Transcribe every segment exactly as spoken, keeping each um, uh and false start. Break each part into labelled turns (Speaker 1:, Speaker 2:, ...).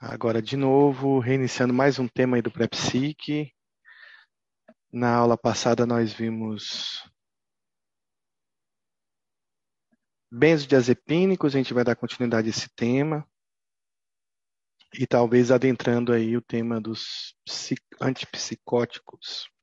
Speaker 1: Agora, de novo, reiniciando mais um tema aí do Pré-Psique. Na aula passada nós vimos benzodiazepínicos, a gente vai dar continuidade a esse tema. E talvez adentrando aí o tema dos antipsicóticos.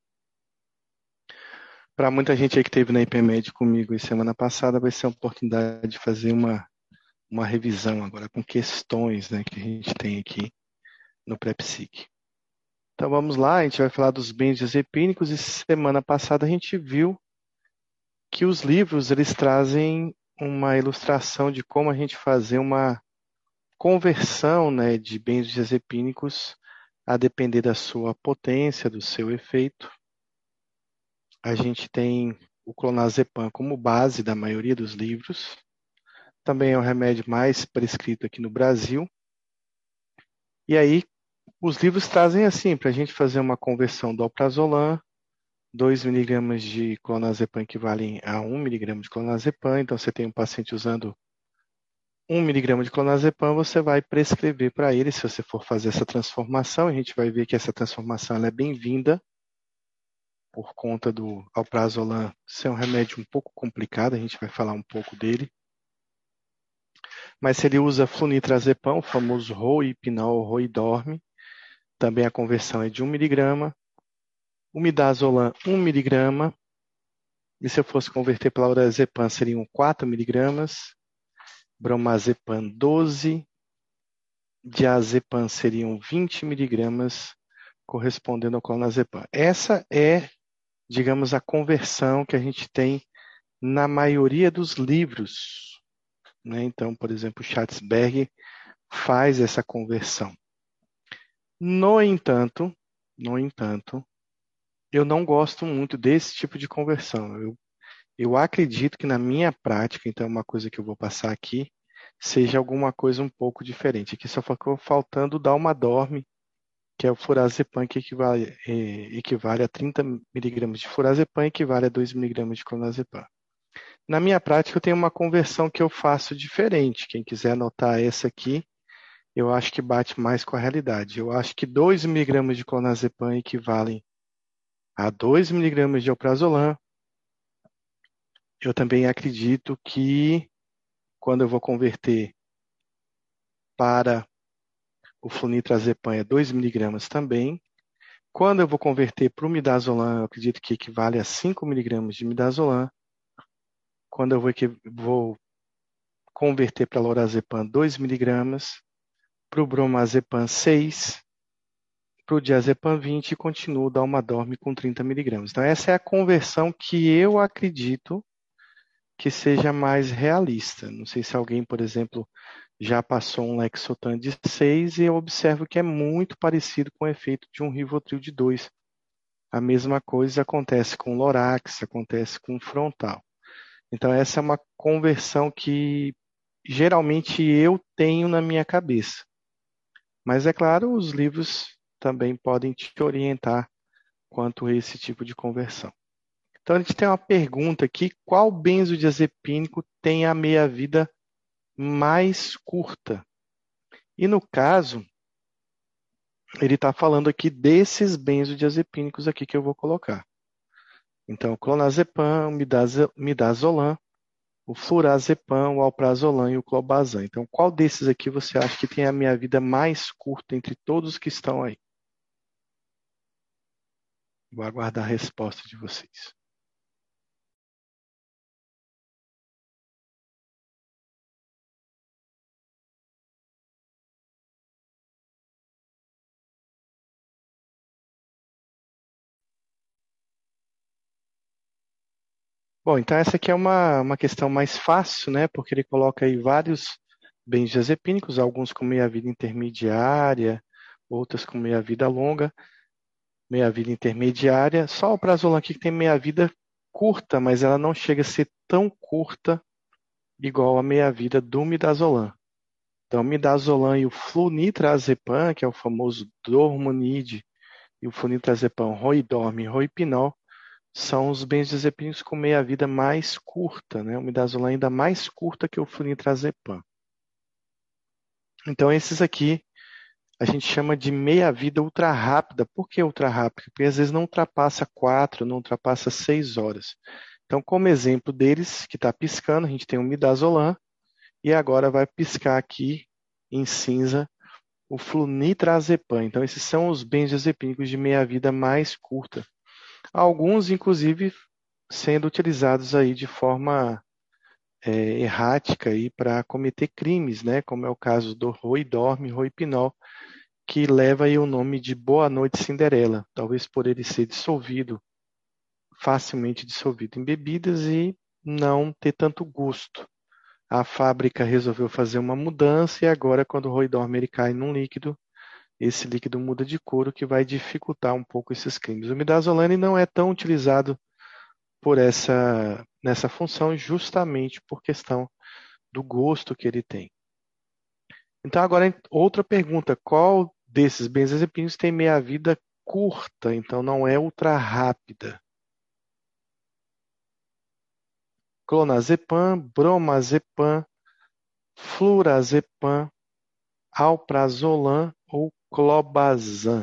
Speaker 1: Para muita gente aí que esteve na IPMED comigo semana passada, vai ser a oportunidade de fazer uma, uma revisão agora com questões, né, que a gente tem aqui no Pré-Psique. Então vamos lá, a gente vai falar dos benzodiazepínicos e semana passada a gente viu que os livros eles trazem uma ilustração de como a gente fazer uma conversão, né, de benzodiazepínicos a depender da sua potência, do seu efeito. A gente tem o clonazepam como base da maioria dos livros. Também é o remédio mais prescrito aqui no Brasil. E aí, os livros trazem assim, para a gente fazer uma conversão do alprazolam, dois miligramas de clonazepam equivalem a um miligrama de clonazepam. Então, você tem um paciente usando um miligrama de clonazepam, você vai prescrever para ele, se você for fazer essa transformação. A gente vai ver que essa transformação ela é bem-vinda, por conta do alprazolam ser um remédio um pouco complicado, a gente vai falar um pouco dele. Mas se ele usa flunitrazepam, o famoso roipinol ou roidorme, também a conversão é de um miligrama. O midazolam, um miligrama. E se eu fosse converter para lorazepam, seriam quatro miligramas. Bromazepam, doze. Diazepam seriam vinte miligramas, correspondendo ao clonazepam. Essa é, digamos, a conversão que a gente tem na maioria dos livros, né? Então, por exemplo, Schatzberg faz essa conversão. No entanto, no entanto, eu não gosto muito desse tipo de conversão. Eu, eu acredito que na minha prática, então, uma coisa que eu vou passar aqui, seja alguma coisa um pouco diferente. Aqui só ficou faltando o Dalmadorme, que é o furazepam, que equivale, eh, equivale a trinta miligramas de furazepam, equivale a dois miligramas de clonazepam. Na minha prática, eu tenho uma conversão que eu faço diferente. Quem quiser anotar essa aqui, eu acho que bate mais com a realidade. Eu acho que dois miligramas de clonazepam equivalem a dois miligramas de alprazolam. Eu também acredito que quando eu vou converter para o flunitrazepam é dois miligramas também. Quando eu vou converter para o midazolam, eu acredito que equivale a cinco miligramas de midazolam. Quando eu vou, vou converter para lorazepam, dois miligramas. Para o bromazepam, seis. Para o diazepam, vinte. E continuo o dalmadorme com trinta miligramas. Então, essa é a conversão que eu acredito que seja mais realista. Não sei se alguém, por exemplo, já passou um Lexotan de seis e eu observo que é muito parecido com o efeito de um Rivotril de dois. A mesma coisa acontece com o Lorax, acontece com o frontal. Então, essa é uma conversão que geralmente eu tenho na minha cabeça. Mas, é claro, os livros também podem te orientar quanto a esse tipo de conversão. Então, a gente tem uma pergunta aqui: qual benzodiazepínico tem a meia-vida mais curta? E no caso, ele está falando aqui desses benzodiazepínicos aqui que eu vou colocar. Então, o clonazepam, o midazolam, o flurazepam, o alprazolam e o clobazam. Então, qual desses aqui você acha que tem a meia-vida mais curta entre todos que estão aí? Vou aguardar a resposta de vocês. Bom, então essa aqui é uma, uma questão mais fácil, né? Porque ele coloca aí vários benzodiazepínicos, alguns com meia-vida intermediária, outros com meia-vida longa, meia-vida intermediária. Só o prazolam aqui que tem meia-vida curta, mas ela não chega a ser tão curta igual a meia-vida do midazolam. Então, o midazolam e o flunitrazepam, que é o famoso Dormonide, e o flunitrazepam roidorme e roipinol, são os benzodiazepínicos com meia-vida mais curta, né? O midazolam ainda mais curta que o flunitrazepam. Então, esses aqui, a gente chama de meia-vida ultra rápida. Por que ultra rápida? Porque às vezes não ultrapassa quatro, não ultrapassa seis horas. Então, como exemplo deles, que está piscando, a gente tem o midazolam, e agora vai piscar aqui em cinza o flunitrazepam. Então, esses são os benzodiazepínicos de meia-vida mais curta. Alguns, inclusive, sendo utilizados aí de forma é, errática para cometer crimes, né? Como é o caso do Roidorm, Roipinol, que leva aí o nome de Boa Noite Cinderela, talvez por ele ser dissolvido, facilmente dissolvido em bebidas e não ter tanto gosto. A fábrica resolveu fazer uma mudança e agora, quando o Roidorm ele cai num líquido, esse líquido muda de cor, o que vai dificultar um pouco esses crimes. O midazolam não é tão utilizado por essa nessa função justamente por questão do gosto que ele tem. Então agora outra pergunta, qual desses benzodiazepínicos tem meia-vida curta, então não é ultra rápida? Clonazepam, bromazepam, flurazepam, alprazolam ou clobazam?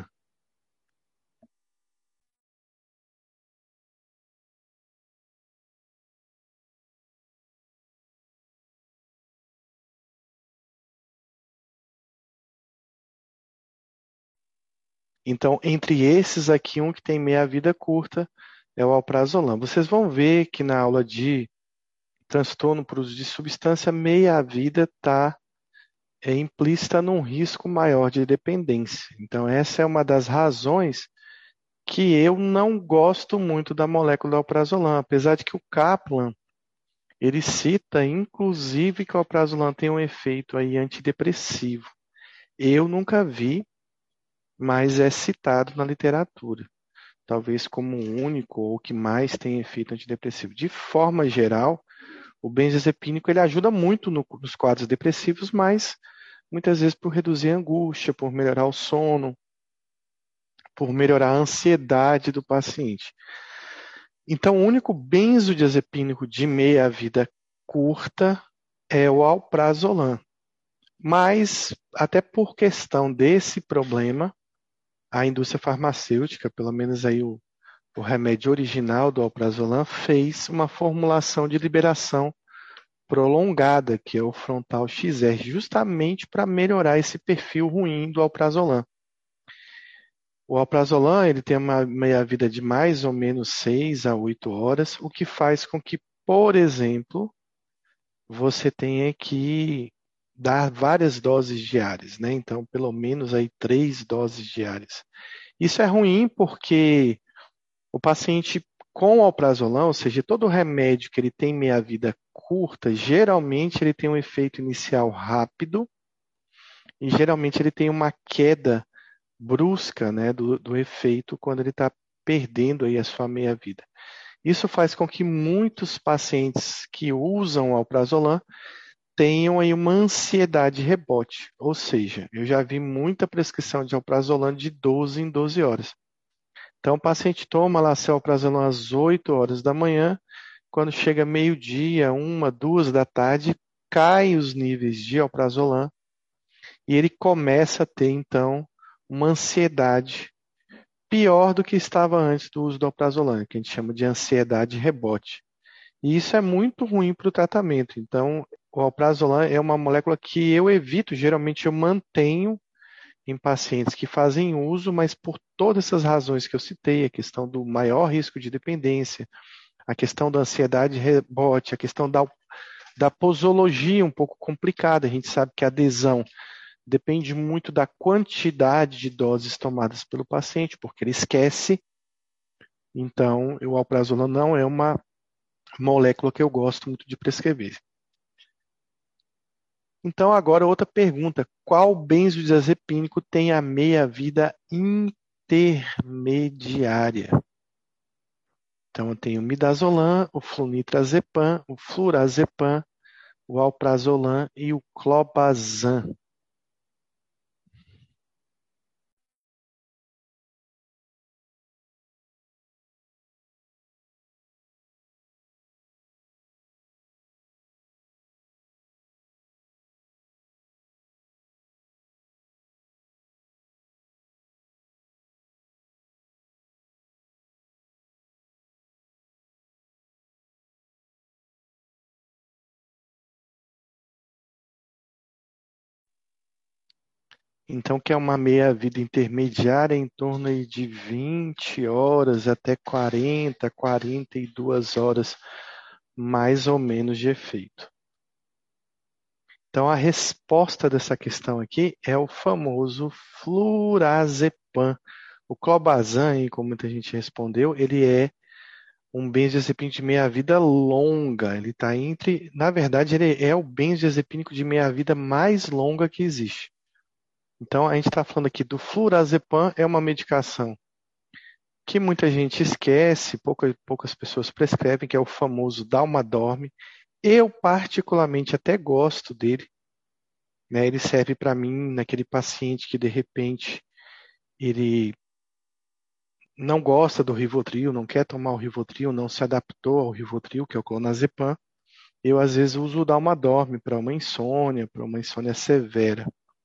Speaker 1: Então, entre esses aqui, um que tem meia-vida curta é o alprazolam. Vocês vão ver que na aula de transtorno por uso de substância, meia-vida está é, implícita num risco maior de dependência. Então, essa é uma das razões que eu não gosto muito da molécula do alprazolam, apesar de que o Kaplan ele cita, inclusive, que o alprazolam tem um efeito aí antidepressivo. Eu nunca vi, mas é citado na literatura, talvez como o único ou que mais tem efeito antidepressivo. De forma geral, o benzodiazepínico ele ajuda muito no, nos quadros depressivos, mas muitas vezes por reduzir a angústia, por melhorar o sono, por melhorar a ansiedade do paciente. Então, o único benzodiazepínico de meia-vida curta é o alprazolam. Mas, até por questão desse problema, a indústria farmacêutica, pelo menos aí o, o remédio original do alprazolam, fez uma formulação de liberação prolongada, que é o frontal X R, justamente para melhorar esse perfil ruim do alprazolam. O alprazolam ele tem uma meia-vida de mais ou menos seis a oito horas, o que faz com que, por exemplo, você tenha que dar várias doses diárias, né? Então, pelo menos aí três doses diárias. Isso é ruim porque o paciente com alprazolam, ou seja, todo remédio que ele tem meia-vida curta, geralmente ele tem um efeito inicial rápido e geralmente ele tem uma queda brusca, né, do, do efeito quando ele está perdendo aí a sua meia-vida. Isso faz com que muitos pacientes que usam alprazolam tenham aí uma ansiedade rebote, ou seja, eu já vi muita prescrição de alprazolam de doze em doze horas. Então, o paciente toma lá seu alprazolam às oito horas da manhã, quando chega meio-dia, uma, duas da tarde, cai os níveis de alprazolam e ele começa a ter, então, uma ansiedade pior do que estava antes do uso do alprazolam, que a gente chama de ansiedade rebote. E isso é muito ruim para o tratamento. Então, o alprazolam é uma molécula que eu evito, geralmente eu mantenho em pacientes que fazem uso, mas por todas essas razões que eu citei, a questão do maior risco de dependência, a questão da ansiedade rebote, a questão da, da posologia um pouco complicada. A gente sabe que a adesão depende muito da quantidade de doses tomadas pelo paciente, porque ele esquece. Então, o alprazolam não é uma molécula que eu gosto muito de prescrever. Então, agora outra pergunta: qual benzodiazepínico tem a meia-vida intermediária? Então, eu tenho o midazolam, o flunitrazepam, o flurazepam, o alprazolam e o clobazam. Então, que é uma meia-vida intermediária em torno aí de vinte horas até quarenta, quarenta e duas horas, mais ou menos, de efeito. Então, a resposta dessa questão aqui é o famoso flurazepam. O clobazam, como muita gente respondeu, ele é um benzodiazepínico de meia-vida longa. Ele está entre, na verdade, ele é o benzodiazepínico de meia-vida mais longa que existe. Então, a gente está falando aqui do flurazepam, é uma medicação que muita gente esquece, poucas, poucas pessoas prescrevem, que é o famoso Dalmadorme. Eu, particularmente, até gosto dele, né? Ele serve para mim naquele paciente que, de repente, ele não gosta do Rivotril, não quer tomar o Rivotril, não se adaptou ao Rivotril, que é o clonazepam. Eu, às vezes, uso o Dalmadorme para uma insônia, para uma insônia severa.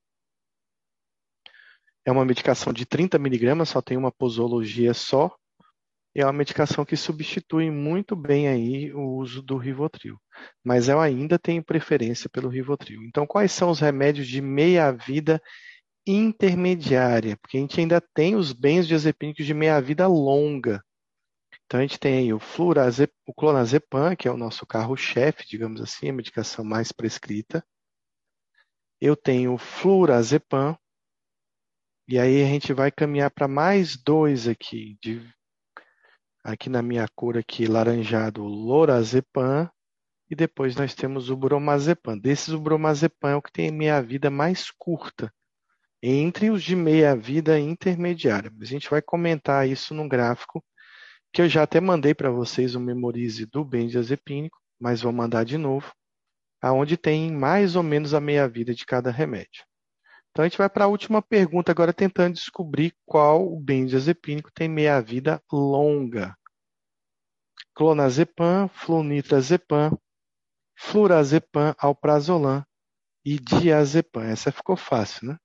Speaker 1: É uma medicação de trinta miligramas, só tem uma posologia só. É uma medicação que substitui muito bem aí o uso do Rivotril. Mas eu ainda tenho preferência pelo Rivotril. Então, quais são os remédios de meia-vida intermediária? Porque a gente ainda tem os benzodiazepínicos de meia-vida longa. Então, a gente tem aí o, flurazep, o clonazepam, que é o nosso carro-chefe, digamos assim, a medicação mais prescrita. Eu tenho o flurazepam, e aí a gente vai caminhar para mais dois aqui, de, aqui na minha cor aqui, laranjado, o lorazepam, e depois nós temos o bromazepam. Desses, o bromazepam é o que tem meia-vida mais curta, entre os de meia-vida intermediária. A gente vai comentar isso no gráfico, que eu já até mandei para vocês o memorize do benzodiazepínico, mas vou mandar de novo, aonde tem mais ou menos a meia-vida de cada remédio. Então a gente vai para a última pergunta agora, tentando descobrir qual o benzodiazepínico tem meia-vida longa. Clonazepam, flunitrazepam, flurazepam, alprazolam e diazepam. Essa ficou fácil, né?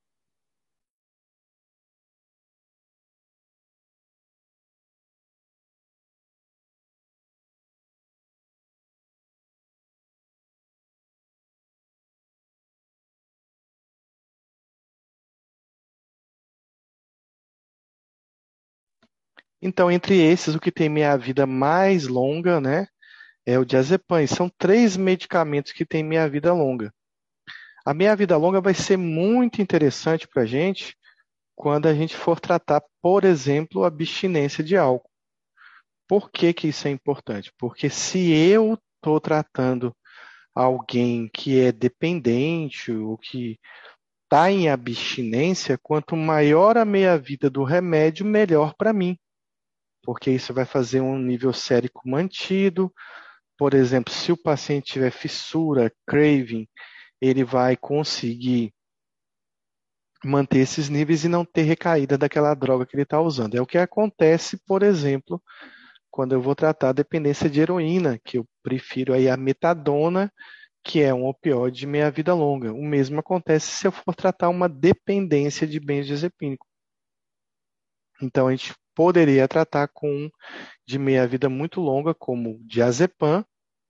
Speaker 1: Então, entre esses, o que tem meia-vida mais longa, né, é o diazepam. E são três medicamentos que têm meia-vida longa. A meia-vida longa vai ser muito interessante para a gente quando a gente for tratar, por exemplo, a abstinência de álcool. Por que que isso é importante? Porque se eu estou tratando alguém que é dependente ou que está em abstinência, quanto maior a meia-vida do remédio, melhor para mim. Porque isso vai fazer um nível sérico mantido. Por exemplo, se o paciente tiver fissura, craving, ele vai conseguir manter esses níveis e não ter recaída daquela droga que ele está usando. É o que acontece, por exemplo, quando eu vou tratar a dependência de heroína, que eu prefiro aí a metadona, que é um opioide de meia-vida longa. O mesmo acontece se eu for tratar uma dependência de benzodiazepínico. Então, a gente poderia tratar com um de meia-vida muito longa, como o diazepam,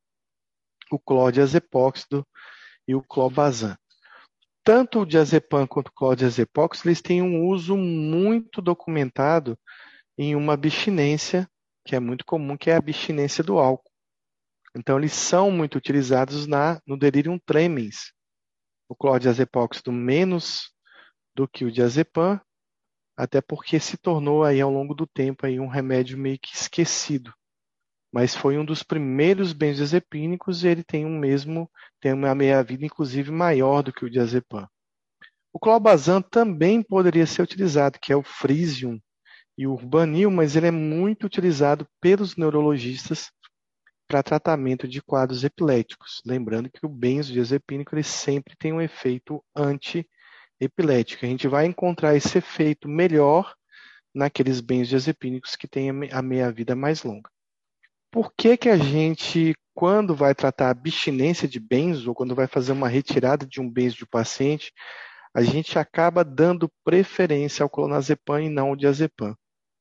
Speaker 1: o clordiazepóxido e o clobazam. Tanto o diazepam quanto o clordiazepóxido, eles têm um uso muito documentado em uma abstinência, que é muito comum, que é a abstinência do álcool. Então, eles são muito utilizados na, no delirium tremens. O clordiazepóxido menos do que o diazepam, até porque se tornou aí ao longo do tempo aí um remédio meio que esquecido. Mas foi um dos primeiros benzodiazepínicos e ele tem um mesmo, tem uma meia-vida inclusive maior do que o diazepam. O clobazam também poderia ser utilizado, que é o Frisium e o Urbanil, mas ele é muito utilizado pelos neurologistas para tratamento de quadros epiléticos. Lembrando que o benzodiazepínico ele sempre tem um efeito anti-epilético. A gente vai encontrar esse efeito melhor naqueles benzodiazepínicos que têm a meia-vida mais longa. Por que que a gente, quando vai tratar a abstinência de benzo, ou quando vai fazer uma retirada de um benzo de um paciente, a gente acaba dando preferência ao clonazepam e não ao diazepam?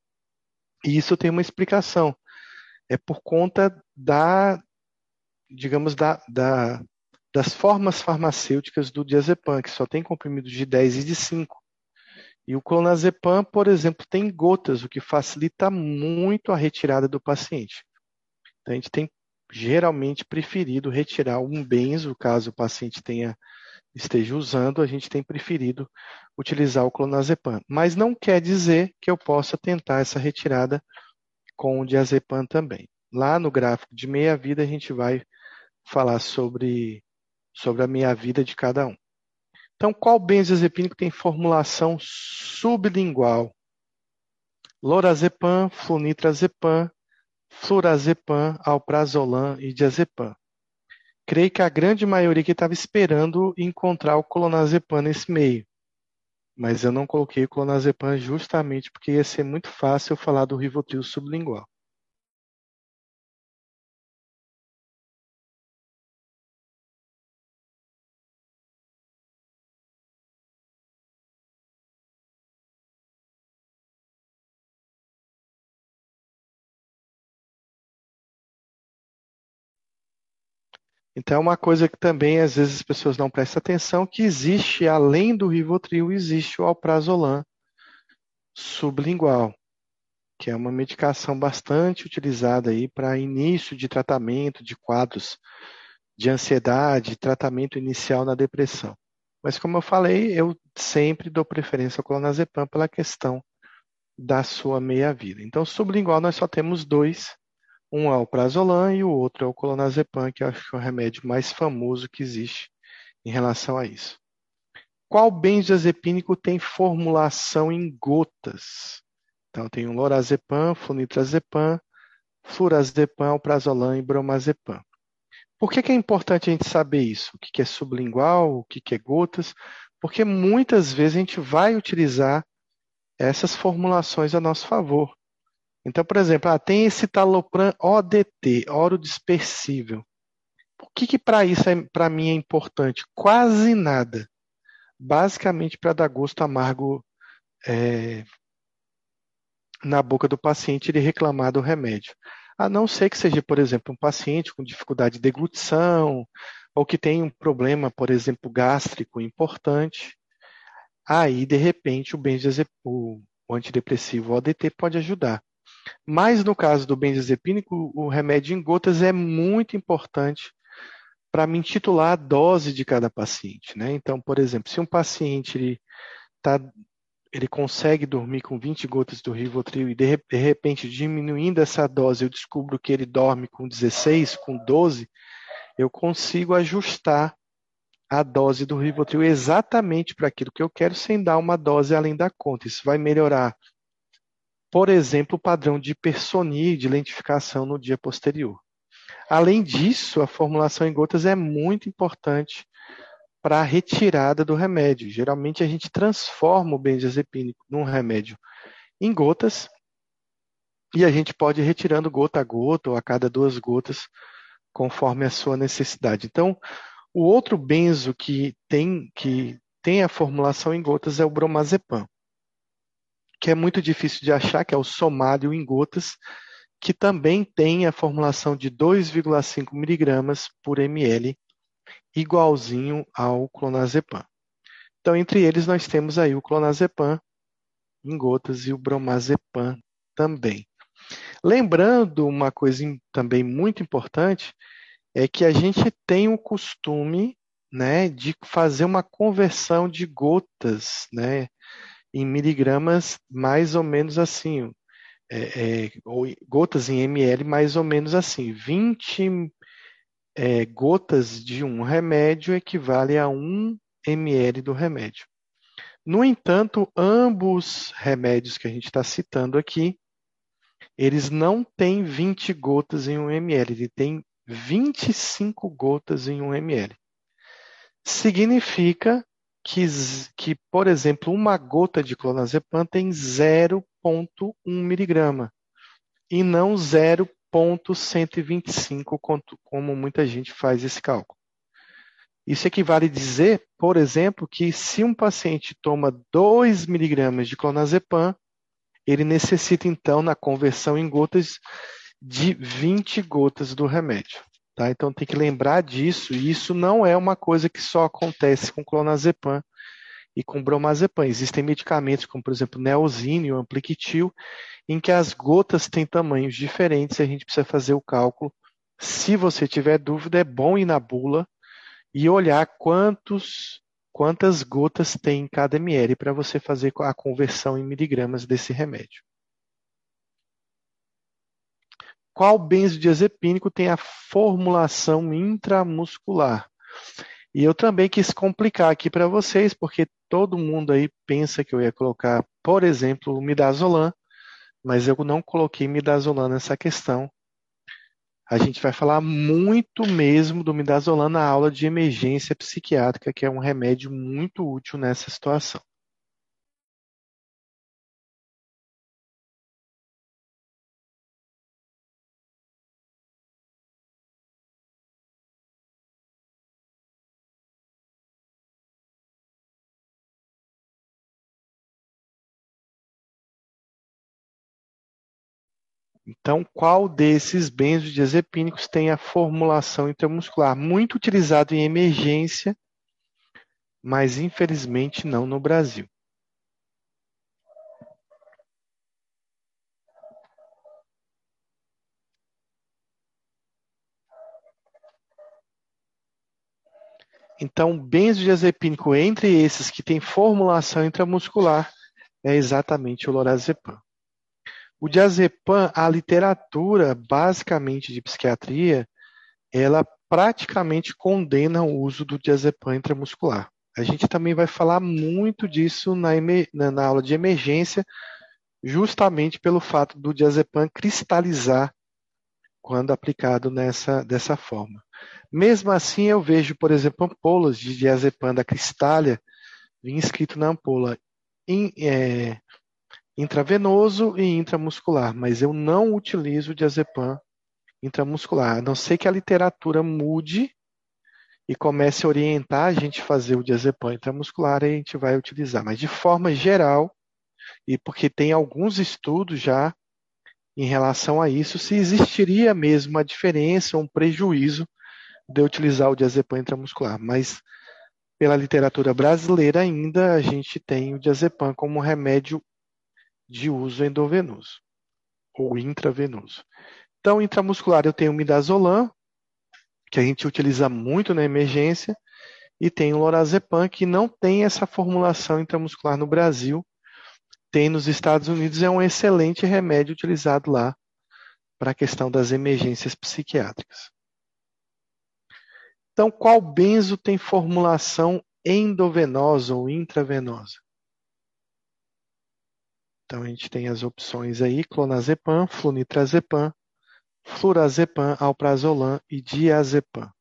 Speaker 1: E isso tem uma explicação. É por conta da, digamos, da, da das formas farmacêuticas do diazepam, que só tem comprimidos de dez e de cinco. E o clonazepam, por exemplo, tem gotas, o que facilita muito a retirada do paciente. Então, a gente tem geralmente preferido retirar um benzo, caso o paciente tenha, esteja usando, a gente tem preferido utilizar o clonazepam. Mas não quer dizer que eu possa tentar essa retirada com o diazepam também. Lá no gráfico de meia-vida, a gente vai falar sobre, sobre a meia-vida de cada um. Então, qual benzodiazepínico tem formulação sublingual? Lorazepam, flunitrazepam, flurazepam, alprazolam e diazepam. Creio que a grande maioria que estava esperando encontrar o clonazepam nesse meio. Mas eu não coloquei o clonazepam justamente porque ia ser muito fácil eu falar do Rivotril sublingual. Então, é uma coisa que também, às vezes, as pessoas não prestam atenção, que existe, além do Rivotril, existe o alprazolam sublingual, que é uma medicação bastante utilizada aí para início de tratamento de quadros de ansiedade, tratamento inicial na depressão. Mas, como eu falei, eu sempre dou preferência ao clonazepam pela questão da sua meia-vida. Então, sublingual nós só temos dois, um é o alprazolam e o outro é o clonazepam, que eu acho que é o remédio mais famoso que existe em relação a isso. Qual benzodiazepínico tem formulação em gotas? Então, tem o lorazepam, flunitrazepam, flurazepam, alprazolam e bromazepam. Por que que é importante a gente saber isso? O que que é sublingual, o que que é gotas? Porque muitas vezes a gente vai utilizar essas formulações a nosso favor. Então, por exemplo, ah, tem esse citalopram O D T, oro dispersível. O que que para isso, é, para mim, é importante? Quase nada. Basicamente para dar gosto amargo é, na boca do paciente ele reclamar do remédio. A não ser que seja, por exemplo, um paciente com dificuldade de deglutição ou que tem um problema, por exemplo, gástrico importante. Aí, de repente, o, benzodiazep... o antidepressivo O D T pode ajudar. Mas no caso do benzodiazepínico, o remédio em gotas é muito importante para me intitular a dose de cada paciente, né? Então, por exemplo, se um paciente ele, tá, ele consegue dormir com vinte gotas do Rivotril e de, de repente, diminuindo essa dose, eu descubro que ele dorme com dezesseis, com doze, eu consigo ajustar a dose do Rivotril exatamente para aquilo que eu quero, sem dar uma dose além da conta. Isso vai melhorar, por exemplo, o padrão de hipersonia e de lentificação no dia posterior. Além disso, a formulação em gotas é muito importante para a retirada do remédio. Geralmente a gente transforma o benzodiazepínico num remédio em gotas e a gente pode ir retirando gota a gota ou a cada duas gotas, conforme a sua necessidade. Então, o outro benzo que tem, que tem a formulação em gotas é o bromazepam, que é muito difícil de achar, que é o somário em gotas, que também tem a formulação de dois vírgula cinco miligramas por ml, igualzinho ao clonazepam. Então, entre eles, nós temos aí o clonazepam em gotas e o bromazepam também. Lembrando uma coisa também muito importante, é que a gente tem o costume, né, de fazer uma conversão de gotas, né, em miligramas mais ou menos assim, é, é, ou gotas em ml mais ou menos assim, vinte é, gotas de um remédio equivale a um ml do remédio. No entanto, ambos remédios que a gente está citando aqui, eles não têm vinte gotas em um ml, ele tem vinte e cinco gotas em um ml. Significa que, que, por exemplo, uma gota de clonazepam tem zero vírgula um miligrama e não zero vírgula cento e vinte e cinco, como muita gente faz esse cálculo. Isso equivale a dizer, por exemplo, que se um paciente toma dois miligramas de clonazepam, ele necessita, então, na conversão em gotas, de vinte gotas do remédio. tá? Então tem que lembrar disso, e isso não é uma coisa que só acontece com clonazepam e com bromazepam. Existem medicamentos como, por exemplo, Neosine ou Ampliquitil, em que as gotas têm tamanhos diferentes e a gente precisa fazer o cálculo. Se você tiver dúvida, é bom ir na bula e olhar quantos, quantas gotas tem em cada ml para você fazer a conversão em miligramas desse remédio. Qual benzodiazepínico tem a formulação intramuscular? E eu também quis complicar aqui para vocês, porque todo mundo aí pensa que eu ia colocar, por exemplo, o midazolam, mas eu não coloquei midazolam nessa questão. A gente vai falar muito mesmo do midazolam na aula de emergência psiquiátrica, que é um remédio muito útil nessa situação. Então, qual desses benzodiazepínicos tem a formulação intramuscular? Muito utilizado em emergência, mas infelizmente não no Brasil. Então, benzodiazepínico entre esses que tem formulação intramuscular é exatamente o lorazepam. O diazepam, a literatura basicamente de psiquiatria, ela praticamente condena o uso do diazepam intramuscular. A gente também vai falar muito disso na, na, na aula de emergência, justamente pelo fato do diazepam cristalizar quando aplicado nessa, dessa forma. Mesmo assim, eu vejo, por exemplo, ampolas de diazepam da Cristália, vinha escrito na ampola in, é, intravenoso e intramuscular, mas eu não utilizo o diazepam intramuscular, a não ser que a literatura mude e comece a orientar a gente a fazer o diazepam intramuscular, aí a gente vai utilizar. Mas de forma geral, e porque tem alguns estudos já em relação a isso, se existiria mesmo uma diferença, um prejuízo de utilizar o diazepam intramuscular. Mas pela literatura brasileira ainda a gente tem o diazepam como remédio de uso endovenoso ou intravenoso. Então, intramuscular eu tenho o midazolam, que a gente utiliza muito na emergência, e tem o lorazepam, que não tem essa formulação intramuscular no Brasil, tem nos Estados Unidos, é um excelente remédio utilizado lá para a questão das emergências psiquiátricas. Então, qual benzo tem formulação endovenosa ou intravenosa? Então, a gente tem as opções aí, clonazepam, flunitrazepam, flurazepam, alprazolam e diazepam.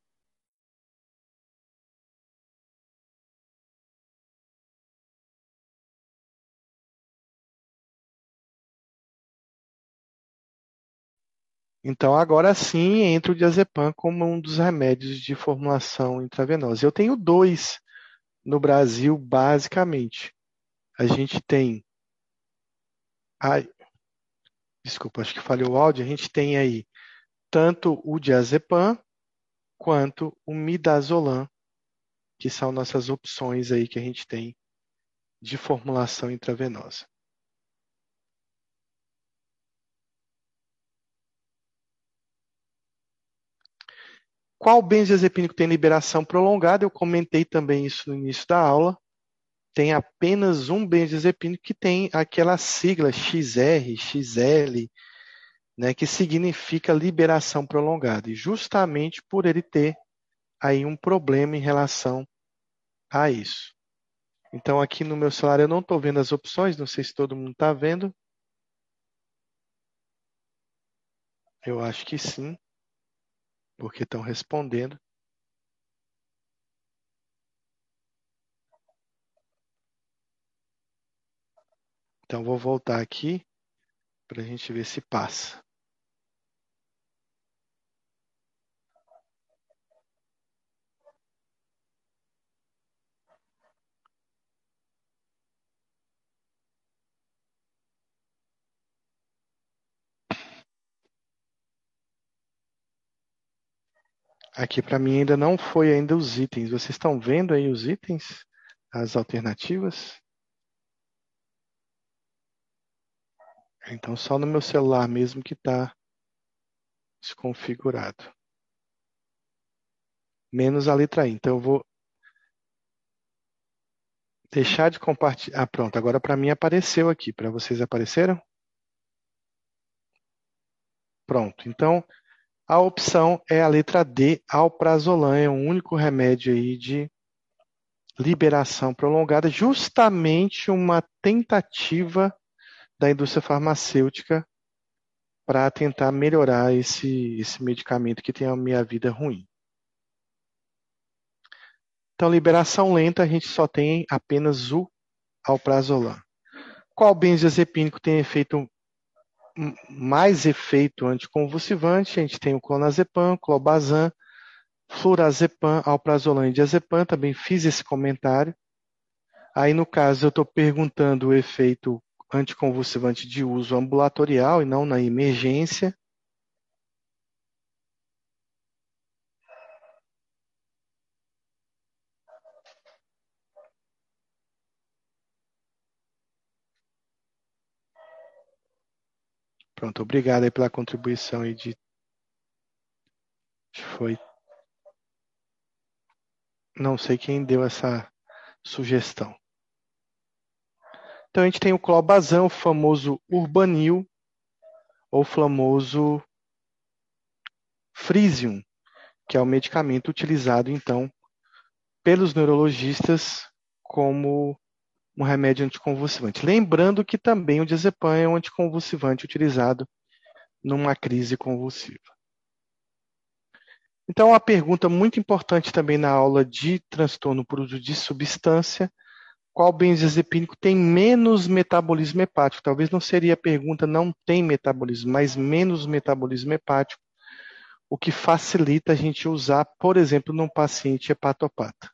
Speaker 1: Então, agora sim, entra o diazepam como um dos remédios de formulação intravenosa. Eu tenho dois no Brasil, basicamente. A gente tem. Ai, desculpa, acho que falhou o áudio. A gente tem aí tanto o diazepam quanto o midazolam, que são nossas opções aí que a gente tem de formulação intravenosa. Qual benzodiazepínico tem liberação prolongada? Eu comentei também isso no início da aula. Tem apenas um benzodiazepínico que tem aquela sigla X R, X L, né, que significa liberação prolongada. E justamente por ele ter aí um problema em relação a isso. Então, aqui no meu celular eu não estou vendo as opções, não sei se todo mundo está vendo. Eu acho que sim, porque estão respondendo. Então, vou voltar aqui para a gente ver se passa. Aqui para mim ainda não foi ainda os itens. Vocês estão vendo aí os itens? As alternativas? Então só no meu celular mesmo que está desconfigurado. Menos a letra I. Então eu vou deixar de compartilhar. Ah, pronto. Agora para mim apareceu aqui. Para vocês apareceram? Pronto. Então a opção é a letra D, alprazolam. É o único remédio aí de liberação prolongada, justamente uma tentativa da indústria farmacêutica para tentar melhorar esse, esse medicamento que tem a minha vida ruim. Então, liberação lenta, a gente só tem apenas o alprazolam. Qual benzodiazepínico tem efeito mais efeito anticonvulsivante? A gente tem o clonazepam, clobazam, flurazepam, alprazolam e diazepam. Também fiz esse comentário. Aí, no caso, eu estou perguntando o efeito anticonvulsivante de uso ambulatorial e não na emergência. Pronto, obrigado aí pela contribuição aí de foi não sei quem deu essa sugestão. Então a gente tem o clobazam, o famoso Urbanil ou famoso Frisium, que é o medicamento utilizado então pelos neurologistas como um remédio anticonvulsivante. Lembrando que também o diazepam é um anticonvulsivante utilizado numa crise convulsiva. Então, uma pergunta muito importante também na aula de transtorno por uso de substância: qual benzodiazepínico tem menos metabolismo hepático? Talvez não seria a pergunta não tem metabolismo, mas menos metabolismo hepático, o que facilita a gente usar, por exemplo, num paciente hepatopata.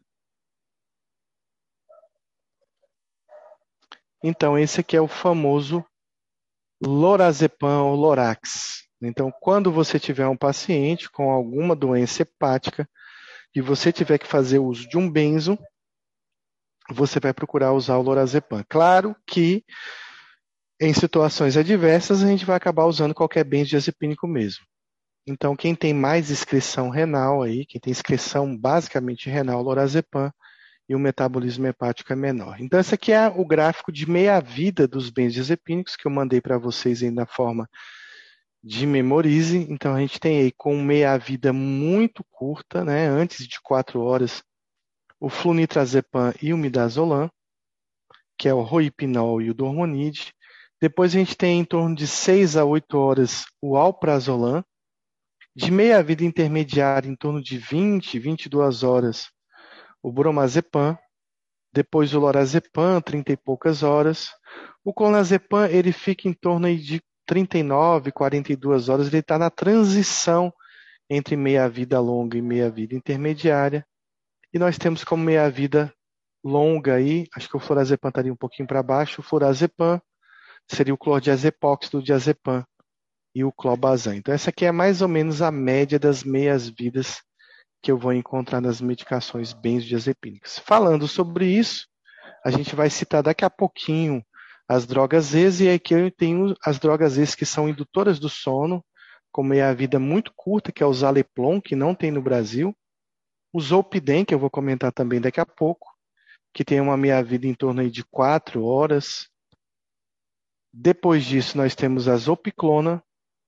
Speaker 1: Então, esse aqui é o famoso lorazepam ou Lorax. Então, quando você tiver um paciente com alguma doença hepática e você tiver que fazer uso de um benzo, você vai procurar usar o lorazepam. Claro que em situações adversas a gente vai acabar usando qualquer benzodiazepínico mesmo. Então, quem tem mais excreção renal aí, quem tem excreção basicamente renal, lorazepam, e o metabolismo hepático é menor. Então, esse aqui é o gráfico de meia-vida dos benzodiazepínicos que eu mandei para vocês aí na forma de memorize. Então, a gente tem aí com meia-vida muito curta, né, antes de quatro horas, o flunitrazepam e o midazolam, que é o roipinol e o dormonide. Depois a gente tem em torno de seis a oito horas o alprazolam. De meia-vida intermediária, em torno de vinte, vinte e duas horas, o bromazepam. Depois o lorazepam, trinta e poucas horas. O clonazepam, ele fica em torno aí de trinta e nove, quarenta e duas horas. Ele está na transição entre meia-vida longa e meia-vida intermediária. E nós temos como meia-vida longa aí, acho que o florazepam estaria um pouquinho para baixo, o florazepam seria o clordiazepox do diazepam e o clobazam. Então essa aqui é mais ou menos a média das meias-vidas que eu vou encontrar nas medicações benzodiazepínicas. Falando sobre isso, a gente vai citar daqui a pouquinho as drogas ex, e aqui eu tenho as drogas ex que são indutoras do sono, com meia-vida muito curta, que é o Zaleplon, que não tem no Brasil. O Zolpidem, que eu vou comentar também daqui a pouco, que tem uma meia-vida em torno aí de quatro horas. Depois disso, nós temos a Zopiclona,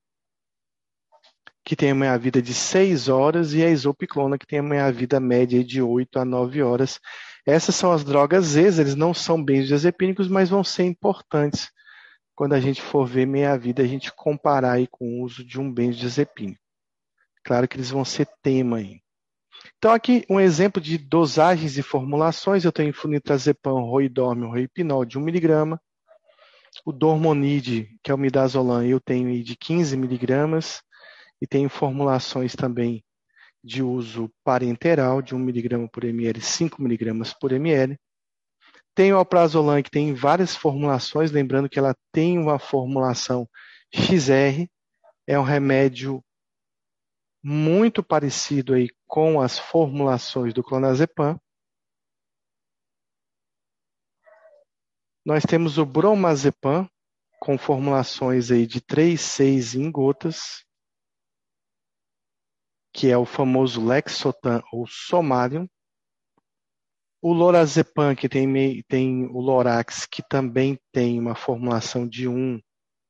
Speaker 1: que tem uma meia-vida de seis horas, e a Isopiclona, que tem uma meia-vida média de oito a nove horas. Essas são as drogas ex, eles não são benzodiazepínicos, mas vão ser importantes quando a gente for ver meia-vida, a gente comparar aí com o uso de um benzodiazepínico. Claro que eles vão ser tema aí. Então, aqui um exemplo de dosagens e formulações. Eu tenho flunitrazepam, roidormio, roipinol de um miligrama. O dormonide, que é o midazolam, eu tenho aí de quinze miligramas. E tenho formulações também de uso parenteral, de um miligrama por ml, cinco miligramas por ml. Tem o alprazolam, que tem várias formulações, lembrando que ela tem uma formulação X R, é um remédio muito parecido aí com as formulações do clonazepam. Nós temos o bromazepam, com formulações aí de três, seis em gotas, que é o famoso Lexotan ou Somalium. O lorazepam, que tem, tem o Lorax, que também tem uma formulação de um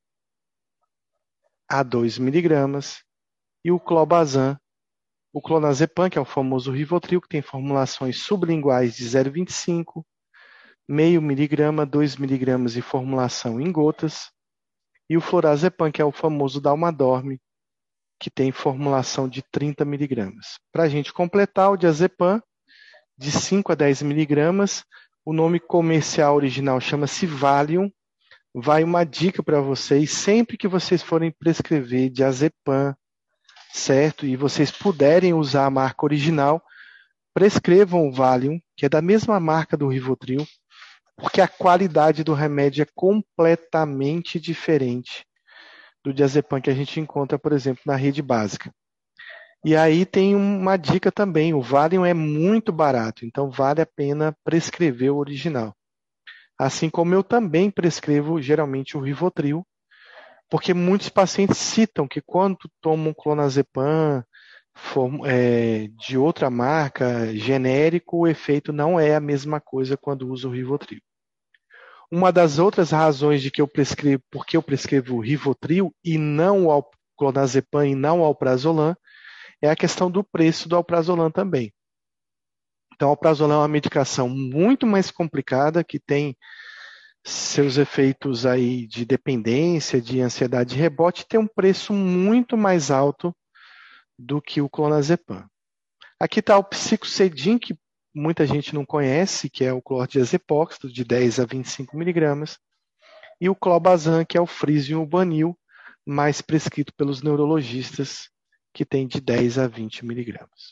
Speaker 1: a dois miligramas. E o clobazam, o clonazepam, que é o famoso Rivotril, que tem formulações sublinguais de zero vírgula vinte e cinco, meio miligrama, dois miligramas e formulação em gotas. E o florazepam, que é o famoso Dalmadorme, que tem formulação de trinta miligramas. Para a gente completar, o diazepam, de cinco a dez miligramas, o nome comercial original chama-se Valium. Vai uma dica para vocês, sempre que vocês forem prescrever diazepam, certo? E vocês puderem usar a marca original, prescrevam o Valium, que é da mesma marca do Rivotril, porque a qualidade do remédio é completamente diferente do diazepam que a gente encontra, por exemplo, na rede básica. E aí tem uma dica também, o Valium é muito barato, então vale a pena prescrever o original. Assim como eu também prescrevo geralmente o Rivotril, porque muitos pacientes citam que quando tomam clonazepam é, de outra marca, genérico, o efeito não é a mesma coisa quando usa o Rivotril. Uma das outras razões de que eu prescrevo, porque eu prescrevo o Rivotril e não o clonazepam e não o alprazolam, é a questão do preço do alprazolam também. Então, o alprazolam é uma medicação muito mais complicada, que tem seus efeitos aí de dependência, de ansiedade de rebote, tem um preço muito mais alto do que o clonazepam. Aqui está o psicocedin, que muita gente não conhece, que é o clordiazepóxito, de dez a vinte e cinco miligramas, e o clobazam, que é o frisium ubanil, mais prescrito pelos neurologistas, que tem de dez a vinte miligramas.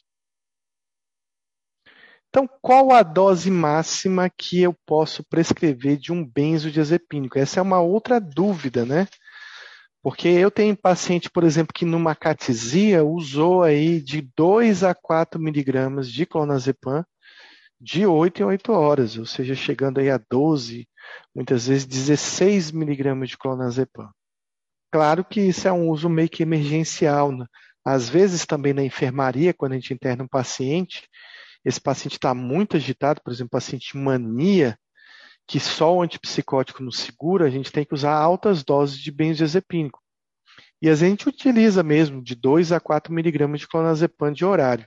Speaker 1: Então, qual a dose máxima que eu posso prescrever de um benzodiazepínico? Essa é uma outra dúvida, né? Porque eu tenho paciente, por exemplo, que numa catesia usou aí de dois a quatro miligramas de clonazepam de oito em oito horas, ou seja, chegando aí a doze, muitas vezes dezesseis miligramas de clonazepam. Claro que isso é um uso meio que emergencial, né? Às vezes também na enfermaria, quando a gente interna um paciente, esse paciente está muito agitado, por exemplo, paciente mania, que só o antipsicótico não segura, a gente tem que usar altas doses de benzodiazepínico. E a gente utiliza mesmo de dois a quatro miligramas de clonazepam de horário.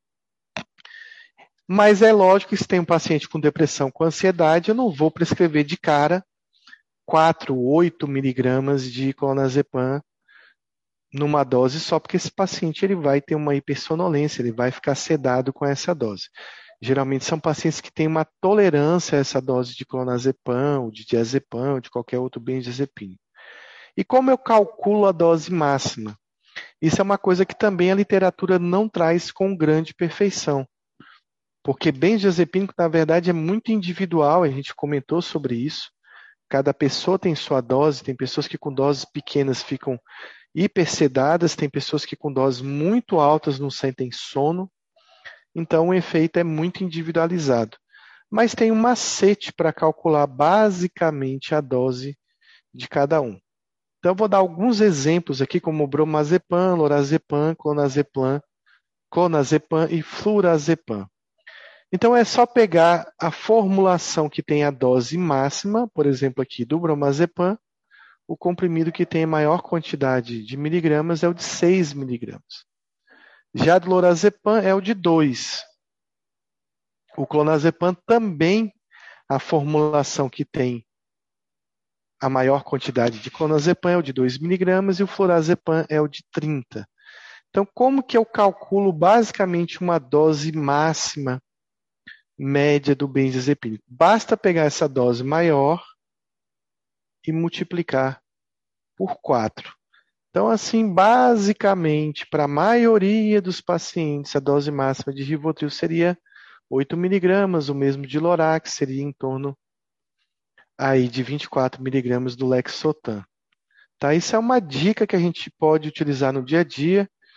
Speaker 1: Mas é lógico que se tem um paciente com depressão, com ansiedade, eu não vou prescrever de cara quatro, oito miligramas de clonazepam numa dose só, porque esse paciente ele vai ter uma hipersonolência, ele vai ficar sedado com essa dose. Geralmente são pacientes que têm uma tolerância a essa dose de clonazepam, ou de diazepam, ou de qualquer outro benzodiazepínico. E como eu calculo a dose máxima? Isso é uma coisa que também a literatura não traz com grande perfeição. Porque benzodiazepínico, na verdade, é muito individual, a gente comentou sobre isso. Cada pessoa tem sua dose, tem pessoas que com doses pequenas ficam hipersedadas, tem pessoas que com doses muito altas não sentem sono. Então, o efeito é muito individualizado. Mas tem um macete para calcular basicamente a dose de cada um. Então, eu vou dar alguns exemplos aqui, como bromazepam, lorazepam, clonazepam, clonazepam e flurazepam. Então, é só pegar a formulação que tem a dose máxima, por exemplo, aqui do bromazepam, o comprimido que tem a maior quantidade de miligramas é o de seis miligramas. Já do lorazepam é o de dois. O clonazepam também, a formulação que tem a maior quantidade de clonazepam é o de dois miligramas e o florazepam é o de trinta. Então, como que eu calculo basicamente uma dose máxima média do benzodiazepínico? Basta pegar essa dose maior e multiplicar por quatro. Então, assim, basicamente, para a maioria dos pacientes, a dose máxima de Rivotril seria oito miligramas, o mesmo de Lorax seria em torno aí de vinte e quatro miligramas do Lexotan. Tá? Isso é uma dica que a gente pode utilizar no dia a dia.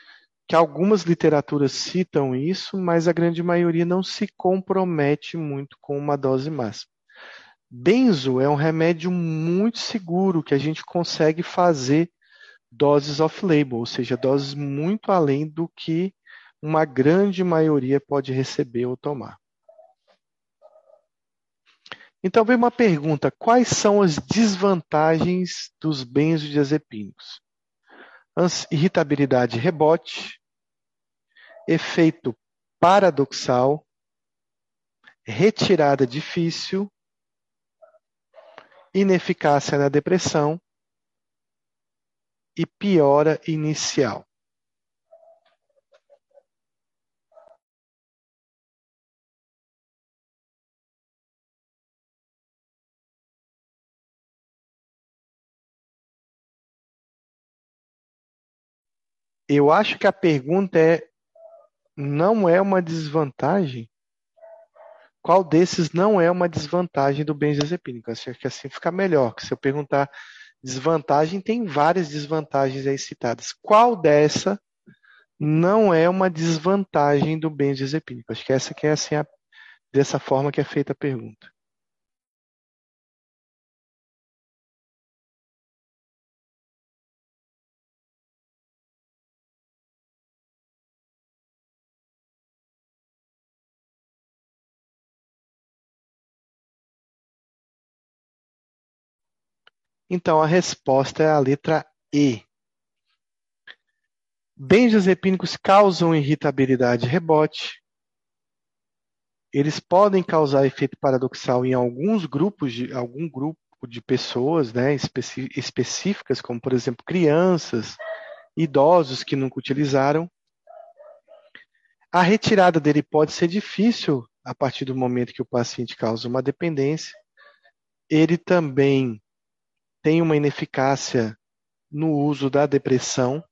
Speaker 1: que algumas literaturas citam isso, mas a grande maioria não se compromete muito com uma dose máxima. Benzo é um remédio muito seguro que a gente consegue fazer doses off-label, ou seja, doses muito além do que uma grande maioria pode receber ou tomar. Então vem uma pergunta: quais são as desvantagens dos benzodiazepínicos? Irritabilidade rebote, efeito paradoxal, retirada difícil, ineficácia na depressão e piora inicial. Eu acho que a pergunta é: não é uma desvantagem? Qual desses não é uma desvantagem do benzodiazepínico? Acho que assim fica melhor, que se eu perguntar desvantagem, tem várias desvantagens aí citadas. Qual dessa não é uma desvantagem do benzodiazepínico? Acho que essa que é assim, a, dessa forma que é feita a pergunta. Então, a resposta é a letra E. Benzodiazepínicos causam irritabilidade rebote. Eles podem causar efeito paradoxal em alguns grupos de algum grupo de pessoas, né, especi- específicas, como por exemplo crianças, idosos que nunca utilizaram. A retirada dele pode ser difícil a partir do momento que o paciente causa uma dependência. Ele também tem uma ineficácia no uso da depressão.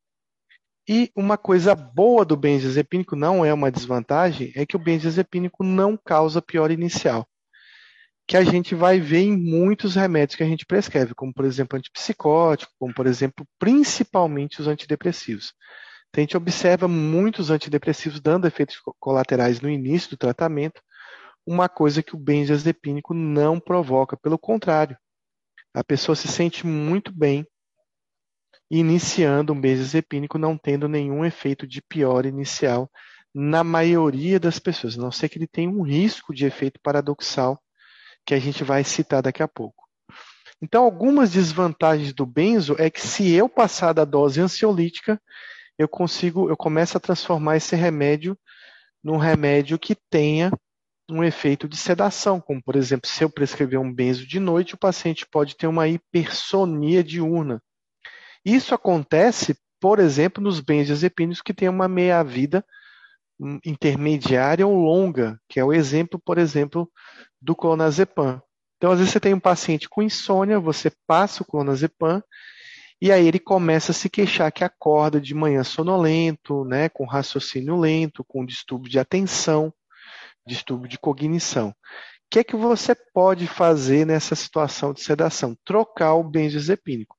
Speaker 1: E uma coisa boa do benzodiazepínico, não é uma desvantagem, é que o benzodiazepínico não causa piora inicial, que a gente vai ver em muitos remédios que a gente prescreve, como por exemplo antipsicótico, como por exemplo principalmente os antidepressivos. Então, a gente observa muitos antidepressivos dando efeitos colaterais no início do tratamento, uma coisa que o benzodiazepínico não provoca, pelo contrário, a pessoa se sente muito bem iniciando um benzodiazepínico, não tendo nenhum efeito de piora inicial na maioria das pessoas, a não ser que ele tenha um risco de efeito paradoxal, que a gente vai citar daqui a pouco. Então, algumas desvantagens do benzo é que se eu passar da dose ansiolítica, eu consigo, eu começo a transformar esse remédio num remédio que tenha um efeito de sedação, como por exemplo, se eu prescrever um benzo de noite, o paciente pode ter uma hipersonia diurna. Isso acontece, por exemplo, nos benzodiazepínicos que têm uma meia-vida intermediária ou longa, que é o exemplo, por exemplo, do clonazepam. Então, às vezes você tem um paciente com insônia, você passa o clonazepam e aí ele começa a se queixar que acorda de manhã sonolento, né, com raciocínio lento, com distúrbio de atenção, distúrbio de cognição. O que é que você pode fazer nessa situação de sedação? Trocar o benzodiazepínico.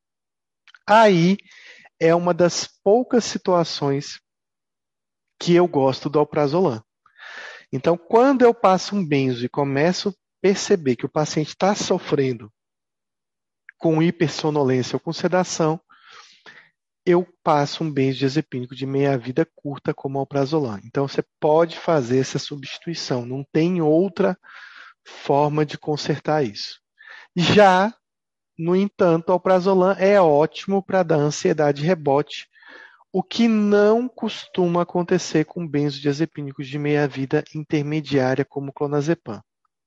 Speaker 1: Aí é uma das poucas situações que eu gosto do alprazolam. Então, quando eu passo um benzo e começo a perceber que o paciente está sofrendo com hipersonolência ou com sedação, eu passo um benzodiazepínico de meia-vida curta como alprazolam. Então, você pode fazer essa substituição, não tem outra forma de consertar isso. Já, no entanto, o alprazolam é ótimo para dar ansiedade rebote, o que não costuma acontecer com benzodiazepínicos de meia-vida intermediária como o clonazepam.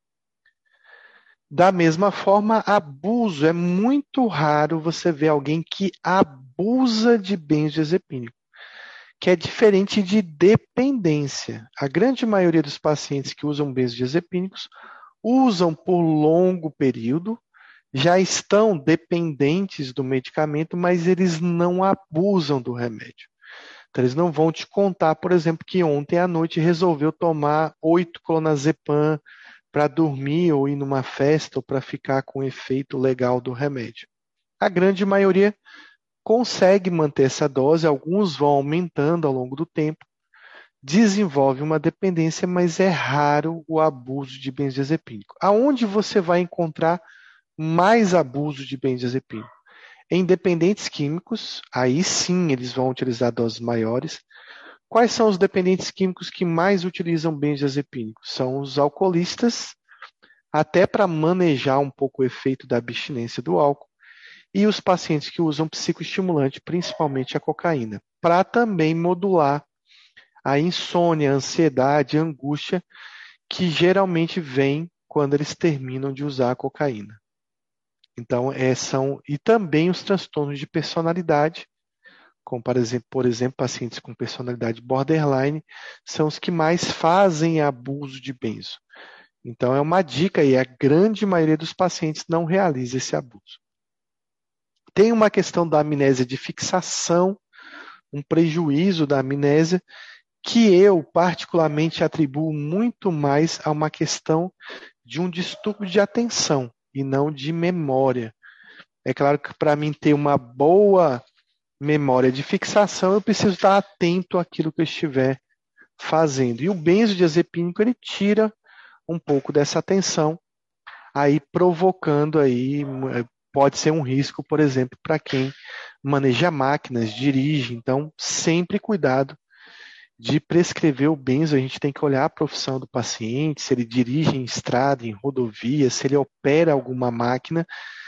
Speaker 1: Da mesma forma, abuso. É muito raro você ver alguém que abusa de benzodiazepínico, que é diferente de dependência. A grande maioria dos pacientes que usam benzodiazepínicos usam por longo período, já estão dependentes do medicamento, mas eles não abusam do remédio. Então, eles não vão te contar, por exemplo, que ontem à noite resolveu tomar oito clonazepam para dormir ou ir numa festa ou para ficar com o efeito legal do remédio. A grande maioria consegue manter essa dose, alguns vão aumentando ao longo do tempo, desenvolve uma dependência, mas é raro o abuso de benzodiazepínico. Aonde você vai encontrar mais abuso de benzodiazepínico? Em dependentes químicos, aí sim eles vão utilizar doses maiores. Quais são os dependentes químicos que mais utilizam benzodiazepínico? São os alcoolistas, até para manejar um pouco o efeito da abstinência do álcool, e os pacientes que usam psicoestimulante, principalmente a cocaína, para também modular a insônia, a ansiedade, a angústia, que geralmente vem quando eles terminam de usar a cocaína. Então, é, são, e também os transtornos de personalidade, como, por exemplo, por exemplo, pacientes com personalidade borderline, são os que mais fazem abuso de benzo. Então, é uma dica aí, a grande maioria dos pacientes não realiza esse abuso. Tem uma questão da amnésia de fixação, um prejuízo da amnésia, que eu particularmente atribuo muito mais a uma questão de um distúrbio de atenção e não de memória. É claro que para mim ter uma boa memória de fixação, eu preciso estar atento àquilo que eu estiver fazendo. E o benzodiazepínico, ele tira um pouco dessa atenção, aí provocando aí, pode ser um risco, por exemplo, para quem maneja máquinas, dirige. Então, sempre cuidado de prescrever o benzo. A gente tem que olhar a profissão do paciente, se ele dirige em estrada, em rodovia, se ele opera alguma máquina,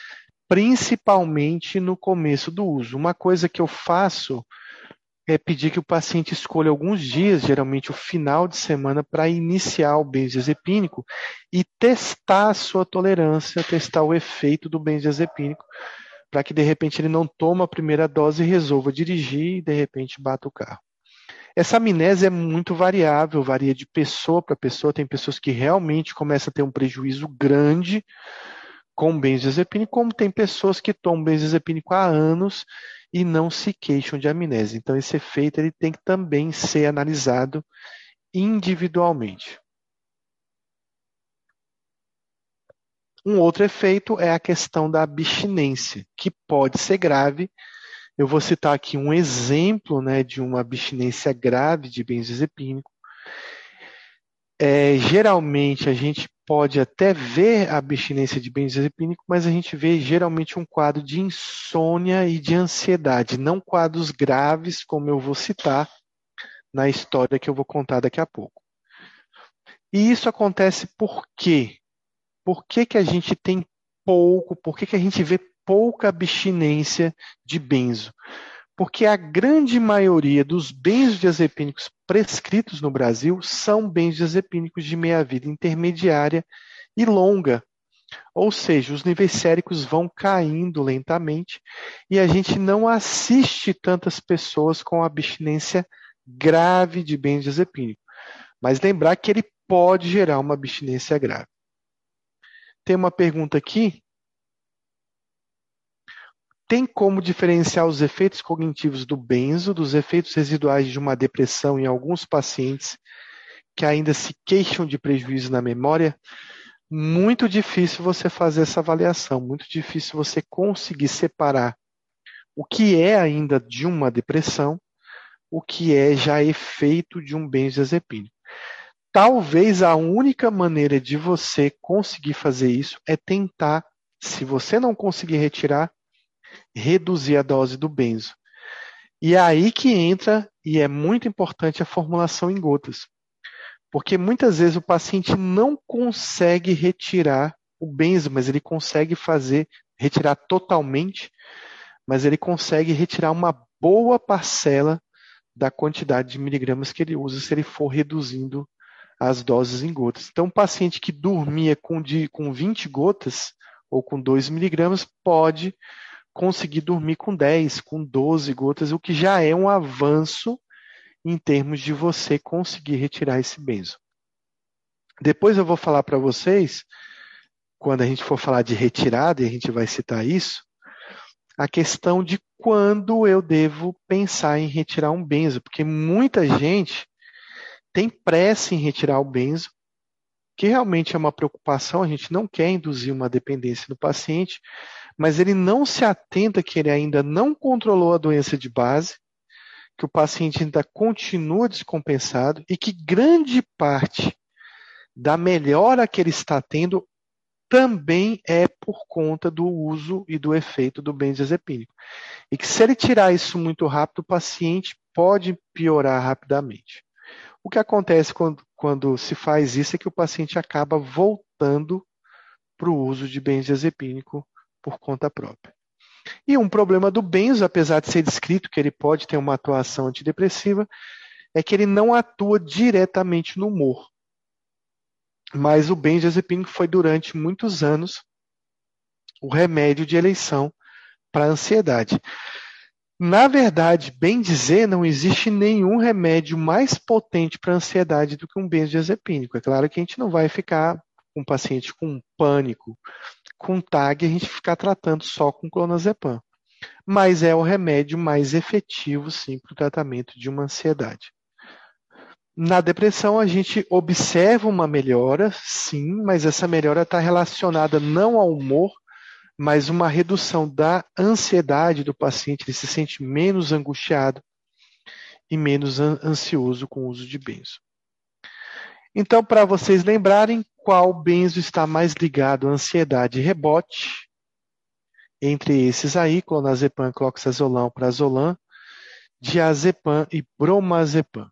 Speaker 1: principalmente no começo do uso. Uma coisa que eu faço é pedir que o paciente escolha alguns dias, geralmente o final de semana, para iniciar o benzodiazepínico e testar a sua tolerância, testar o efeito do benzodiazepínico, para que de repente ele não tome a primeira dose e resolva dirigir e de repente bata o carro. Essa amnésia é muito variável, varia de pessoa para pessoa. Tem pessoas que realmente começam a ter um prejuízo grande com benzodiazepínico, como tem pessoas que tomam benzodiazepínico há anos e não se queixam de amnésia. Então, esse efeito ele tem que também ser analisado individualmente. Um outro efeito é a questão da abstinência, que pode ser grave. Eu vou citar aqui um exemplo, né, de uma abstinência grave de benzodiazepínico. É, geralmente a gente pode até ver a abstinência de benzodiazepínico, mas a gente vê geralmente um quadro de insônia e de ansiedade, não quadros graves, como eu vou citar na história que eu vou contar daqui a pouco. E isso acontece por quê? Por que que a gente tem pouco, por que que a gente vê pouca abstinência de benzo? Porque a grande maioria dos benzodiazepínicos prescritos no Brasil são benzodiazepínicos de meia-vida intermediária e longa. Ou seja, os níveis séricos vão caindo lentamente e a gente não assiste tantas pessoas com abstinência grave de benzodiazepínico. Mas lembrar que ele pode gerar uma abstinência grave. Tem uma pergunta aqui. Tem como diferenciar os efeitos cognitivos do benzo dos efeitos residuais de uma depressão em alguns pacientes que ainda se queixam de prejuízo na memória? Muito difícil você fazer essa avaliação, muito difícil você conseguir separar o que é ainda de uma depressão, o que é já efeito de um benzodiazepínico. Talvez a única maneira de você conseguir fazer isso é tentar, se você não conseguir retirar, reduzir a dose do benzo. E é aí que entra, e é muito importante, a formulação em gotas. Porque muitas vezes o paciente não consegue retirar o benzo, mas ele consegue fazer, retirar totalmente, mas ele consegue retirar uma boa parcela da quantidade de miligramas que ele usa se ele for reduzindo as doses em gotas. Então, um paciente que dormia com, de, com vinte gotas ou com dois miligramas pode conseguir dormir com dez, com doze gotas, o que já é um avanço em termos de você conseguir retirar esse benzo. Depois eu vou falar para vocês, quando a gente for falar de retirada, e a gente vai citar isso, a questão de quando eu devo pensar em retirar um benzo, porque muita gente tem pressa em retirar o benzo, que realmente é uma preocupação, a gente não quer induzir uma dependência no paciente, mas ele não se atenta que ele ainda não controlou a doença de base, que o paciente ainda continua descompensado e que grande parte da melhora que ele está tendo também é por conta do uso e do efeito do benzodiazepínico. E que se ele tirar isso muito rápido, o paciente pode piorar rapidamente. O que acontece quando, quando se faz isso é que o paciente acaba voltando para o uso de benzodiazepínico por conta própria. E um problema do benzo, apesar de ser descrito que ele pode ter uma atuação antidepressiva, é que ele não atua diretamente no humor. Mas o benzodiazepínico foi durante muitos anos o remédio de eleição para a ansiedade. Na verdade, bem dizer, não existe nenhum remédio mais potente para a ansiedade do que um benzodiazepínico. É claro que a gente não vai ficar com um paciente com pânico, com T A G, a gente ficar tratando só com clonazepam. Mas é o remédio mais efetivo, sim, para o tratamento de uma ansiedade. Na depressão, a gente observa uma melhora, sim, mas essa melhora está relacionada não ao humor, mas uma redução da ansiedade do paciente, ele se sente menos angustiado e menos ansioso com o uso de benzo. Então, para vocês lembrarem, qual benzo está mais ligado à ansiedade e rebote? Entre esses aí, clonazepam, cloxazolão, prazolam, diazepam e bromazepam.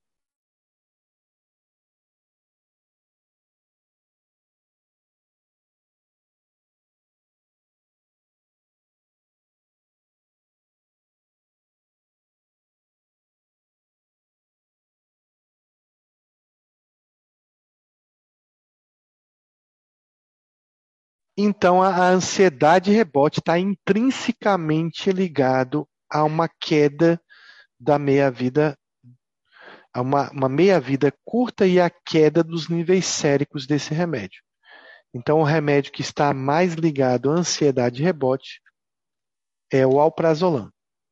Speaker 1: Então, a ansiedade rebote está intrinsecamente ligado a uma queda da meia-vida, a uma, uma meia-vida curta e a queda dos níveis séricos desse remédio. Então, o remédio que está mais ligado à ansiedade rebote é o alprazolam.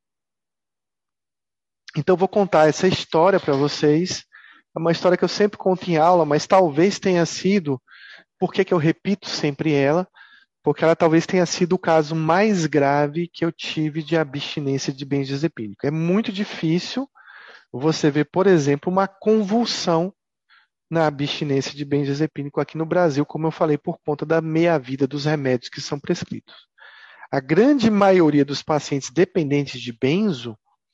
Speaker 1: Então, vou contar essa história para vocês. É uma história que eu sempre conto em aula, mas talvez tenha sido, por que que eu repito sempre ela? Porque ela talvez tenha sido o caso mais grave que eu tive de abstinência de benzodiazepínico. É muito difícil você ver, por exemplo, uma convulsão na abstinência de benzodiazepínico aqui no Brasil, como eu falei, por conta da meia-vida dos remédios que são prescritos. A grande maioria dos pacientes dependentes de benzo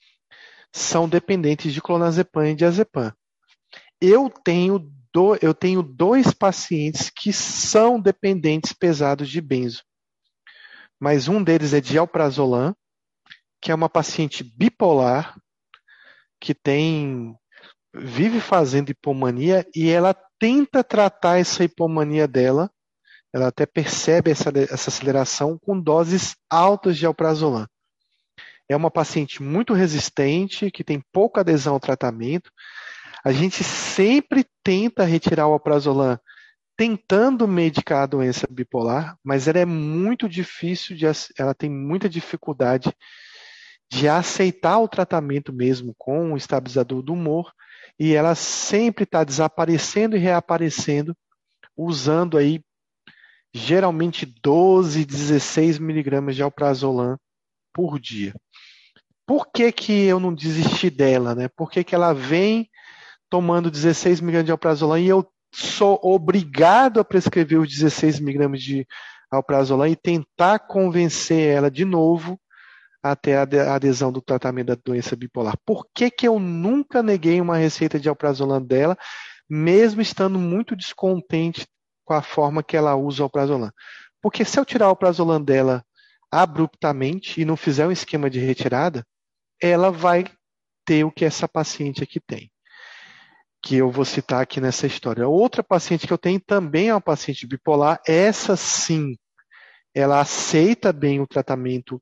Speaker 1: são dependentes de clonazepam e diazepam. Eu tenho, do, eu tenho dois pacientes que são dependentes pesados de benzo, mas um deles é de alprazolam, que é uma paciente bipolar, que tem vive fazendo hipomania e ela tenta tratar essa hipomania dela, ela até percebe essa, essa aceleração com doses altas de alprazolam. É uma paciente muito resistente, que tem pouca adesão ao tratamento. A gente sempre tenta retirar o alprazolam tentando medicar a doença bipolar, mas ela é muito difícil, de, ela tem muita dificuldade de aceitar o tratamento mesmo com o estabilizador do humor, e ela sempre está desaparecendo e reaparecendo, usando aí geralmente doze, dezesseis miligramas de alprazolam por dia. Por que que eu não desisti dela, né? Por que que ela vem tomando dezesseis miligramas de alprazolam e eu sou obrigado a prescrever os dezesseis miligramas de alprazolam e tentar convencer ela de novo até a adesão do tratamento da doença bipolar? Por que que eu nunca neguei uma receita de alprazolam dela, mesmo estando muito descontente com a forma que ela usa o alprazolam? Porque se eu tirar o alprazolam dela abruptamente e não fizer um esquema de retirada, ela vai ter o que essa paciente aqui tem, que eu vou citar aqui nessa história. Outra paciente que eu tenho também é uma paciente bipolar. Essa sim, ela aceita bem o tratamento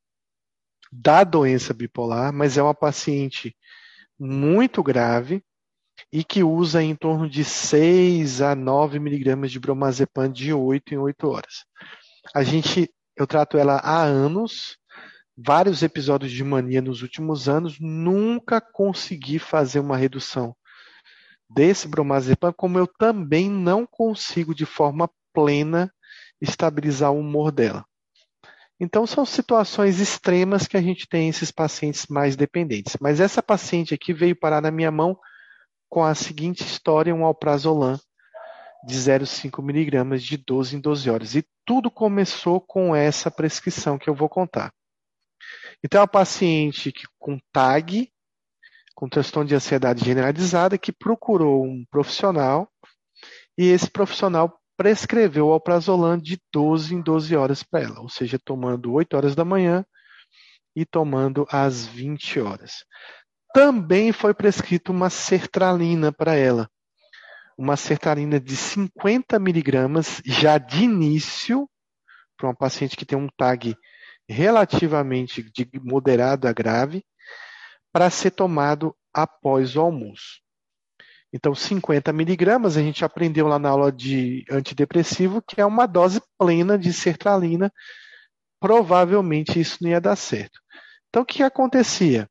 Speaker 1: da doença bipolar, mas é uma paciente muito grave e que usa em torno de seis a nove miligramas de bromazepam de oito em oito horas. A gente, eu trato ela há anos, vários episódios de mania nos últimos anos, nunca consegui fazer uma redução desse bromazepam, como eu também não consigo de forma plena estabilizar o humor dela. Então, são situações extremas que a gente tem esses pacientes mais dependentes. Mas essa paciente aqui veio parar na minha mão com a seguinte história, um alprazolam de zero vírgula cinco miligramas de doze em doze horas. E tudo começou com essa prescrição que eu vou contar. Então, é uma paciente que, com T A G, com transtorno de ansiedade generalizada, que procurou um profissional e esse profissional prescreveu o alprazolam de doze em doze horas para ela, ou seja, tomando oito horas da manhã e tomando às vinte horas. Também foi prescrito uma sertralina para ela, uma sertralina de cinquenta miligramas, já de início, para uma paciente que tem um T A G relativamente de moderado a grave, para ser tomado após o almoço. Então, cinquenta miligramas, a gente aprendeu lá na aula de antidepressivo, que é uma dose plena de sertralina. Provavelmente isso não ia dar certo. Então, o que acontecia?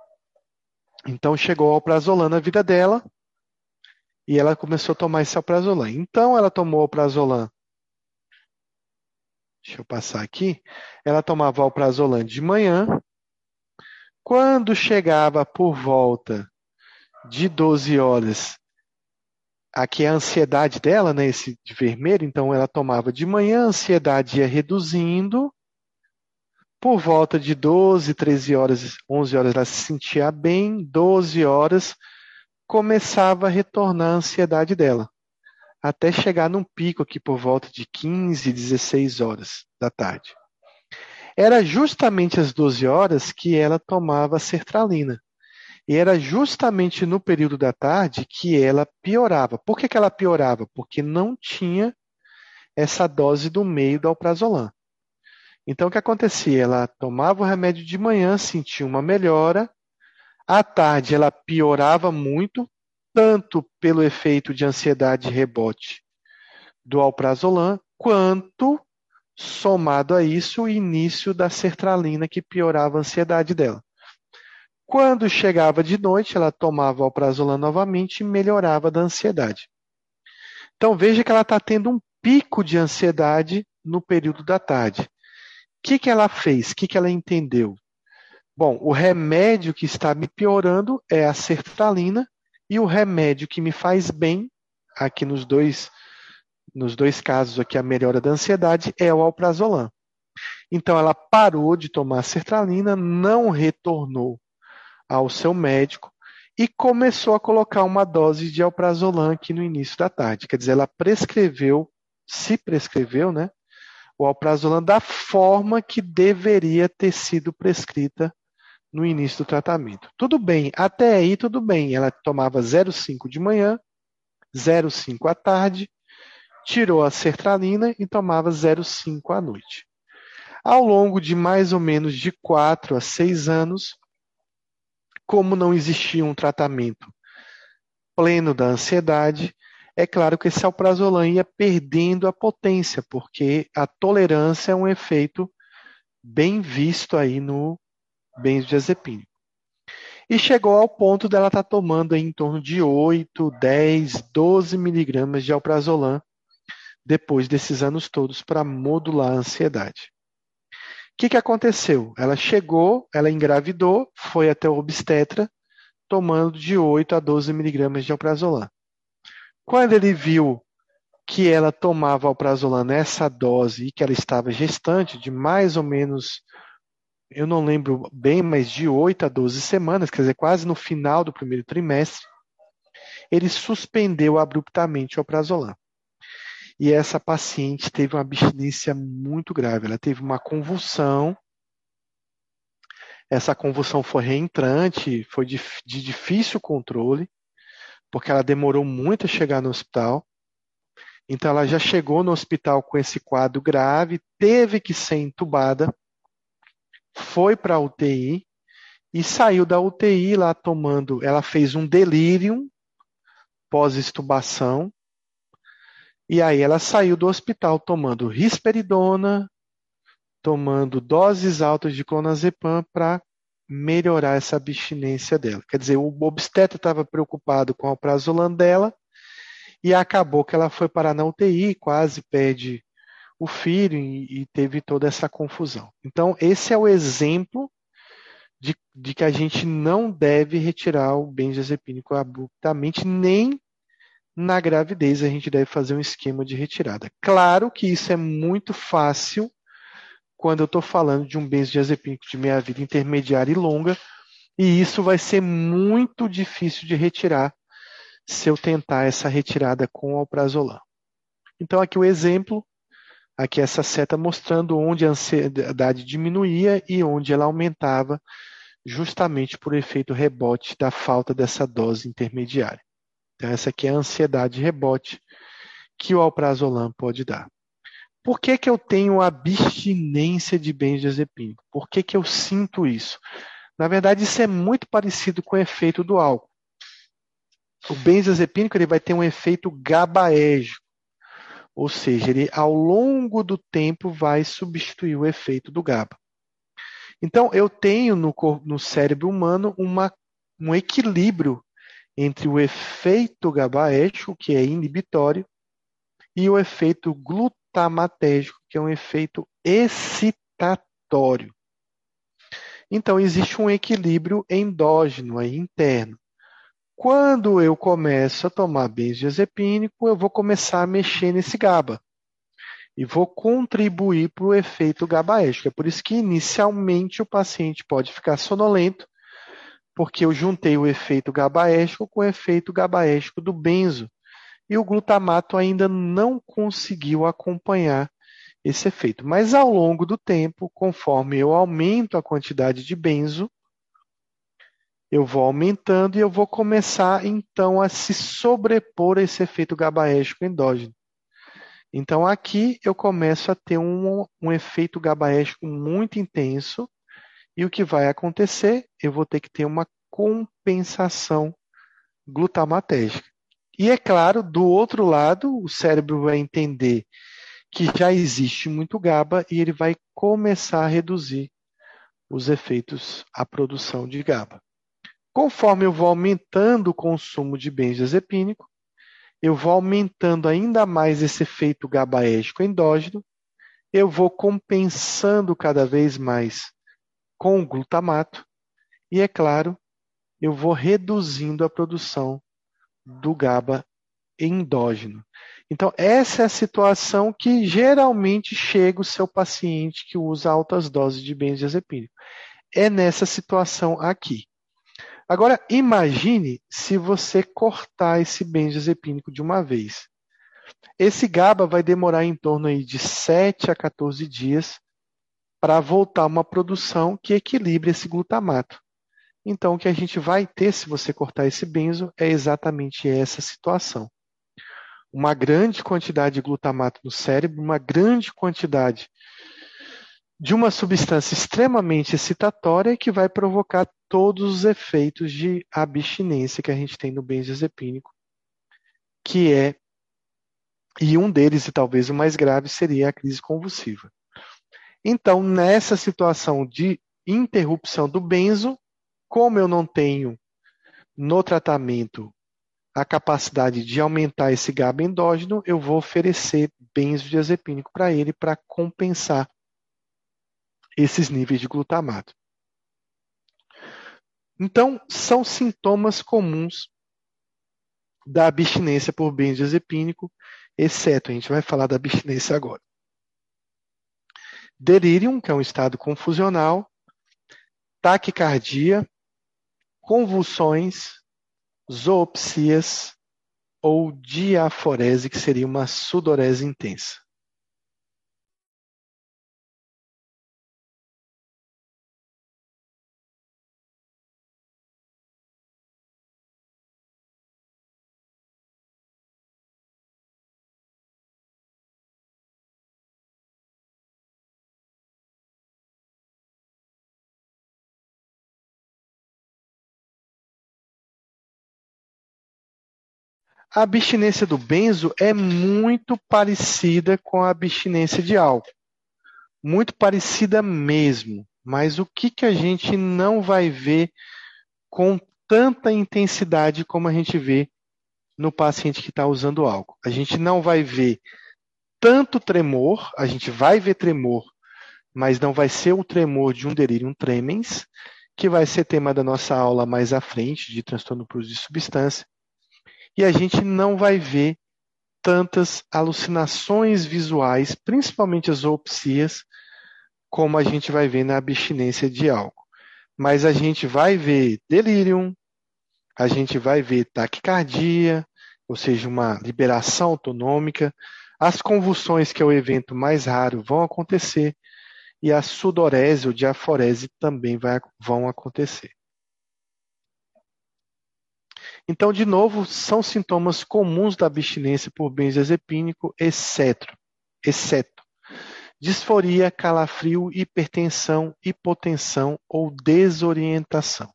Speaker 1: Então, chegou o alprazolam na vida dela e ela começou a tomar esse alprazolam. Então, ela tomou o alprazolam. Deixa eu passar aqui. Ela tomava o alprazolam de manhã. Quando chegava por volta de doze horas, aqui é a ansiedade dela, né, esse de vermelho, então ela tomava de manhã, a ansiedade ia reduzindo, por volta de doze, treze horas, onze horas ela se sentia bem, doze horas começava a retornar a ansiedade dela, até chegar num pico aqui por volta de quinze, dezesseis horas da tarde. Era justamente às doze horas que ela tomava a sertralina. E era justamente no período da tarde que ela piorava. Por que que ela piorava? Porque não tinha essa dose do meio do alprazolam. Então, o que acontecia? Ela tomava o remédio de manhã, sentia uma melhora. À tarde, ela piorava muito, tanto pelo efeito de ansiedade e rebote do alprazolam, quanto, somado a isso, o início da sertralina, que piorava a ansiedade dela. Quando chegava de noite, ela tomava o alprazolam novamente e melhorava da ansiedade. Então, veja que ela está tendo um pico de ansiedade no período da tarde. O que que ela fez? O que que ela entendeu? Bom, o remédio que está me piorando é a sertralina e o remédio que me faz bem, aqui nos dois, nos dois casos aqui a melhora da ansiedade, é o alprazolam. Então, ela parou de tomar a sertralina, não retornou ao seu médico e começou a colocar uma dose de alprazolam aqui no início da tarde. Quer dizer, ela prescreveu, se prescreveu, né, o alprazolam da forma que deveria ter sido prescrita no início do tratamento. Tudo bem, até aí tudo bem. Ela tomava zero vírgula cinco de manhã, zero vírgula cinco à tarde, tirou a sertralina e tomava zero vírgula cinco à noite. Ao longo de mais ou menos de quatro a seis anos, como não existia um tratamento pleno da ansiedade, é claro que esse alprazolam ia perdendo a potência, porque a tolerância é um efeito bem visto aí no benzodiazepínico. E chegou ao ponto dela estar tomando aí em torno de oito, dez, doze miligramas de alprazolam depois desses anos todos para modular a ansiedade. O que que aconteceu? Ela chegou, ela engravidou, foi até o obstetra, tomando de oito a doze miligramas de alprazolam. Quando ele viu que ela tomava alprazolam nessa dose e que ela estava gestante de mais ou menos, eu não lembro bem, mas de oito a doze semanas, quer dizer, quase no final do primeiro trimestre, ele suspendeu abruptamente o alprazolam. E essa paciente teve uma abstinência muito grave. Ela teve uma convulsão. Essa convulsão foi reentrante, foi de, de difícil controle, porque ela demorou muito a chegar no hospital. Então, ela já chegou no hospital com esse quadro grave, teve que ser entubada, foi para a U T I e saiu da U T I lá tomando. Ela fez um delírio pós-extubação. E aí ela saiu do hospital tomando risperidona, tomando doses altas de clonazepam para melhorar essa abstinência dela. Quer dizer, o obstetra estava preocupado com o alprazolam dela e acabou que ela foi parar na U T I, quase perde o filho e, e teve toda essa confusão. Então, esse é o exemplo de, de que a gente não deve retirar o benzodiazepínico abruptamente, nem na gravidez a gente deve fazer um esquema de retirada. Claro que isso é muito fácil quando eu estou falando de um benzodiazepínico de meia vida intermediária e longa, e isso vai ser muito difícil de retirar se eu tentar essa retirada com alprazolam. Então, aqui o exemplo, aqui essa seta mostrando onde a ansiedade diminuía e onde ela aumentava, justamente por efeito rebote da falta dessa dose intermediária. Então, essa aqui é a ansiedade rebote que o alprazolam pode dar. Por que que eu tenho abstinência de benzodiazepínico? Por que que eu sinto isso? Na verdade, isso é muito parecido com o efeito do álcool. O benzodiazepínico ele vai ter um efeito GABAérgico, ou seja, ele ao longo do tempo vai substituir o efeito do GABA. Então, eu tenho no, no cérebro humano uma, um equilíbrio entre o efeito GABAérgico, que é inibitório, e o efeito glutamatérgico, que é um efeito excitatório. Então, existe um equilíbrio endógeno, aí, interno. Quando eu começo a tomar benzodiazepínico, eu vou começar a mexer nesse GABA e vou contribuir para o efeito GABAérgico. É por isso que, inicialmente, o paciente pode ficar sonolento, porque eu juntei o efeito GABAérgico com o efeito GABAérgico do benzo, e o glutamato ainda não conseguiu acompanhar esse efeito. Mas, ao longo do tempo, conforme eu aumento a quantidade de benzo, eu vou aumentando e eu vou começar, então, a se sobrepor a esse efeito GABAérgico endógeno. Então, aqui eu começo a ter um, um efeito GABAérgico muito intenso e o que vai acontecer? Eu vou ter que ter uma compensação glutamatérgica. E, é claro, do outro lado, o cérebro vai entender que já existe muito GABA e ele vai começar a reduzir os efeitos, a produção de GABA. Conforme eu vou aumentando o consumo de benzodiazepínico, eu vou aumentando ainda mais esse efeito GABAérgico endógeno, eu vou compensando cada vez mais com o glutamato e, é claro, eu vou reduzindo a produção do GABA endógeno. Então, essa é a situação que geralmente chega o seu paciente que usa altas doses de benzodiazepínico. É nessa situação aqui. Agora, imagine se você cortar esse benzodiazepínico de uma vez. Esse GABA vai demorar em torno aí de sete a quatorze dias para voltar a uma produção que equilibre esse glutamato. Então, o que a gente vai ter se você cortar esse benzo é exatamente essa situação. Uma grande quantidade de glutamato no cérebro, uma grande quantidade de uma substância extremamente excitatória que vai provocar todos os efeitos de abstinência que a gente tem no benzodiazepínico, que é, e um deles, e talvez o mais grave, seria a crise convulsiva. Então, nessa situação de interrupção do benzo, como eu não tenho no tratamento a capacidade de aumentar esse GABA endógeno, eu vou oferecer benzodiazepínico para ele para compensar esses níveis de glutamato. Então, são sintomas comuns da abstinência por benzodiazepínico, exceto, a gente vai falar da abstinência agora. Delírio, que é um estado confusional, taquicardia, convulsões, zoopsias ou diaforese, que seria uma sudorese intensa. A abstinência do benzo é muito parecida com a abstinência de álcool. Muito parecida mesmo. Mas o que, que a gente não vai ver com tanta intensidade como a gente vê no paciente que está usando álcool? A gente não vai ver tanto tremor, a gente vai ver tremor, mas não vai ser o tremor de um delirium tremens, que vai ser tema da nossa aula mais à frente, de transtorno por uso de substância, e a gente não vai ver tantas alucinações visuais, principalmente as zoopsias, como a gente vai ver na abstinência de álcool. Mas a gente vai ver delírio, a gente vai ver taquicardia, ou seja, uma liberação autonômica, as convulsões, que é o evento mais raro, vão acontecer, e a sudorese ou diaforese também vai, vão acontecer. Então, de novo, são sintomas comuns da abstinência por benzodiazepínico, exceto, exceto disforia, calafrio, hipertensão, hipotensão ou desorientação.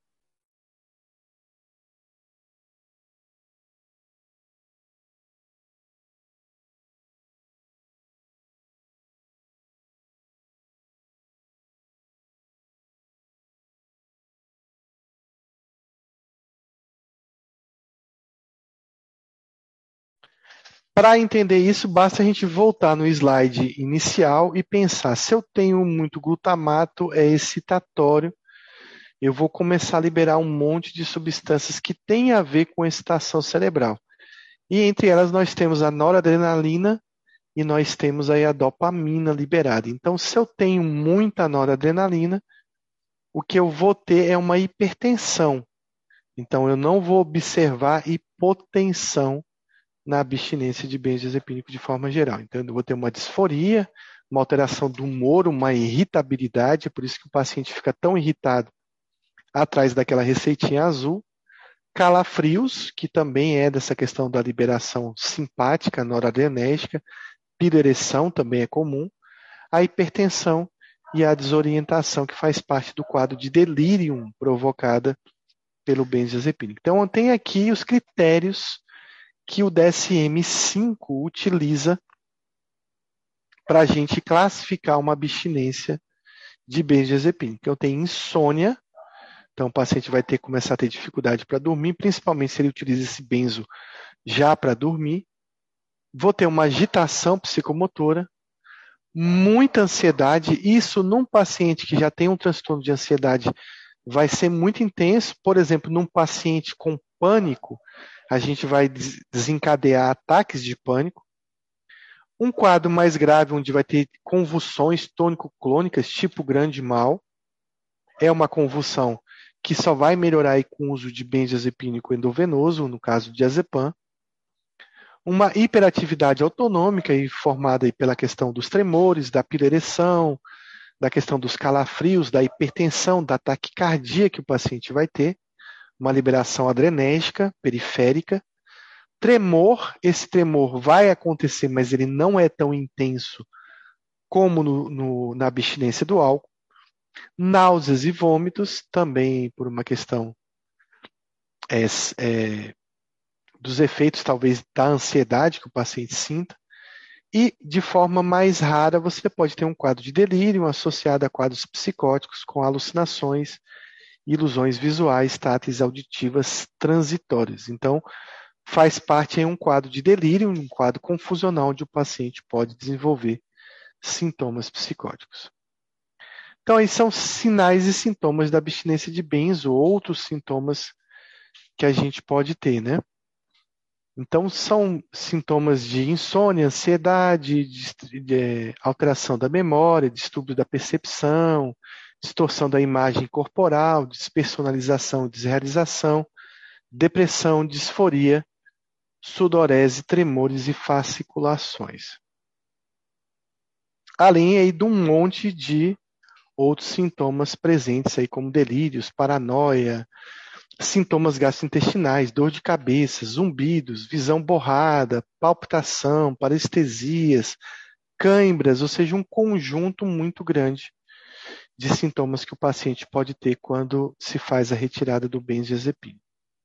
Speaker 1: Para entender isso, basta a gente voltar no slide inicial e pensar, se eu tenho muito glutamato, é excitatório, eu vou começar a liberar um monte de substâncias que têm a ver com excitação cerebral. E entre elas nós temos a noradrenalina e nós temos aí a dopamina liberada. Então, se eu tenho muita noradrenalina, o que eu vou ter é uma hipertensão. Então, eu não vou observar hipotensão na abstinência de benzodiazepínico de forma geral. Então, eu vou ter uma disforia, uma alteração do humor, uma irritabilidade, é por isso que o paciente fica tão irritado atrás daquela receitinha azul. Calafrios, que também é dessa questão da liberação simpática, noradrenérgica. Pirereção também é comum. A hipertensão e a desorientação, que faz parte do quadro de delírio provocada pelo benzodiazepínico. Então, tem aqui os critérios que o D S M cinco utiliza para a gente classificar uma abstinência de benzodiazepínico. Eu tenho insônia, então o paciente vai ter que começar a ter dificuldade para dormir, principalmente se ele utiliza esse benzo já para dormir. Vou ter uma agitação psicomotora, muita ansiedade. Isso num paciente que já tem um transtorno de ansiedade vai ser muito intenso. Por exemplo, num paciente com pânico, a gente vai desencadear ataques de pânico. Um quadro mais grave, onde vai ter convulsões tônico-clônicas, tipo grande mal. É uma convulsão que só vai melhorar aí com o uso de benzodiazepínico endovenoso, no caso de diazepam. Uma hiperatividade autonômica, aí, formada aí pela questão dos tremores, da pirereção, da questão dos calafrios, da hipertensão, da taquicardia que o paciente vai ter. Uma liberação adrenérgica, periférica. Tremor, esse tremor vai acontecer, mas ele não é tão intenso como no, no, na abstinência do álcool. Náuseas e vômitos, também por uma questão é, é, dos efeitos, talvez, da ansiedade que o paciente sinta. E, de forma mais rara, você pode ter um quadro de delírio associado a quadros psicóticos com alucinações, ilusões visuais, táteis, auditivas, transitórias. Então, faz parte de um quadro de delírio, um quadro confusional, onde o paciente pode desenvolver sintomas psicóticos. Então, aí são sinais e sintomas da abstinência de benzo, outros sintomas que a gente pode ter, né? Então, são sintomas de insônia, ansiedade, de, de alteração da memória, distúrbio da percepção, distorção da imagem corporal, despersonalização, desrealização, depressão, disforia, sudorese, tremores e fasciculações. Além aí de um monte de outros sintomas presentes aí, como delírios, paranoia, sintomas gastrointestinais, dor de cabeça, zumbidos, visão borrada, palpitação, parestesias, cãibras, ou seja, um conjunto muito grande de sintomas que o paciente pode ter quando se faz a retirada do benzodiazepínico.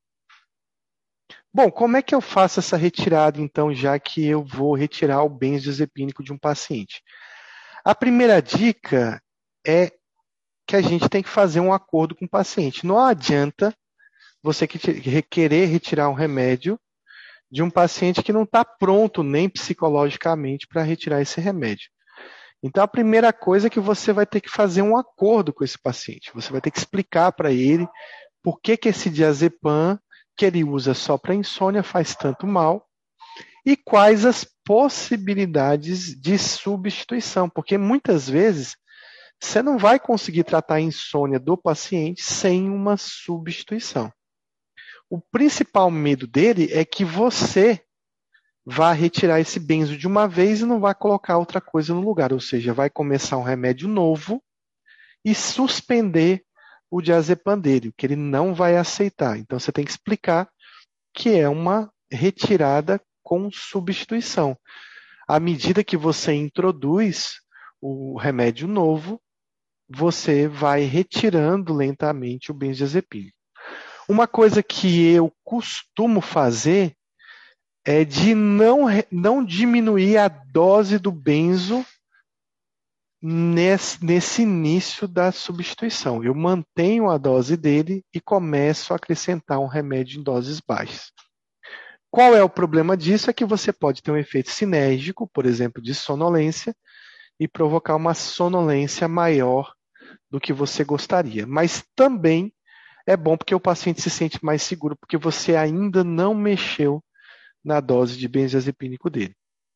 Speaker 1: Bom, como é que eu faço essa retirada, então, já que eu vou retirar o benzodiazepínico de um paciente? A primeira dica é que a gente tem que fazer um acordo com o paciente. Não adianta você querer retirar um remédio de um paciente que não está pronto nem psicologicamente para retirar esse remédio. Então, a primeira coisa é que você vai ter que fazer um acordo com esse paciente. Você vai ter que explicar para ele por que, que esse diazepam que ele usa só para insônia faz tanto mal e quais as possibilidades de substituição, porque muitas vezes você não vai conseguir tratar a insônia do paciente sem uma substituição. O principal medo dele é que você vá retirar esse benzo de uma vez e não vai colocar outra coisa no lugar, ou seja, vai começar um remédio novo e suspender o diazepam dele, que ele não vai aceitar. Então você tem que explicar que é uma retirada com substituição. À medida que você introduz o remédio novo, você vai retirando lentamente o benzodiazepínico. Uma coisa que eu costumo fazer é de não, não diminuir a dose do benzo nesse, nesse início da substituição. Eu mantenho a dose dele e começo a acrescentar um remédio em doses baixas. Qual é o problema disso? É que você pode ter um efeito sinérgico, por exemplo, de sonolência, e provocar uma sonolência maior do que você gostaria. Mas também é bom porque o paciente se sente mais seguro, porque você ainda não mexeu na dose de benzodiazepínico dele.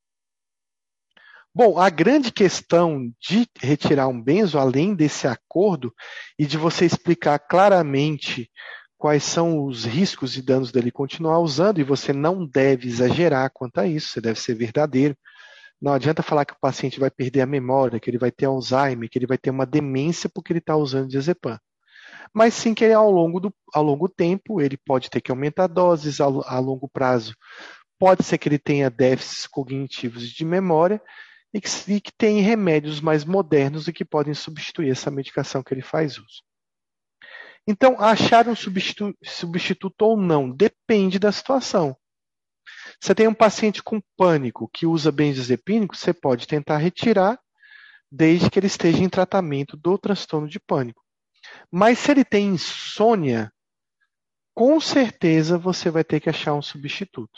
Speaker 1: Bom, a grande questão de retirar um benzo, além desse acordo e de você explicar claramente quais são os riscos e danos dele continuar usando, e você não deve exagerar quanto a isso, você deve ser verdadeiro. Não adianta falar que o paciente vai perder a memória, que ele vai ter Alzheimer, que ele vai ter uma demência porque ele está usando diazepam. Mas sim que ele, ao longo do ao longo tempo, ele pode ter que aumentar doses a, a longo prazo. Pode ser que ele tenha déficits cognitivos de memória e que, e que tem remédios mais modernos e que podem substituir essa medicação que ele faz uso. Então, achar um substitu- substituto ou não depende da situação. Você tem um paciente com pânico que usa benzodiazepínico, você pode tentar retirar desde que ele esteja em tratamento do transtorno de pânico. Mas se ele tem insônia, com certeza você vai ter que achar um substituto.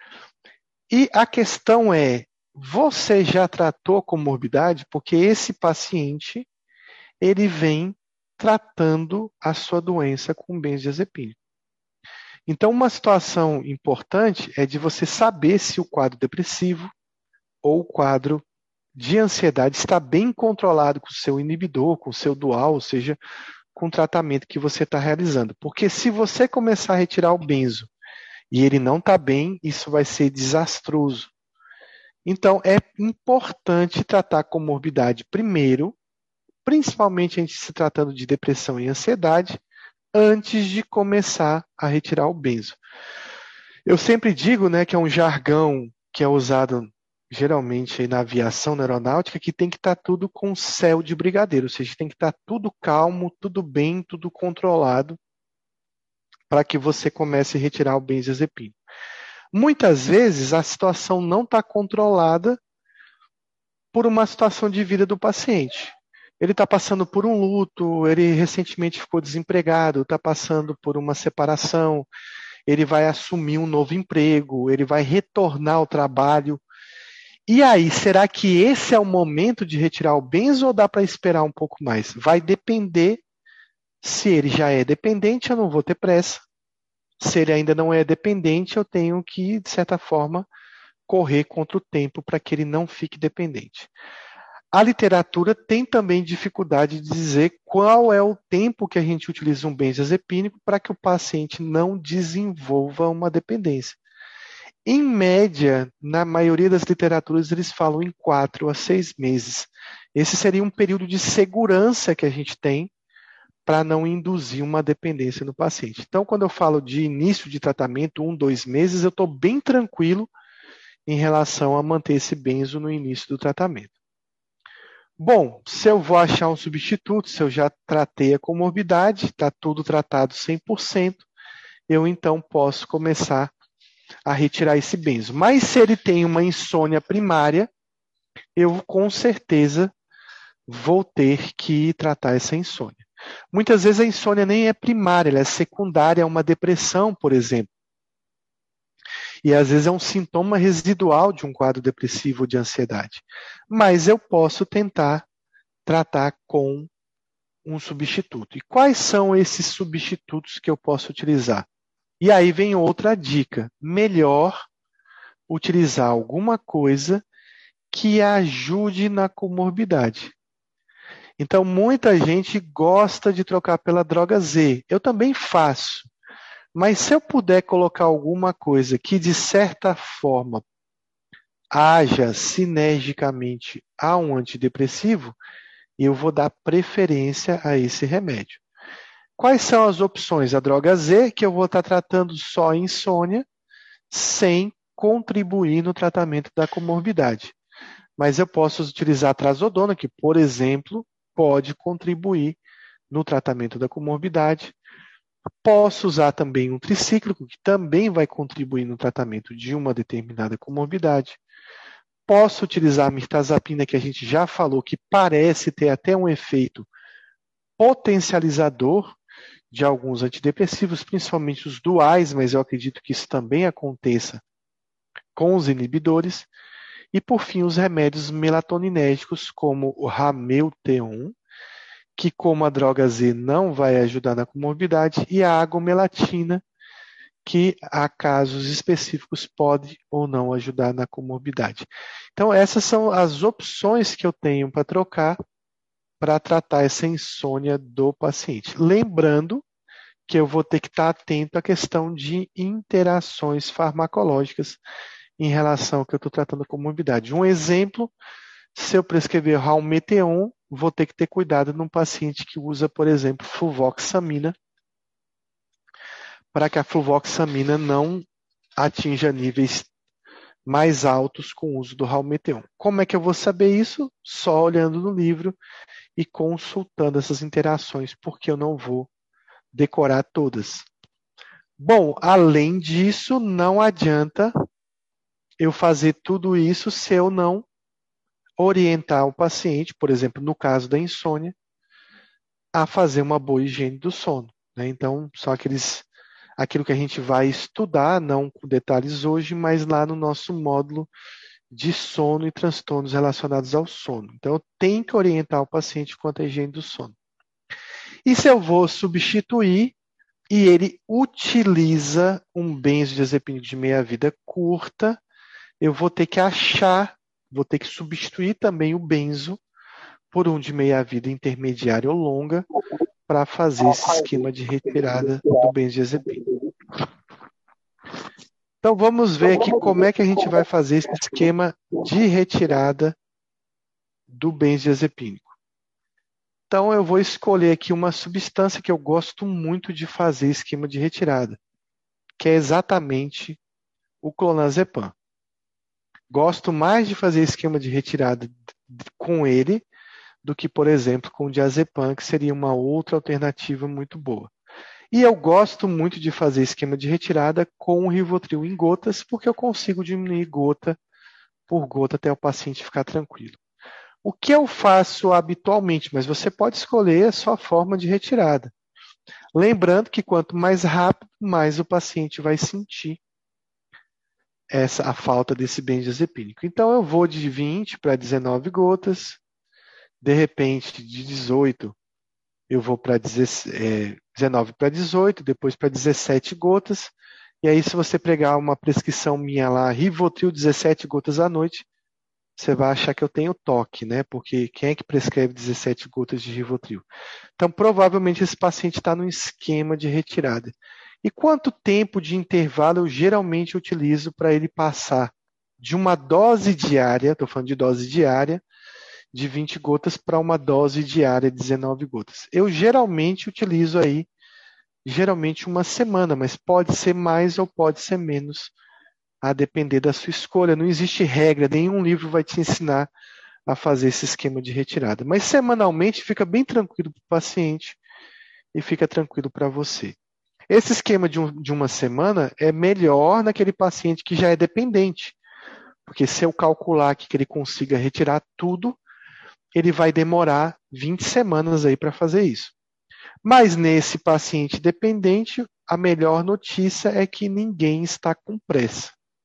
Speaker 1: E a questão é, você já tratou a comorbidade? Porque esse paciente, ele vem tratando a sua doença com benzodiazepínico. Então, uma situação importante é de você saber se o quadro depressivo ou o quadro de ansiedade está bem controlado com o seu inibidor, com o seu dual, ou seja, com o tratamento que você está realizando. Porque se você começar a retirar o benzo e ele não está bem, isso vai ser desastroso. Então, é importante tratar a comorbidade primeiro, principalmente a gente se tratando de depressão e ansiedade, antes de começar a retirar o benzo. Eu sempre digo, né, que é um jargão que é usado geralmente aí na aviação, na aeronáutica, que tem que estar tudo com céu de brigadeiro, ou seja, tem que estar tudo calmo, tudo bem, tudo controlado, para que você comece a retirar o benzodiazepínico. Muitas vezes a situação não está controlada por uma situação de vida do paciente. Ele está passando por um luto, ele recentemente ficou desempregado, está passando por uma separação, ele vai assumir um novo emprego, ele vai retornar ao trabalho. E aí, será que esse é o momento de retirar o benzo ou dá para esperar um pouco mais? Vai depender. Se ele já é dependente, eu não vou ter pressa. Se ele ainda não é dependente, eu tenho que, de certa forma, correr contra o tempo para que ele não fique dependente. A literatura tem também dificuldade de dizer qual é o tempo que a gente utiliza um benzodiazepínico para que o paciente não desenvolva uma dependência. Em média, na maioria das literaturas, eles falam em quatro a seis meses. Esse seria um período de segurança que a gente tem para não induzir uma dependência no paciente. Então, quando eu falo de início de tratamento, um, dois meses, eu estou bem tranquilo em relação a manter esse benzo no início do tratamento. Bom, se eu vou achar um substituto, se eu já tratei a comorbidade, está tudo tratado cem por cento, eu então posso começar a retirar esse benzo. Mas se ele tem uma insônia primária, eu com certeza vou ter que tratar essa insônia. Muitas vezes a insônia nem é primária, ela é secundária a uma depressão, por exemplo. E às vezes é um sintoma residual de um quadro depressivo ou de ansiedade. Mas eu posso tentar tratar com um substituto. E quais são esses substitutos que eu posso utilizar? E aí vem outra dica. Melhor utilizar alguma coisa que ajude na comorbidade. Então, muita gente gosta de trocar pela droga Z. Eu também faço. Mas se eu puder colocar alguma coisa que, de certa forma, haja sinergicamente a um antidepressivo, eu vou dar preferência a esse remédio. Quais são as opções? A droga Z, que eu vou estar tratando só a insônia, sem contribuir no tratamento da comorbidade. Mas eu posso utilizar a trazodona, que, por exemplo, pode contribuir no tratamento da comorbidade. Posso usar também um tricíclico, que também vai contribuir no tratamento de uma determinada comorbidade. Posso utilizar a mirtazapina, que a gente já falou, que parece ter até um efeito potencializador de alguns antidepressivos, principalmente os duais, mas eu acredito que isso também aconteça com os inibidores. E, por fim, os remédios melatoninérgicos, como o Ramelteon, que, como a droga Z, não vai ajudar na comorbidade, e a agomelatina, que, há casos específicos, pode ou não ajudar na comorbidade. Então, essas são as opções que eu tenho para trocar para tratar essa insônia do paciente. Lembrando que eu vou ter que estar atento à questão de interações farmacológicas em relação ao que eu estou tratando com comorbidade. Um exemplo, se eu prescrever Ramelteon, vou ter que ter cuidado num paciente que usa, por exemplo, fluvoxamina, para que a fluvoxamina não atinja níveis mais altos com o uso do Ramelteon. Como é que eu vou saber isso? Só olhando no livro e consultando essas interações, porque eu não vou decorar todas. Bom, além disso, não adianta eu fazer tudo isso se eu não orientar o paciente, por exemplo, no caso da insônia, a fazer uma boa higiene do sono, né? Então, são aqueles, aquilo que a gente vai estudar, não com detalhes hoje, mas lá no nosso módulo de sono e transtornos relacionados ao sono. Então, eu tenho que orientar o paciente quanto à higiene do sono. E se eu vou substituir e ele utiliza um benzodiazepínico de meia-vida curta, eu vou ter que achar, vou ter que substituir também o benzo por um de meia-vida intermediária ou longa para fazer esse esquema de retirada do benzodiazepínico. Então vamos ver aqui como é que a gente vai fazer esse esquema de retirada do benzodiazepínico. Então eu vou escolher aqui uma substância que eu gosto muito de fazer esquema de retirada, que é exatamente o clonazepam. Gosto mais de fazer esquema de retirada com ele do que, por exemplo, com o diazepam, que seria uma outra alternativa muito boa. E eu gosto muito de fazer esquema de retirada com o Rivotril em gotas, porque eu consigo diminuir gota por gota até o paciente ficar tranquilo. O que eu faço habitualmente, mas você pode escolher a sua forma de retirada. Lembrando que quanto mais rápido, mais o paciente vai sentir essa, a falta desse benzodiazepínico. Então eu vou de vinte para dezenove gotas, de repente de dezoito eu vou para dezenove para dezoito, depois para dezessete gotas, e aí se você pegar uma prescrição minha lá, Rivotril dezessete gotas à noite, você vai achar que eu tenho toque, né? Porque quem é que prescreve dezessete gotas de Rivotril? Então, provavelmente esse paciente está num esquema de retirada. E quanto tempo de intervalo eu geralmente utilizo para ele passar de uma dose diária, estou falando de dose diária, de vinte gotas para uma dose diária de dezenove gotas? Eu geralmente utilizo aí, geralmente uma semana, mas pode ser mais ou pode ser menos, a depender da sua escolha. Não existe regra, nenhum livro vai te ensinar a fazer esse esquema de retirada. Mas semanalmente fica bem tranquilo para o paciente e fica tranquilo para você. Esse esquema de, um, de uma semana é melhor naquele paciente que já é dependente, porque se eu calcular que ele consiga retirar tudo, ele vai demorar vinte semanas aí para fazer isso. Mas nesse paciente dependente, a melhor notícia é que ninguém está com pressa.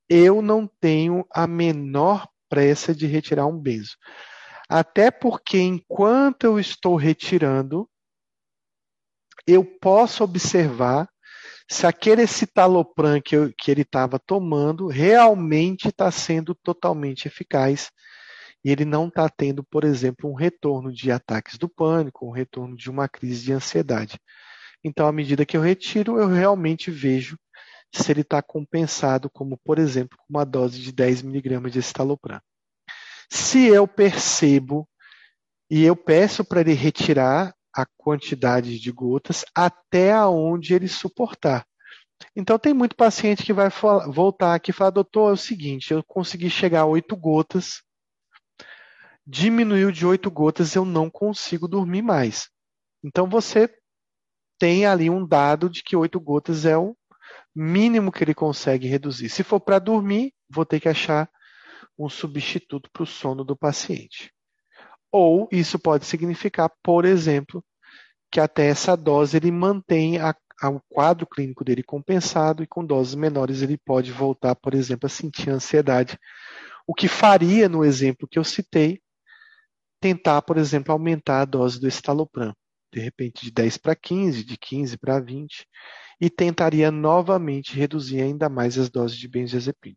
Speaker 1: eu não tenho a menor pressa de retirar um benzo. Até porque enquanto eu estou retirando, eu posso observar se aquele citalopram que, eu, que ele estava tomando realmente está sendo totalmente eficaz e ele não está tendo, por exemplo, um retorno de ataques do pânico, um retorno de uma crise de ansiedade. Então, à medida que eu retiro, eu realmente vejo se ele está compensado, como, por exemplo, com uma dose de dez miligramas de citalopram. Se eu percebo e eu peço para ele retirar a quantidade de gotas até aonde ele suportar. Então, tem muito paciente que vai voltar aqui e falar, doutor, é o seguinte, eu consegui chegar a oito gotas, diminuiu de oito gotas, eu não consigo dormir mais. Então, você tem ali um dado de que oito gotas é o mínimo que ele consegue reduzir. Se for para dormir, vou ter que achar um substituto para o sono do paciente. Ou isso pode significar, por exemplo, que até essa dose ele mantém a, a, o quadro clínico dele compensado e com doses menores ele pode voltar, por exemplo, a sentir ansiedade. O que faria, no exemplo que eu citei, tentar, por exemplo, aumentar a dose do estalopram, de repente de dez para quinze, de quinze para vinte, e tentaria novamente reduzir ainda mais as doses de benzodiazepina.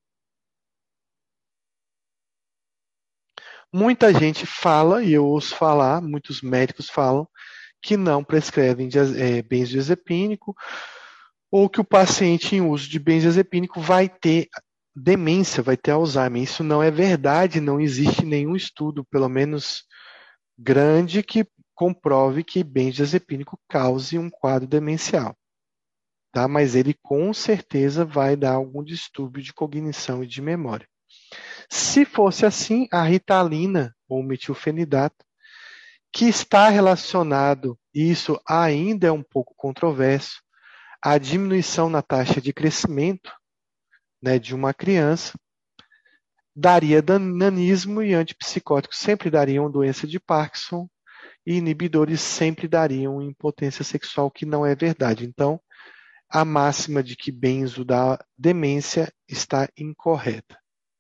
Speaker 1: Muita gente fala, e eu ouço falar, muitos médicos falam, que não prescrevem é, benzodiazepínico ou que o paciente em uso de benzodiazepínico vai ter demência, vai ter Alzheimer. Isso não é verdade, não existe nenhum estudo, pelo menos grande, que comprove que benzodiazepínico cause um quadro demencial. Tá? Mas ele com certeza vai dar algum distúrbio de cognição e de memória. Se fosse assim, a ritalina ou metilfenidato, que está relacionado, e isso ainda é um pouco controverso, à diminuição na taxa de crescimento, né, de uma criança, daria nanismo e antipsicóticos sempre dariam doença de Parkinson e inibidores sempre dariam impotência sexual, que não é verdade. Então, a máxima de que benzo dá demência está incorreta.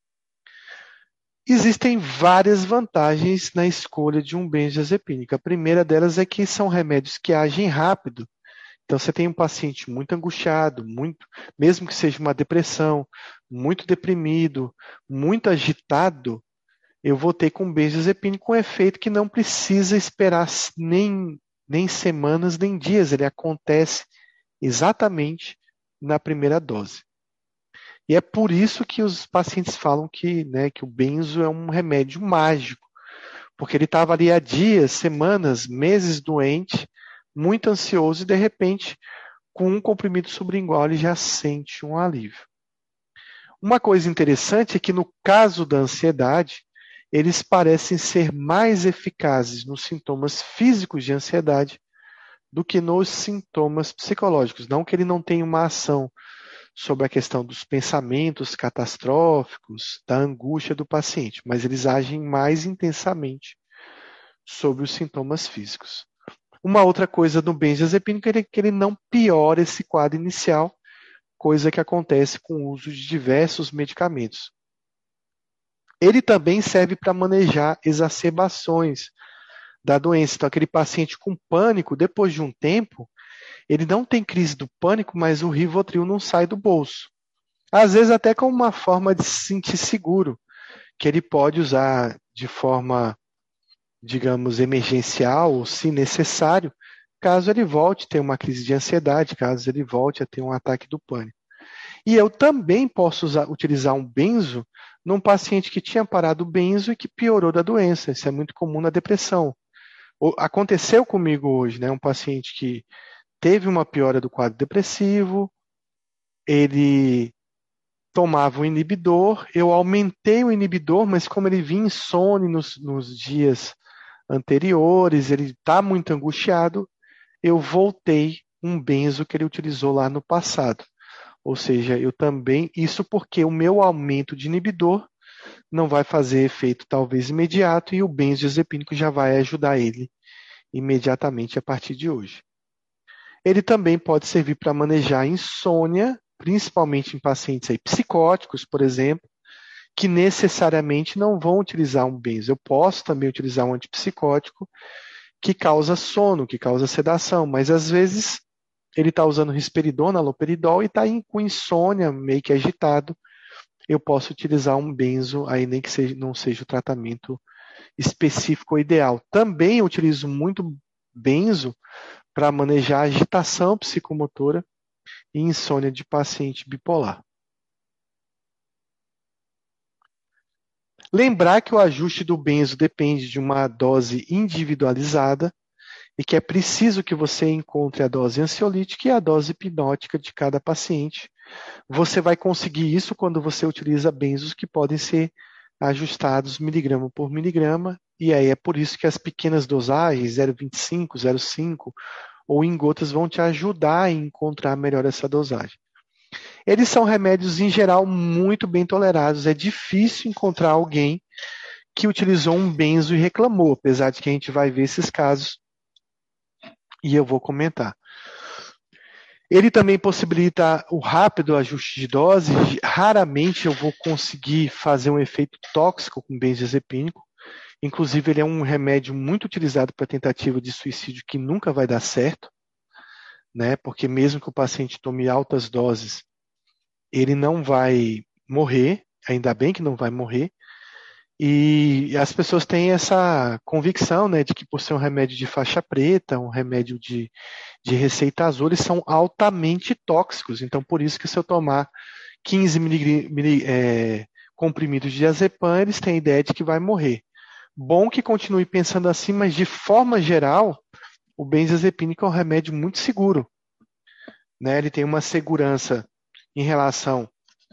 Speaker 1: Existem várias vantagens na escolha de um benzodiazepínico. A primeira delas é que são remédios que agem rápido. Então, você tem um paciente muito angustiado, muito, mesmo que seja uma depressão, muito deprimido, muito agitado, eu vou ter com benzodiazepínico com um efeito que não precisa esperar nem, nem semanas, nem dias. Ele acontece exatamente na primeira dose. E é por isso que os pacientes falam que, né, que o benzo é um remédio mágico, porque ele estava ali há dias, semanas, meses doente, muito ansioso e, de repente, com um comprimido sublingual, ele já sente um alívio. Uma coisa interessante é que, no caso da ansiedade, eles parecem ser mais eficazes nos sintomas físicos de ansiedade do que nos sintomas psicológicos. Não que ele não tenha uma ação sobre a questão dos pensamentos catastróficos, da angústia do paciente, mas eles agem mais intensamente sobre os sintomas físicos. Uma outra coisa do benzodiazepínico é que ele não piora esse quadro inicial, coisa que acontece com o uso de diversos medicamentos. Ele também serve para manejar exacerbações da doença. Então, aquele paciente com pânico, depois de um tempo, ele não tem crise do pânico, mas o Rivotril não sai do bolso. Às vezes até como uma forma de se sentir seguro, que ele pode usar de forma, digamos, emergencial ou se necessário, caso ele volte a ter uma crise de ansiedade, caso ele volte a ter um ataque do pânico. E eu também posso usar, utilizar um benzo num paciente que tinha parado o benzo e que piorou da doença. Isso é muito comum na depressão. Aconteceu comigo hoje, né? Um paciente que teve uma piora do quadro depressivo, ele tomava um inibidor, eu aumentei o inibidor, mas como ele vinha insone nos, nos dias anteriores, ele está muito angustiado, eu voltei um benzo que ele utilizou lá no passado. Ou seja, eu também, isso porque o meu aumento de inibidor não vai fazer efeito talvez imediato e o benzodiazepínico já vai ajudar ele imediatamente a partir de hoje. Ele também pode servir para manejar a insônia, principalmente em pacientes aí, psicóticos, por exemplo, que necessariamente não vão utilizar um benzo. Eu posso também utilizar um antipsicótico que causa sono, que causa sedação, mas às vezes ele está usando risperidona, haloperidol e está com insônia, meio que agitado. Eu posso utilizar um benzo, aí nem que seja, não seja o tratamento específico ou ideal. Também eu utilizo muito benzo para manejar agitação psicomotora e insônia de paciente bipolar. Lembrar que o ajuste do benzo depende de uma dose individualizada e que é preciso que você encontre a dose ansiolítica e a dose hipnótica de cada paciente. Você vai conseguir isso quando você utiliza benzos que podem ser ajustados miligrama por miligrama, e aí é por isso que as pequenas dosagens, zero vírgula vinte e cinco, zero vírgula cinco ou em gotas, vão te ajudar a encontrar melhor essa dosagem. Eles são remédios, em geral, muito bem tolerados. É difícil encontrar alguém que utilizou um benzo e reclamou, apesar de que a gente vai ver esses casos e eu vou comentar. Ele também possibilita o rápido ajuste de dose. Raramente eu vou conseguir fazer um efeito tóxico com benzodiazepínico. Inclusive, ele é um remédio muito utilizado para tentativa de suicídio que nunca vai dar certo, né? Porque mesmo que o paciente tome altas doses, ele não vai morrer, ainda bem que não vai morrer. E as pessoas têm essa convicção, né, de que por ser um remédio de faixa preta, um remédio de, de receita azul, eles são altamente tóxicos. Então, por isso que se eu tomar quinze mili, é, comprimidos de diazepam, eles têm a ideia de que vai morrer. Bom que continue pensando assim, mas de forma geral, o benzodiazepínico é um remédio muito seguro, né? Ele tem uma segurança em relação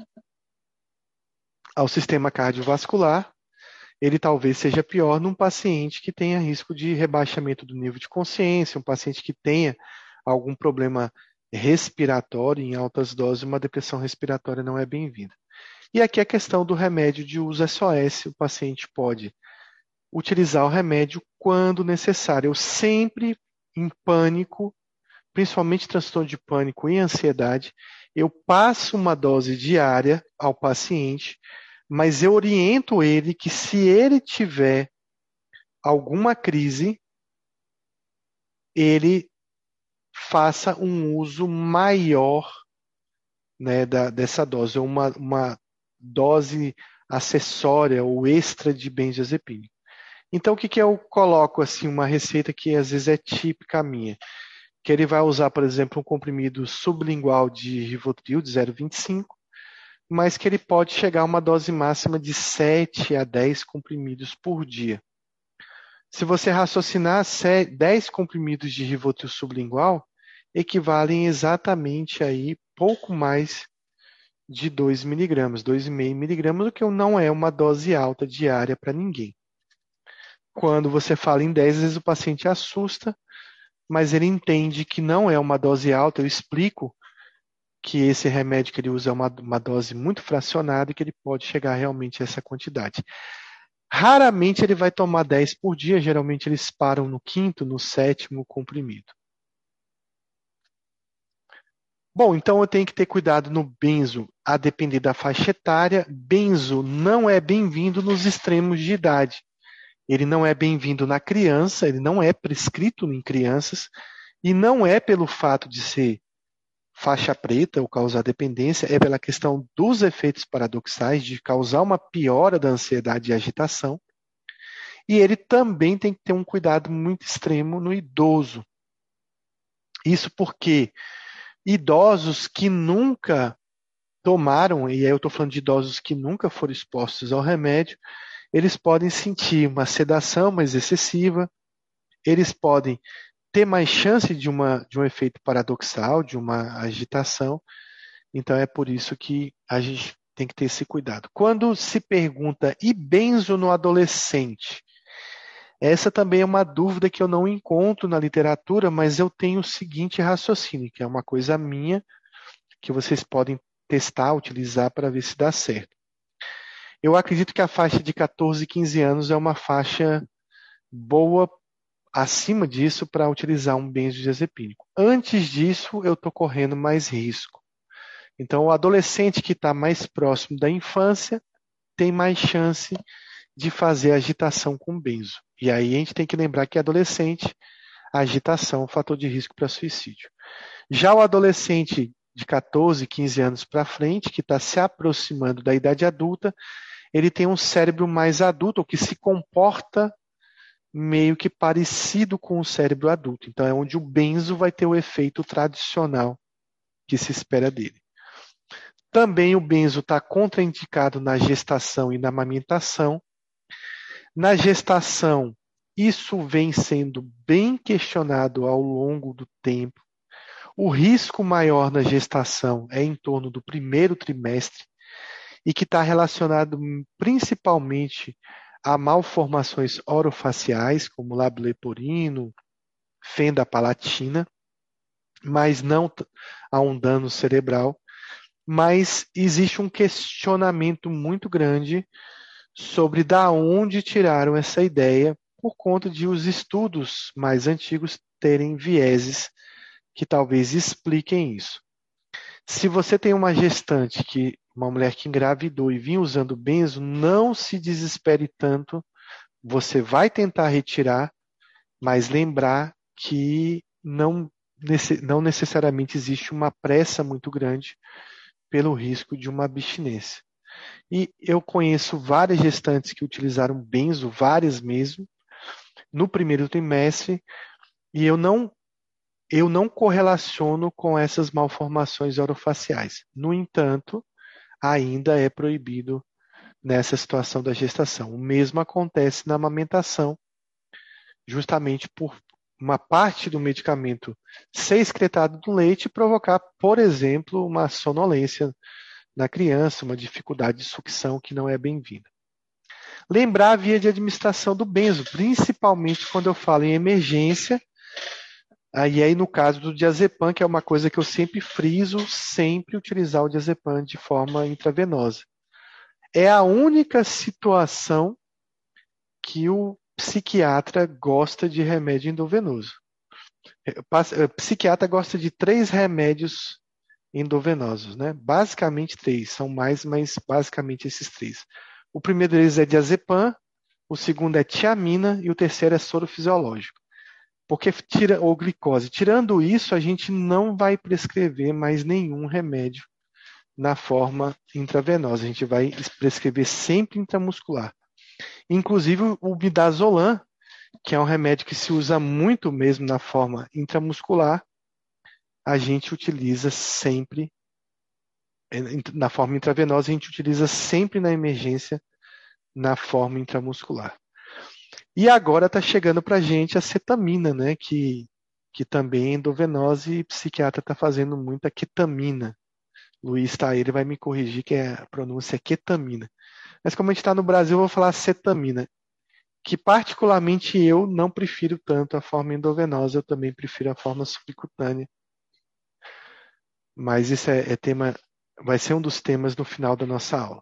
Speaker 1: ao sistema cardiovascular. Ele talvez seja pior num paciente que tenha risco de rebaixamento do nível de consciência, um paciente que tenha algum problema respiratório em altas doses, uma depressão respiratória não é bem-vinda. E aqui a questão do remédio de uso S O S, o paciente pode utilizar o remédio quando necessário. Eu sempre, em pânico, principalmente transtorno de pânico e ansiedade, eu passo uma dose diária ao paciente, mas eu oriento ele que se ele tiver alguma crise, ele faça um uso maior, né, da, dessa dose, ou uma, uma dose acessória ou extra de benzodiazepínico. Então, o que, que eu coloco, assim, uma receita que às vezes é típica minha, que ele vai usar, por exemplo, um comprimido sublingual de Rivotril de zero vírgula vinte e cinco, mas que ele pode chegar a uma dose máxima de sete a dez comprimidos por dia. Se você raciocinar, dez comprimidos de Rivotril sublingual equivalem exatamente aí pouco mais de dois miligramas, dois vírgula cinco miligramas, o que não é uma dose alta diária para ninguém. Quando você fala em dez, às vezes o paciente assusta, mas ele entende que não é uma dose alta. Eu explico que esse remédio que ele usa é uma, uma dose muito fracionada e que ele pode chegar realmente a essa quantidade. Raramente ele vai tomar dez por dia, geralmente eles param no quinto, no sétimo comprimido. Bom, então eu tenho que ter cuidado no benzo, a depender da faixa etária. Benzo não é bem-vindo nos extremos de idade. Ele não é bem-vindo na criança, ele não é prescrito em crianças, e não é pelo fato de ser faixa preta ou causar dependência, é pela questão dos efeitos paradoxais, de causar uma piora da ansiedade e agitação. E ele também tem que ter um cuidado muito extremo no idoso. Isso porque idosos que nunca tomaram, e aí eu estou falando de idosos que nunca foram expostos ao remédio, eles podem sentir uma sedação mais excessiva, eles podem ter mais chance de, uma, de um efeito paradoxal, de uma agitação. Então é por isso que a gente tem que ter esse cuidado. Quando se pergunta, e benzo no adolescente? Essa também é uma dúvida que eu não encontro na literatura, mas eu tenho o seguinte raciocínio, que é uma coisa minha, que vocês podem testar, utilizar para ver se dá certo. Eu acredito que a faixa de catorze, quinze anos é uma faixa boa acima disso para utilizar um benzodiazepínico. Antes disso, eu estou correndo mais risco. Então, o adolescente que está mais próximo da infância tem mais chance de fazer agitação com benzo. E aí a gente tem que lembrar que adolescente, a agitação é um fator de risco para suicídio. Já o adolescente de quatorze, quinze anos para frente, que está se aproximando da idade adulta, ele tem um cérebro mais adulto, ou que se comporta meio que parecido com o cérebro adulto. Então é onde o benzo vai ter o efeito tradicional que se espera dele. Também o benzo está contraindicado na gestação e na amamentação. Na gestação, isso vem sendo bem questionado ao longo do tempo. O risco maior na gestação é em torno do primeiro trimestre e que está relacionado principalmente a malformações orofaciais, como lábio leporino, fenda palatina, mas não a um dano cerebral. Mas existe um questionamento muito grande sobre da onde tiraram essa ideia, por conta de os estudos mais antigos terem vieses que talvez expliquem isso. Se você tem uma gestante, que uma mulher que engravidou e vinha usando benzo, não se desespere tanto, você vai tentar retirar, mas lembrar que não, não necessariamente existe uma pressa muito grande pelo risco de uma abstinência. E eu conheço várias gestantes que utilizaram benzo, várias mesmo, no primeiro trimestre, e eu não, eu não correlaciono com essas malformações orofaciais. No entanto, ainda é proibido nessa situação da gestação. O mesmo acontece na amamentação, justamente por uma parte do medicamento ser excretado do leite e provocar, por exemplo, uma sonolência na criança, uma dificuldade de sucção que não é bem-vinda. Lembrar a via de administração do benzo, principalmente quando eu falo em emergência, aí, aí no caso do diazepam, que é uma coisa que eu sempre friso, sempre utilizar o diazepam de forma intravenosa. É a única situação que o psiquiatra gosta de remédio endovenoso. O psiquiatra gosta de três remédios endovenosos, né? Basicamente três, são mais, mas basicamente esses três. O primeiro deles é diazepam, o segundo é tiamina e o terceiro é soro fisiológico. Porque tira ou glicose. Tirando isso, a gente não vai prescrever mais nenhum remédio na forma intravenosa. A gente vai prescrever sempre intramuscular. Inclusive o midazolam, que é um remédio que se usa muito mesmo na forma intramuscular, a gente utiliza sempre, na forma intravenosa, a gente utiliza sempre na emergência, na forma intramuscular. E agora está chegando para a gente a cetamina, né, que, que também é endovenosa e o psiquiatra está fazendo muita ketamina. Luiz tá aí, ele vai me corrigir que a pronúncia é ketamina. Mas como a gente está no Brasil, eu vou falar cetamina, que particularmente eu não prefiro tanto a forma endovenosa, eu também prefiro a forma subcutânea. Mas isso é, é tema, vai ser um dos temas no final da nossa aula.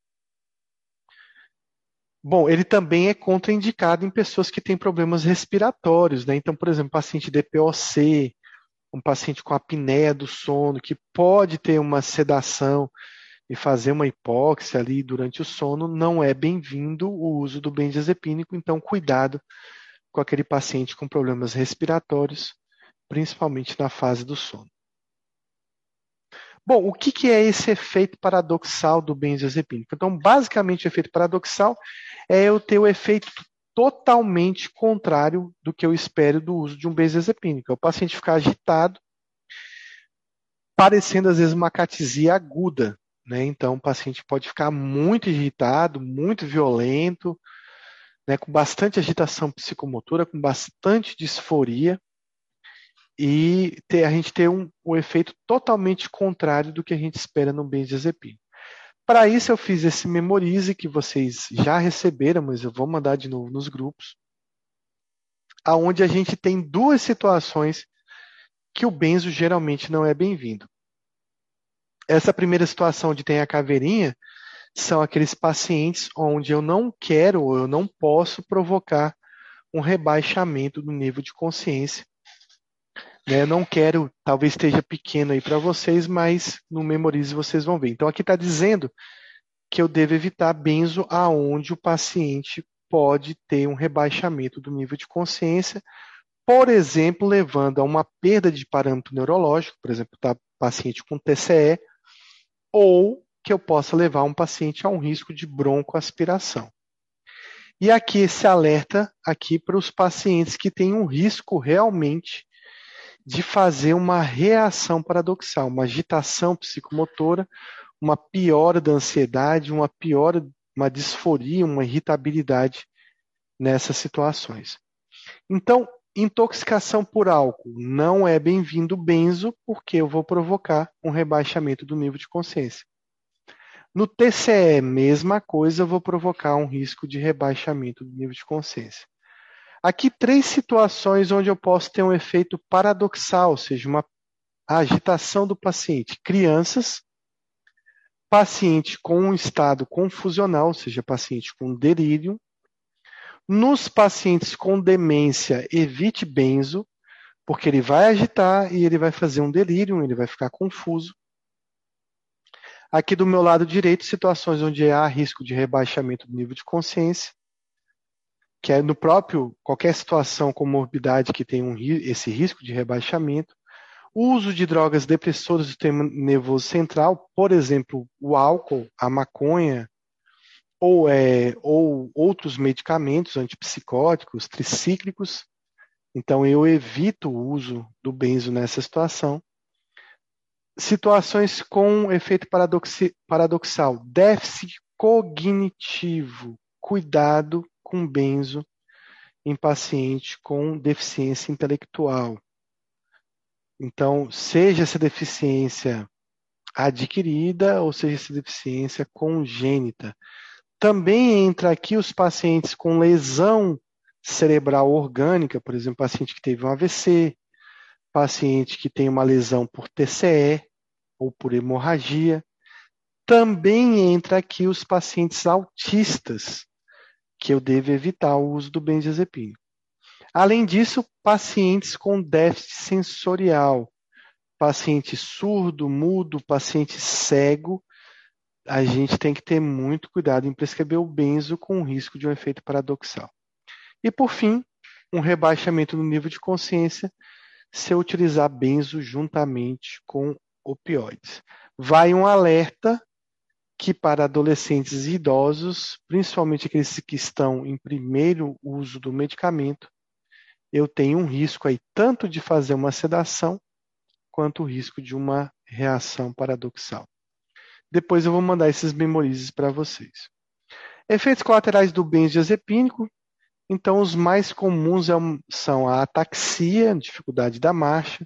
Speaker 1: Bom, ele também é contraindicado em pessoas que têm problemas respiratórios, né? Então, por exemplo, paciente D P O C, um paciente com apneia do sono, que pode ter uma sedação e fazer uma hipóxia ali durante o sono, não é bem-vindo o uso do benzodiazepínico, então cuidado com aquele paciente com problemas respiratórios, principalmente na fase do sono. Bom, o que, que é esse efeito paradoxal do benzodiazepínico? Então, basicamente, o efeito paradoxal é eu ter o efeito totalmente contrário do que eu espero do uso de um benzodiazepínico. É o paciente ficar agitado, parecendo às vezes uma catesia aguda, né? Então, o paciente pode ficar muito irritado, muito violento, né? Com bastante agitação psicomotora, com bastante disforia, e ter, a gente ter um, um efeito totalmente contrário do que a gente espera no benzodiazepínico. Para isso, eu fiz esse memorize que vocês já receberam, mas eu vou mandar de novo nos grupos, aonde a gente tem duas situações que o benzo geralmente não é bem-vindo. Essa primeira situação onde tem a caveirinha são aqueles pacientes onde eu não quero ou eu não posso provocar um rebaixamento do nível de consciência. né? Eu não quero, talvez esteja pequeno aí para vocês, mas no Memorize vocês vão ver. Então aqui está dizendo que eu devo evitar benzo aonde o paciente pode ter um rebaixamento do nível de consciência, por exemplo, levando a uma perda de parâmetro neurológico, por exemplo, tá paciente com T C E, ou que eu possa levar um paciente a um risco de broncoaspiração. E aqui esse alerta aqui para os pacientes que têm um risco realmente de fazer uma reação paradoxal, uma agitação psicomotora, uma piora da ansiedade, uma piora, uma disforia, uma irritabilidade nessas situações. Então, intoxicação por álcool não é bem-vindo benzo, porque eu vou provocar um rebaixamento do nível de consciência. No T C E, mesma coisa, eu vou provocar um risco de rebaixamento do nível de consciência. Aqui, três situações onde eu posso ter um efeito paradoxal, ou seja, uma agitação do paciente. Crianças, paciente com um estado confusional, ou seja, paciente com delírio. Nos pacientes com demência, evite benzo, porque ele vai agitar e ele vai fazer um delírio, ele vai ficar confuso. Aqui do meu lado direito, situações onde há risco de rebaixamento do nível de consciência, que é no próprio, qualquer situação com morbidade que tem um, esse risco de rebaixamento. O uso de drogas depressoras do sistema nervoso central, por exemplo, o álcool, a maconha, ou, é, ou outros medicamentos antipsicóticos, tricíclicos. Então, eu evito o uso do benzo nessa situação. Situações com efeito paradoxi- paradoxal, déficit cognitivo, cuidado com benzo em paciente com deficiência intelectual. Então, seja essa deficiência adquirida ou seja essa deficiência congênita. Também entra aqui os pacientes com lesão cerebral orgânica, por exemplo, paciente que teve um A V C, paciente que tem uma lesão por T C E ou por hemorragia. Também entra aqui os pacientes autistas, que eu devo evitar o uso do benzodiazepínico. Além disso, pacientes com déficit sensorial, paciente surdo, mudo, paciente cego, a gente tem que ter muito cuidado em prescrever o benzo com o risco de um efeito paradoxal. E, por fim, um rebaixamento no nível de consciência se eu utilizar benzo juntamente com opioides. Vai um alerta que para adolescentes e idosos, principalmente aqueles que estão em primeiro uso do medicamento, eu tenho um risco aí tanto de fazer uma sedação quanto o risco de uma reação paradoxal. Depois eu vou mandar esses memorizes para vocês. Efeitos colaterais do benzodiazepínico. Então, os mais comuns são a ataxia, dificuldade da marcha,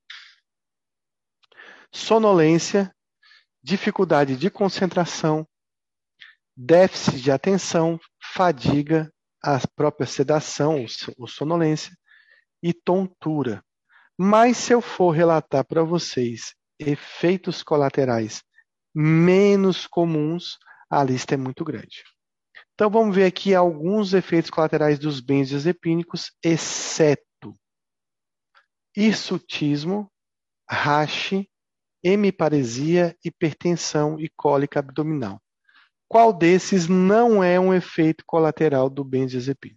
Speaker 1: sonolência, dificuldade de concentração, déficit de atenção, fadiga, a própria sedação ou sonolência e tontura. Mas se eu for relatar para vocês efeitos colaterais menos comuns, a lista é muito grande. Então vamos ver aqui alguns efeitos colaterais dos benzodiazepínicos, exceto hirsutismo, rache, hemiparesia, hipertensão e cólica abdominal. Qual desses não é um efeito colateral do benzodiazepínico?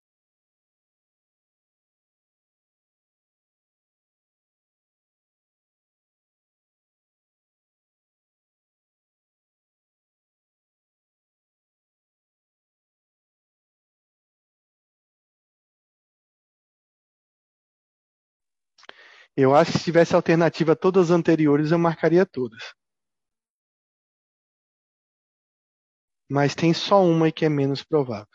Speaker 1: Eu acho que se tivesse alternativa a todas as anteriores, eu marcaria todas. Mas tem só uma que é menos provável.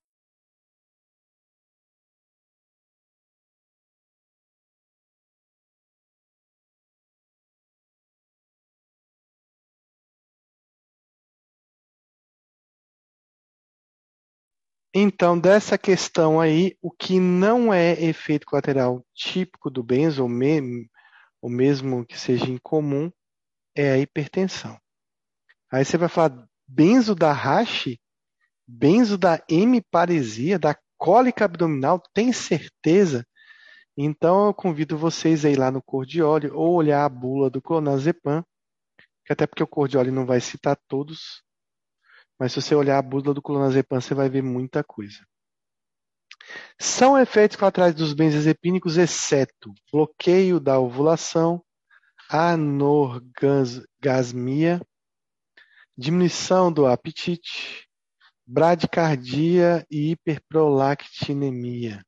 Speaker 1: Então, dessa questão aí, o que não é efeito colateral típico do benzo, ou, me, ou mesmo que seja incomum, é a hipertensão. Aí você vai falar benzo da rache, benzo da hemiparesia, da cólica abdominal, tem certeza? Então, eu convido vocês a ir lá no Cordioli ou olhar a bula do clonazepam, que até porque o Cordioli não vai citar todos, mas se você olhar a bula do clonazepam, você vai ver muita coisa. São efeitos colaterais dos benzodiazepínicos, exceto bloqueio da ovulação, anorgasmia, diminuição do apetite, bradicardia e hiperprolactinemia.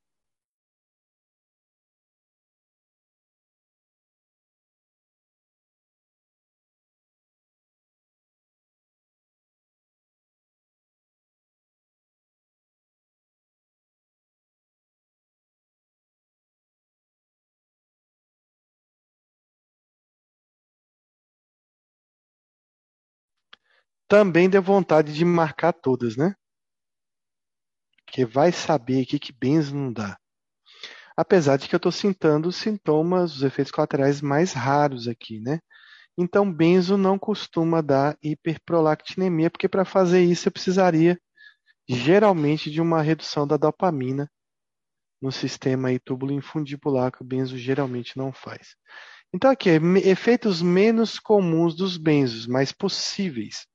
Speaker 1: Também deu vontade de marcar todas, né? Porque vai saber o que que benzo não dá. Apesar de que eu estou citando os sintomas, os efeitos colaterais mais raros aqui, né? Então, benzo não costuma dar hiperprolactinemia, porque para fazer isso eu precisaria geralmente de uma redução da dopamina no sistema aí túbulo-infundibular, que o benzo geralmente não faz. Então, aqui, efeitos menos comuns dos benzos, mas possíveis.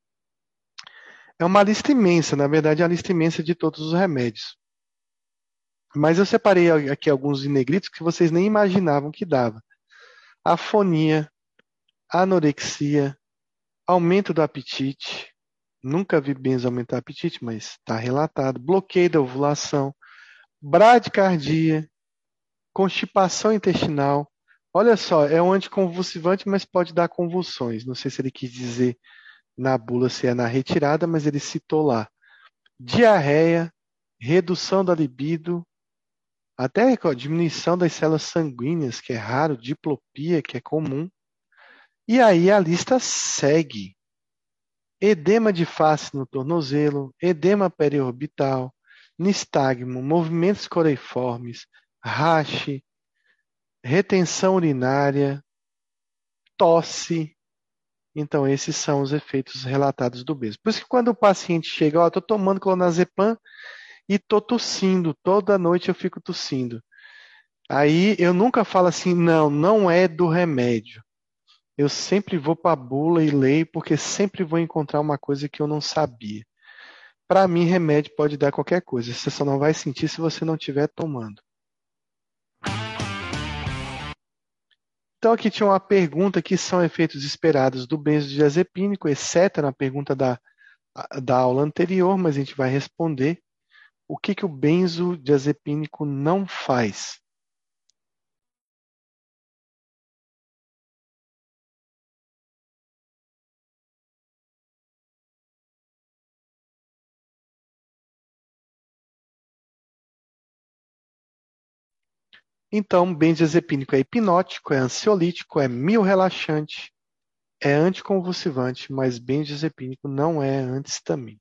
Speaker 1: É uma lista imensa, na verdade, é uma lista imensa de todos os remédios. Mas eu separei aqui alguns em negritos que vocês nem imaginavam que dava. Afonia, anorexia, aumento do apetite. Nunca vi benzo aumentar o apetite, mas está relatado. Bloqueio da ovulação, bradicardia, constipação intestinal. Olha só, é um anticonvulsivante, mas pode dar convulsões. Não sei se ele quis dizer na bula se é na retirada, mas ele citou lá. Diarreia, redução da libido, até ó, diminuição das células sanguíneas, que é raro, diplopia, que é comum. E aí a lista segue. Edema de face no tornozelo, edema periorbital, nistagmo, movimentos coreiformes, rache, retenção urinária, tosse. Então, esses são os efeitos relatados do benzo. Por isso que quando o paciente chega, ó, estou tomando clonazepam e estou tossindo, toda noite eu fico tossindo. Aí eu nunca falo assim, não, não é do remédio. Eu sempre vou para a bula e leio, porque sempre vou encontrar uma coisa que eu não sabia. Para mim, remédio pode dar qualquer coisa, você só não vai sentir se você não estiver tomando. Então aqui tinha uma pergunta que são efeitos esperados do benzodiazepínico, exceto na pergunta da, da aula anterior, mas a gente vai responder o que, que o benzodiazepínico não faz. Então, benzodiazepínico é hipnótico, é ansiolítico, é miorrelaxante, é anticonvulsivante, mas benzodiazepínico não é anti-histamínico.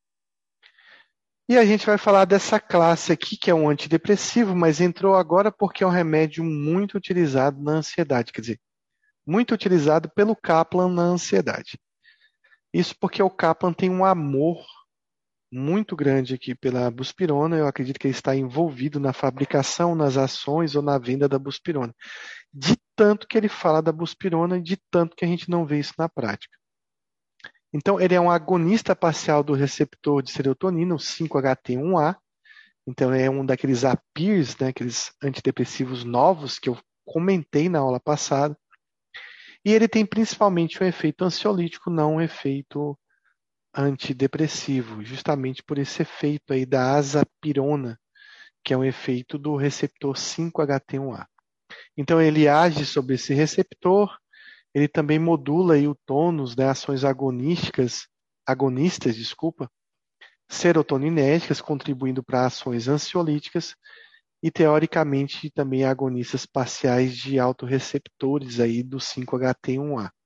Speaker 1: E a gente vai falar dessa classe aqui, que é um antidepressivo, mas entrou agora porque é um remédio muito utilizado na ansiedade, quer dizer, muito utilizado pelo Kaplan na ansiedade. Isso porque o Kaplan tem um amor muito grande aqui pela buspirona. Eu acredito que ele está envolvido na fabricação, nas ações ou na venda da buspirona. De tanto que ele fala da buspirona e de tanto que a gente não vê isso na prática. Então, ele é um agonista parcial do receptor de serotonina, o cinco H T um A. Então, é um daqueles A P I Rs, né, aqueles antidepressivos novos que eu comentei na aula passada. E ele tem principalmente um efeito ansiolítico, não um efeito antidepressivo, justamente por esse efeito aí da azapirona, que é um efeito do receptor cinco H T um A. Então ele age sobre esse receptor, ele também modula aí o tônus, né, ações agonísticas, agonistas, desculpa, serotoninérgicas, contribuindo para ações ansiolíticas e teoricamente também agonistas parciais de autorreceptores aí do cinco H T um A.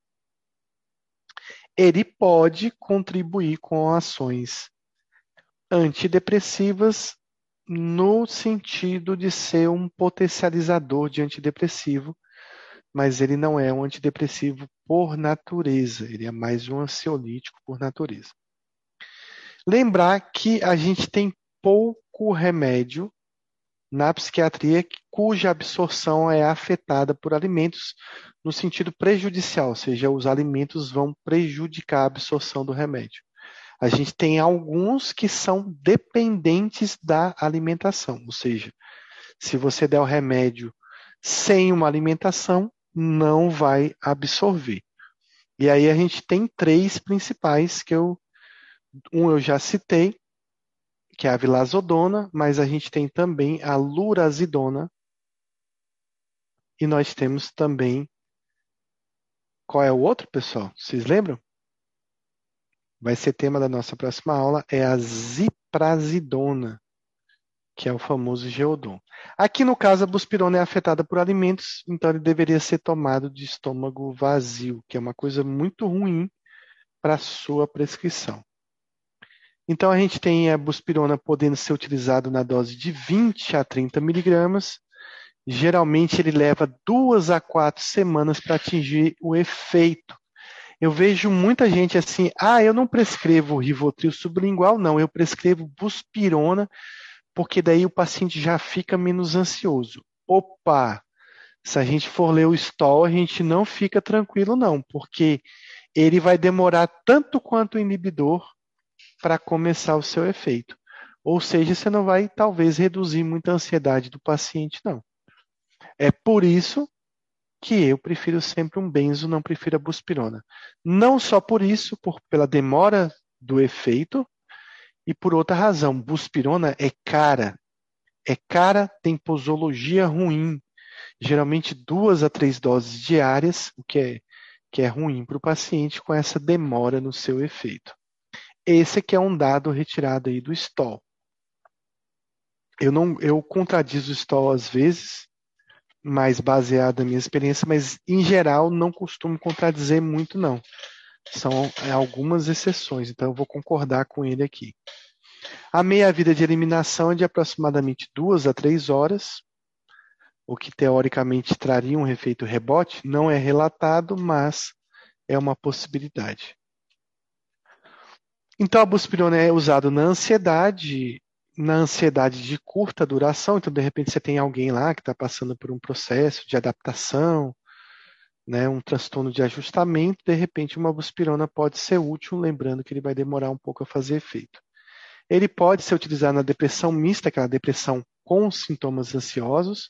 Speaker 1: Ele pode contribuir com ações antidepressivas no sentido de ser um potencializador de antidepressivo, mas ele não é um antidepressivo por natureza, ele é mais um ansiolítico por natureza. Lembrar que a gente tem pouco remédio na psiquiatria cuja absorção é afetada por alimentos no sentido prejudicial, ou seja, os alimentos vão prejudicar a absorção do remédio. A gente tem alguns que são dependentes da alimentação, ou seja, se você der o remédio sem uma alimentação, não vai absorver. E aí a gente tem três principais que eu, um eu já citei, que é a vilazodona, mas a gente tem também a lurazidona e nós temos também, qual é o outro, pessoal? Vocês lembram? Vai ser tema da nossa próxima aula, é a ziprasidona, que é o famoso Geodon. Aqui no caso a buspirona é afetada por alimentos, então ele deveria ser tomado de estômago vazio, que é uma coisa muito ruim para a sua prescrição. Então a gente tem a buspirona podendo ser utilizado na dose de vinte a trinta miligramas. Geralmente ele leva duas a quatro semanas para atingir o efeito. Eu vejo muita gente assim, ah, eu não prescrevo Rivotril sublingual, não, eu prescrevo buspirona, porque daí o paciente já fica menos ansioso. Opa! Se a gente for ler o stol, a gente não fica tranquilo não, porque ele vai demorar tanto quanto o inibidor para começar o seu efeito. Ou seja, você não vai, talvez, reduzir muita ansiedade do paciente, não. É por isso que eu prefiro sempre um benzo, não prefiro a buspirona. Não só por isso, por, pela demora do efeito, e por outra razão. Buspirona é cara. É cara, tem posologia ruim. Geralmente duas a três doses diárias, o que é, que é ruim para o paciente com essa demora no seu efeito. Esse aqui é um dado retirado aí do stol. Eu, não, eu contradizo o stol às vezes, mais baseado na minha experiência, mas em geral não costumo contradizer muito não. São algumas exceções, então eu vou concordar com ele aqui. A meia-vida de eliminação é de aproximadamente duas a três horas, o que teoricamente traria um efeito rebote, não é relatado, mas é uma possibilidade. Então a buspirona é usada na ansiedade, na ansiedade de curta duração, então de repente você tem alguém lá que está passando por um processo de adaptação, né, um transtorno de ajustamento, de repente uma buspirona pode ser útil, lembrando que ele vai demorar um pouco a fazer efeito. Ele pode ser utilizado na depressão mista, aquela depressão com sintomas ansiosos,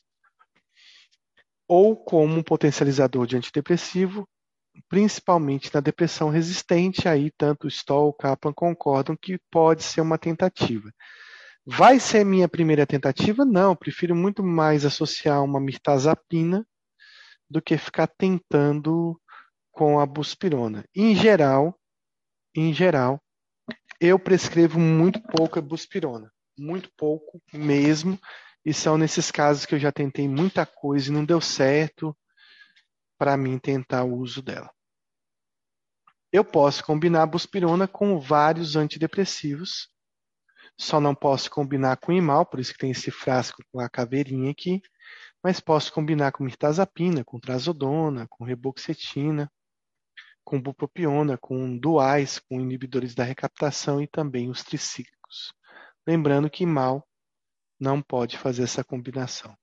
Speaker 1: ou como um potencializador de antidepressivo, principalmente na depressão resistente, aí tanto Stoll e Kaplan concordam que pode ser uma tentativa. Vai ser minha primeira tentativa? Não, prefiro muito mais associar uma mirtazapina do que ficar tentando com a buspirona. Em geral, em geral, eu prescrevo muito pouco a buspirona, muito pouco mesmo, e são nesses casos que eu já tentei muita coisa e não deu certo para mim tentar o uso dela. Eu posso combinar a buspirona com vários antidepressivos, só não posso combinar com imal, por isso que tem esse frasco com a caveirinha aqui, mas posso combinar com mirtazapina, com trazodona, com reboxetina, com bupropiona, com duais, com inibidores da recaptação e também os tricíclicos. Lembrando que imal não pode fazer essa combinação.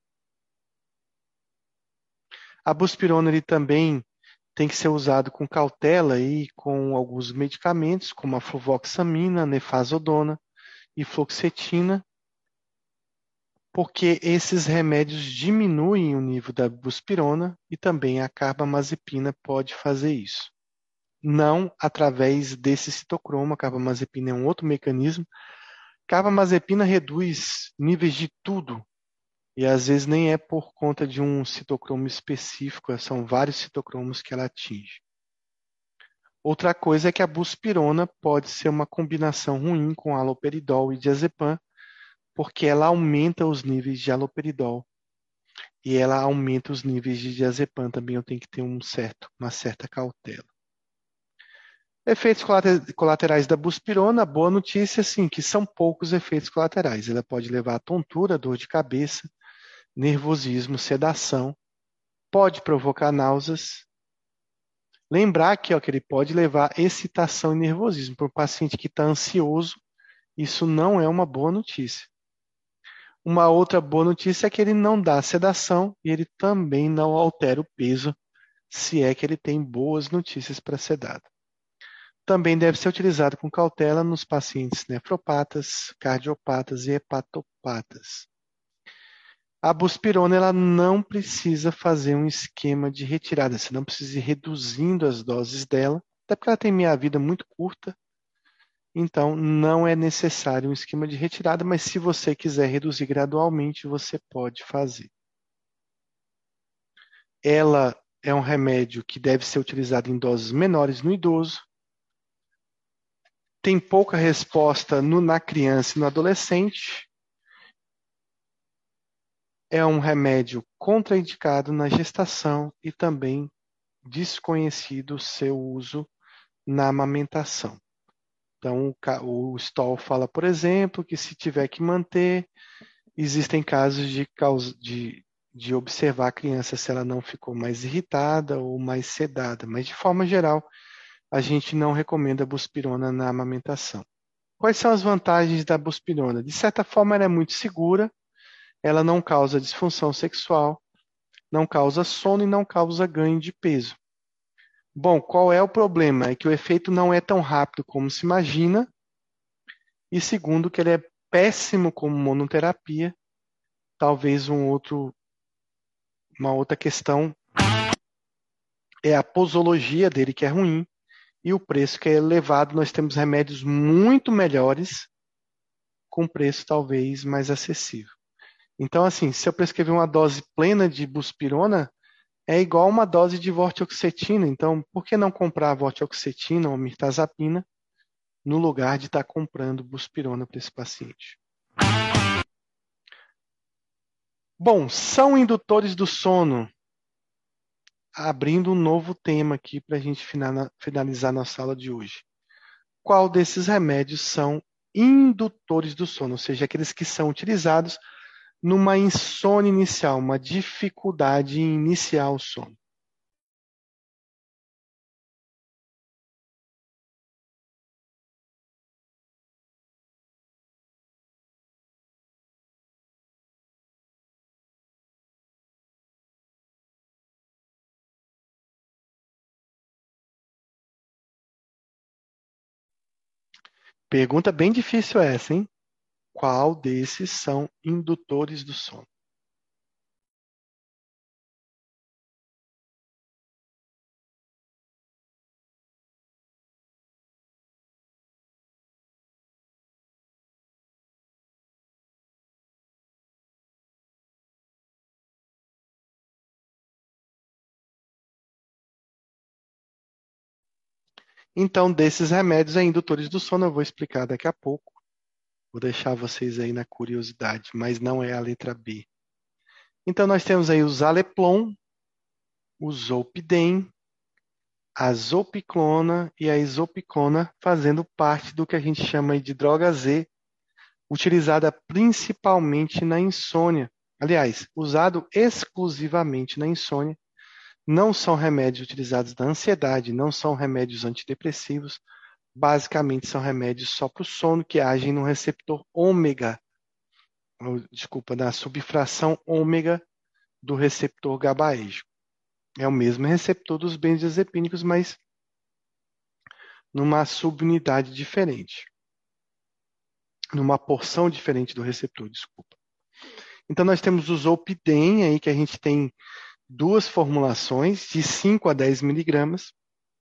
Speaker 1: A buspirona ele também tem que ser usado com cautela e com alguns medicamentos, como a fluvoxamina, nefazodona e fluoxetina, porque esses remédios diminuem o nível da buspirona e também a carbamazepina pode fazer isso. Não através desse citocromo, a carbamazepina é um outro mecanismo. Carbamazepina reduz níveis de tudo, e às vezes nem é por conta de um citocromo específico, são vários citocromos que ela atinge. Outra coisa é que a buspirona pode ser uma combinação ruim com haloperidol e diazepam, porque ela aumenta os níveis de haloperidol e ela aumenta os níveis de diazepam. Também eu tenho que ter um certo, uma certa cautela. Efeitos colaterais da buspirona, boa notícia, sim, que são poucos efeitos colaterais. Ela pode levar a tontura, dor de cabeça, nervosismo, sedação, pode provocar náuseas. Lembrar aqui ó, que ele pode levar excitação e nervosismo. Para o paciente que está ansioso, isso não é uma boa notícia. Uma outra boa notícia é que ele não dá sedação e ele também não altera o peso, se é que ele tem boas notícias para sedado. Também deve ser utilizado com cautela nos pacientes nefropatas, cardiopatas e hepatopatas. A buspirona ela não precisa fazer um esquema de retirada, você não precisa ir reduzindo as doses dela, até porque ela tem meia-vida muito curta, então não é necessário um esquema de retirada, mas se você quiser reduzir gradualmente, você pode fazer. Ela é um remédio que deve ser utilizado em doses menores no idoso, tem pouca resposta no, na criança e no adolescente, é um remédio contraindicado na gestação e também desconhecido seu uso na amamentação. Então, o Stoll fala, por exemplo, que se tiver que manter, existem casos de, causa, de, de observar a criança se ela não ficou mais irritada ou mais sedada, mas de forma geral, a gente não recomenda a buspirona na amamentação. Quais são as vantagens da buspirona? De certa forma, ela é muito segura, ela não causa disfunção sexual, não causa sono e não causa ganho de peso. Bom, qual é o problema? É que o efeito não é tão rápido como se imagina, e segundo, que ele é péssimo como monoterapia. Talvez um outro, uma outra questão é a posologia dele, que é ruim, e o preço que é elevado. Nós temos remédios muito melhores, com preço talvez mais acessível. Então, assim, se eu prescrever uma dose plena de buspirona, é igual uma dose de vortioxetina. Então, por que não comprar vortioxetina ou mirtazapina no lugar de estar comprando buspirona para esse paciente? Bom, são indutores do sono. Abrindo um novo tema aqui para a gente finalizar nossa aula de hoje. Qual desses remédios são indutores do sono? Ou seja, aqueles que são utilizados numa insônia inicial, uma dificuldade em iniciar o sono. Pergunta bem difícil essa, hein? Qual desses são indutores do sono? Então, desses remédios é indutores do sono, eu vou explicar daqui a pouco. Vou deixar vocês aí na curiosidade, mas não é a letra B. Então, nós temos aí o Zaleplon, o Zolpidem, a zopiclona e a isopiclona fazendo parte do que a gente chama de droga Z, utilizada principalmente na insônia. Aliás, usado exclusivamente na insônia. Não são remédios utilizados na ansiedade, não são remédios antidepressivos. Basicamente, são remédios só para o sono que agem no receptor ômega, ou, desculpa, na subfração ômega do receptor GABAérgico. É o mesmo receptor dos benzodiazepínicos, mas numa subunidade diferente. Numa porção diferente do receptor, desculpa. Então, nós temos o Zolpidem, aí, que a gente tem duas formulações, de cinco a dez miligramas.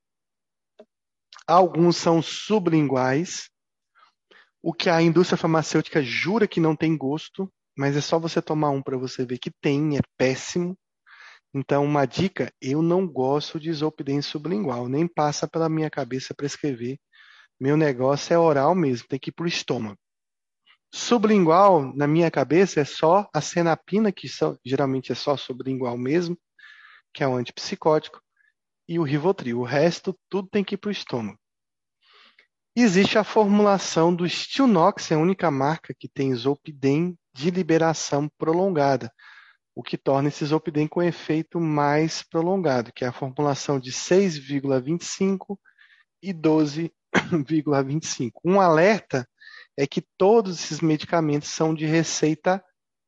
Speaker 1: Alguns são sublinguais, o que a indústria farmacêutica jura que não tem gosto, mas é só você tomar um para você ver que tem, é péssimo. Então, uma dica, eu não gosto de Zolpidem sublingual, nem passa pela minha cabeça prescrever. Meu negócio é oral mesmo, tem que ir para o estômago. Sublingual, na minha cabeça, é só a cenapina, que só, geralmente é só sublingual mesmo, que é um antipsicótico, e o Rivotril. O resto, tudo tem que ir para o estômago. Existe a formulação do Stilnox, é a única marca que tem Zolpidem de liberação prolongada, o que torna esse Zolpidem com efeito mais prolongado, que é a formulação de seis vírgula vinte e cinco e doze vírgula vinte e cinco. Um alerta é que todos esses medicamentos são de receita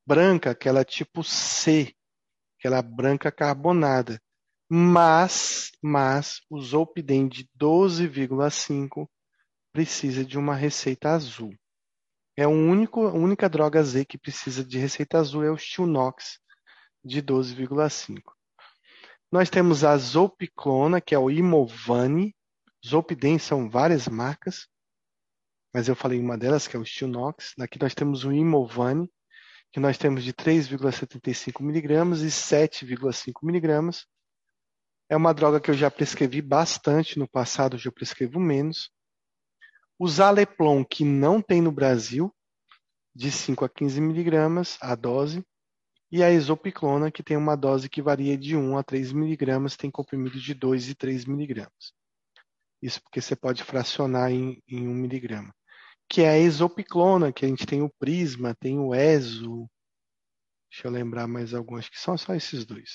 Speaker 1: branca, aquela tipo C, aquela branca carbonada. Mas, mas o Zolpidem de doze vírgula cinco precisa de uma receita azul. É o único, a única droga Z que precisa de receita azul é o Stilnox de doze vírgula cinco. Nós temos a Zolpiclona, que é o Imovane. Zolpidem são várias marcas, mas eu falei uma delas, que é o Stilnox. Aqui nós temos o Imovane, que nós temos de três vírgula setenta e cinco miligramas e sete vírgula cinco miligramas. É uma droga que eu já prescrevi bastante no passado, hoje eu prescrevo menos. O Zaleplon, que não tem no Brasil, de cinco a quinze miligramas a dose. E a Exopiclona, que tem uma dose que varia de um a três miligramas, tem comprimido de dois e três miligramas. Isso porque você pode fracionar em, em um miligrama. Que é a Exopiclona, que a gente tem o Prisma, tem o Ezo. Deixa eu lembrar mais alguns, acho que são só esses dois.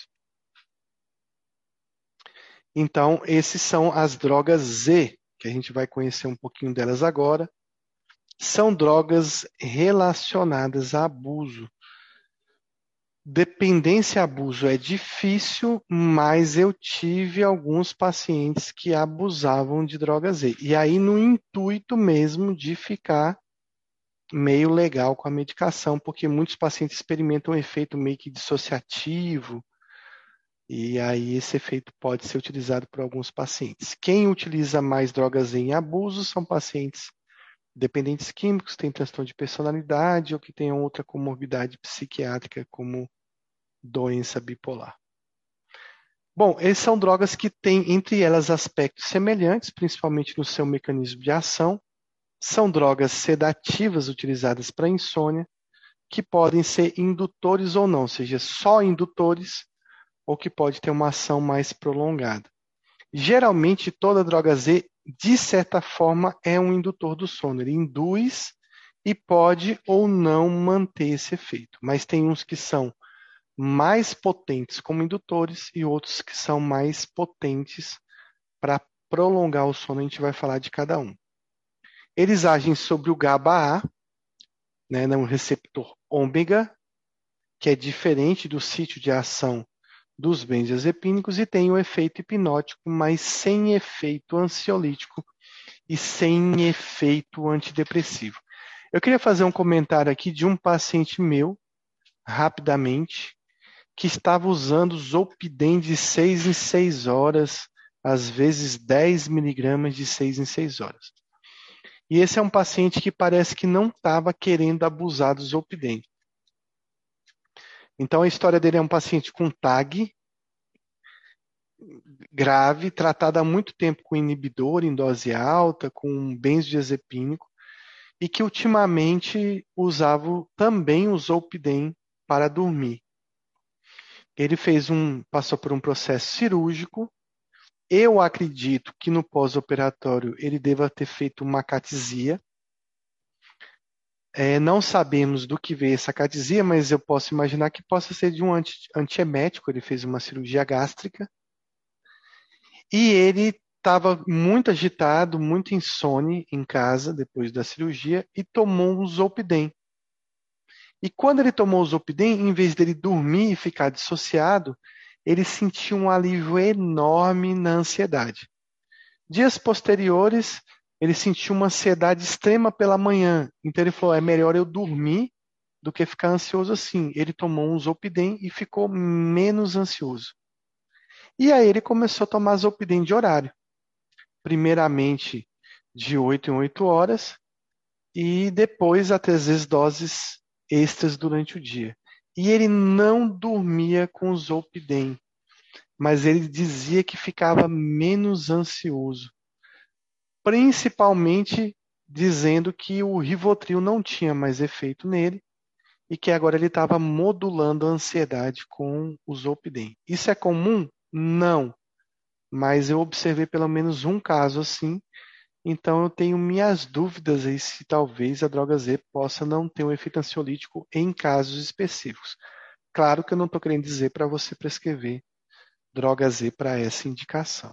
Speaker 1: Então, esses são as drogas Z, que a gente vai conhecer um pouquinho delas agora. São drogas relacionadas a abuso. Dependência e abuso é difícil, mas eu tive alguns pacientes que abusavam de droga Z. E aí, no intuito mesmo de ficar meio legal com a medicação, porque muitos pacientes experimentam um efeito meio que dissociativo, e aí esse efeito pode ser utilizado por alguns pacientes. Quem utiliza mais drogas Z em abuso são pacientes dependentes químicos, têm transtorno de personalidade ou que tenham outra comorbidade psiquiátrica, como doença bipolar. Bom, essas são drogas que têm entre elas aspectos semelhantes, principalmente no seu mecanismo de ação. São drogas sedativas utilizadas para insônia, que podem ser indutores ou não, ou seja, só indutores, ou que pode ter uma ação mais prolongada. Geralmente, toda droga Z, de certa forma, é um indutor do sono. Ele induz e pode ou não manter esse efeito. Mas tem uns que são mais potentes como indutores e outros que são mais potentes para prolongar o sono. A gente vai falar de cada um. Eles agem sobre o GABA A, né, um receptor ômega, que é diferente do sítio de ação dos benzodiazepínicos e tem um efeito hipnótico, mas sem efeito ansiolítico e sem efeito antidepressivo. Eu queria fazer um comentário aqui de um paciente meu, rapidamente, que estava usando Zolpidem de seis em seis horas, às vezes dez miligramas de seis em seis horas. E esse é um paciente que parece que não estava querendo abusar do Zolpidem. Então a história dele é um paciente com T A G, grave, tratado há muito tempo com inibidor em dose alta, com benzodiazepínico, e que ultimamente usava também o Zolpidem para dormir. Ele fez um, passou por um processo cirúrgico. Eu acredito que no pós-operatório ele deva ter feito uma catesia. É, não sabemos do que veio essa catesia, mas eu posso imaginar que possa ser de um anti, antiemético. Ele fez uma cirurgia gástrica. E ele estava muito agitado, muito insone em casa depois da cirurgia e tomou um Zolpidem. E quando ele tomou o Zolpidem, em vez dele dormir e ficar dissociado, ele sentiu um alívio enorme na ansiedade. Dias posteriores, ele sentiu uma ansiedade extrema pela manhã. Então ele falou, é melhor eu dormir do que ficar ansioso assim. Ele tomou um Zolpidem e ficou menos ansioso. E aí ele começou a tomar Zolpidem de horário. Primeiramente de oito em oito horas e depois até às vezes doses extras durante o dia. E ele não dormia com o Zolpidem, mas ele dizia que ficava menos ansioso, principalmente dizendo que o Rivotril não tinha mais efeito nele e que agora ele estava modulando a ansiedade com o Zolpidem. Isso é comum? Não, mas eu observei pelo menos um caso assim. Então, eu tenho minhas dúvidas aí se talvez a droga Z possa não ter um efeito ansiolítico em casos específicos. Claro que eu não estou querendo dizer para você prescrever droga Z para essa indicação.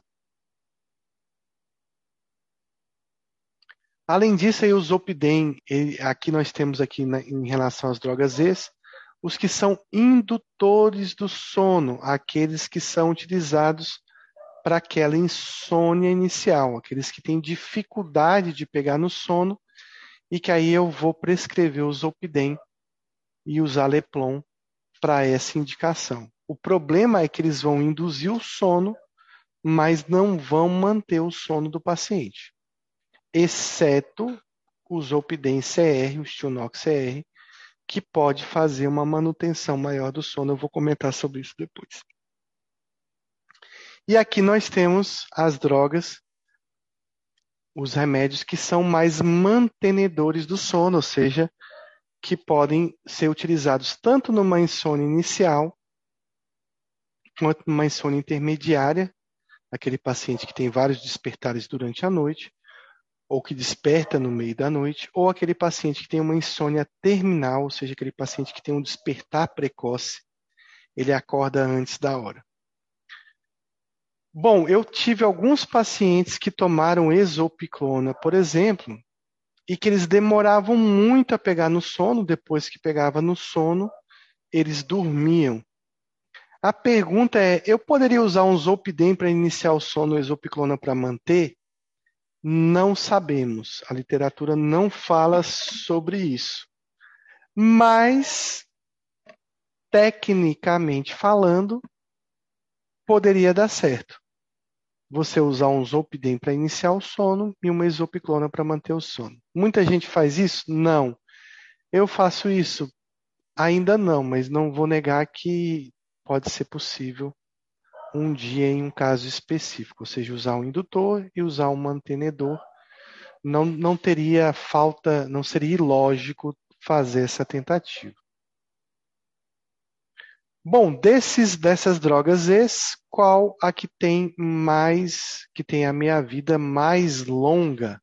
Speaker 1: Além disso, aí, o Zolpidem, ele, aqui nós temos aqui na, em relação às drogas Z, os que são indutores do sono, aqueles que são utilizados para aquela insônia inicial, aqueles que têm dificuldade de pegar no sono e que aí eu vou prescrever o Zolpidem e o Zaleplon para essa indicação. O problema é que eles vão induzir o sono, mas não vão manter o sono do paciente, exceto o Zolpidem C R, o Stilnox C R, que pode fazer uma manutenção maior do sono. Eu vou comentar sobre isso depois. E aqui nós temos as drogas, os remédios que são mais mantenedores do sono, ou seja, que podem ser utilizados tanto numa insônia inicial, quanto numa insônia intermediária, aquele paciente que tem vários despertares durante a noite, ou que desperta no meio da noite, ou aquele paciente que tem uma insônia terminal, ou seja, aquele paciente que tem um despertar precoce, ele acorda antes da hora. Bom, eu tive alguns pacientes que tomaram exopiclona, por exemplo, e que eles demoravam muito a pegar no sono, depois que pegava no sono, eles dormiam. A pergunta é, eu poderia usar um Zolpidem para iniciar o sono, exopiclona para manter? Não sabemos. A literatura não fala sobre isso. Mas, tecnicamente falando, poderia dar certo. Você usar um Zolpidem para iniciar o sono e uma exopiclona para manter o sono. Muita gente faz isso? Não. Eu faço isso? Ainda não, mas não vou negar que pode ser possível um dia em um caso específico, ou seja, usar um indutor e usar um mantenedor. Não, não teria falta, não seria ilógico fazer essa tentativa. Bom, desses, dessas drogas ex, qual a que tem mais, que tem a meia-vida mais longa?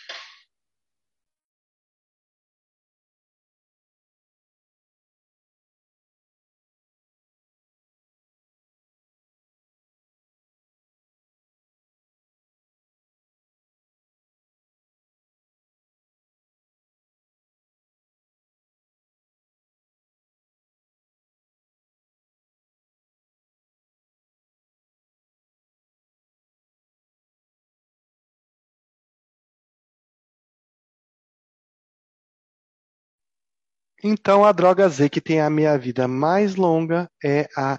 Speaker 1: Então, a droga Z que tem a meia-vida mais longa é a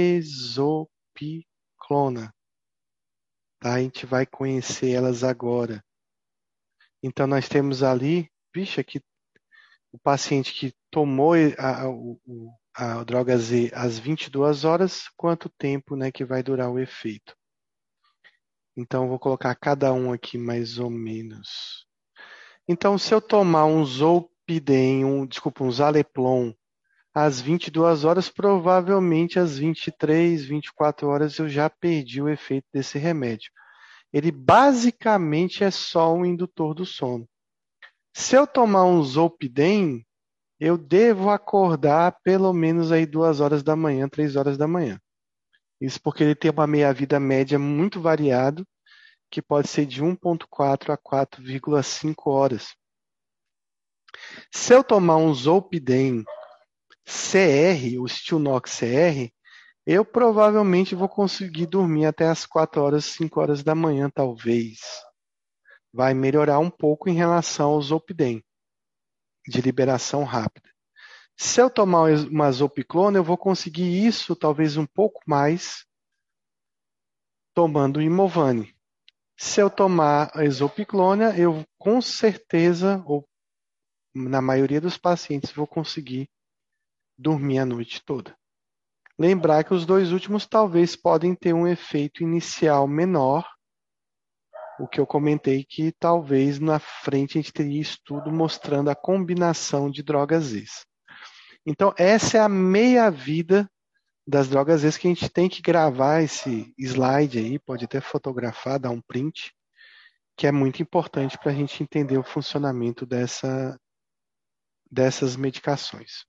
Speaker 1: exopiclona. Tá? A gente vai conhecer elas agora. Então, nós temos ali, vixe, aqui, o paciente que tomou a, a, a, a droga Z às vinte e duas horas, quanto tempo, né, que vai durar o efeito. Então, eu vou colocar cada um aqui mais ou menos. Então, se eu tomar um Zolpidem, um, desculpa, um Zaleplon, às vinte e duas horas, provavelmente às vinte e três, vinte e quatro horas eu já perdi o efeito desse remédio. Ele basicamente é só um indutor do sono. Se eu tomar um Zolpidem, eu devo acordar pelo menos aí duas horas da manhã, três horas da manhã. Isso porque ele tem uma meia-vida média muito variado, que pode ser de um vírgula quatro a quatro vírgula cinco horas. Se eu tomar um Zolpidem C R, o Stilnox C R, eu provavelmente vou conseguir dormir até as quatro horas, cinco horas da manhã, talvez. Vai melhorar um pouco em relação ao Zolpidem, de liberação rápida. Se eu tomar uma Zolpiclona, eu vou conseguir isso talvez um pouco mais tomando Imovane. Se eu tomar a Zolpiclona, eu com certeza, ou na maioria dos pacientes, vou conseguir dormir a noite toda. Lembrar que os dois últimos talvez podem ter um efeito inicial menor, o que eu comentei que talvez na frente a gente teria estudo mostrando a combinação de drogas ex. Então, essa é a meia-vida das drogas ex que a gente tem que gravar esse slide aí, pode até fotografar, dar um print, que é muito importante para a gente entender o funcionamento dessa, dessas medicações.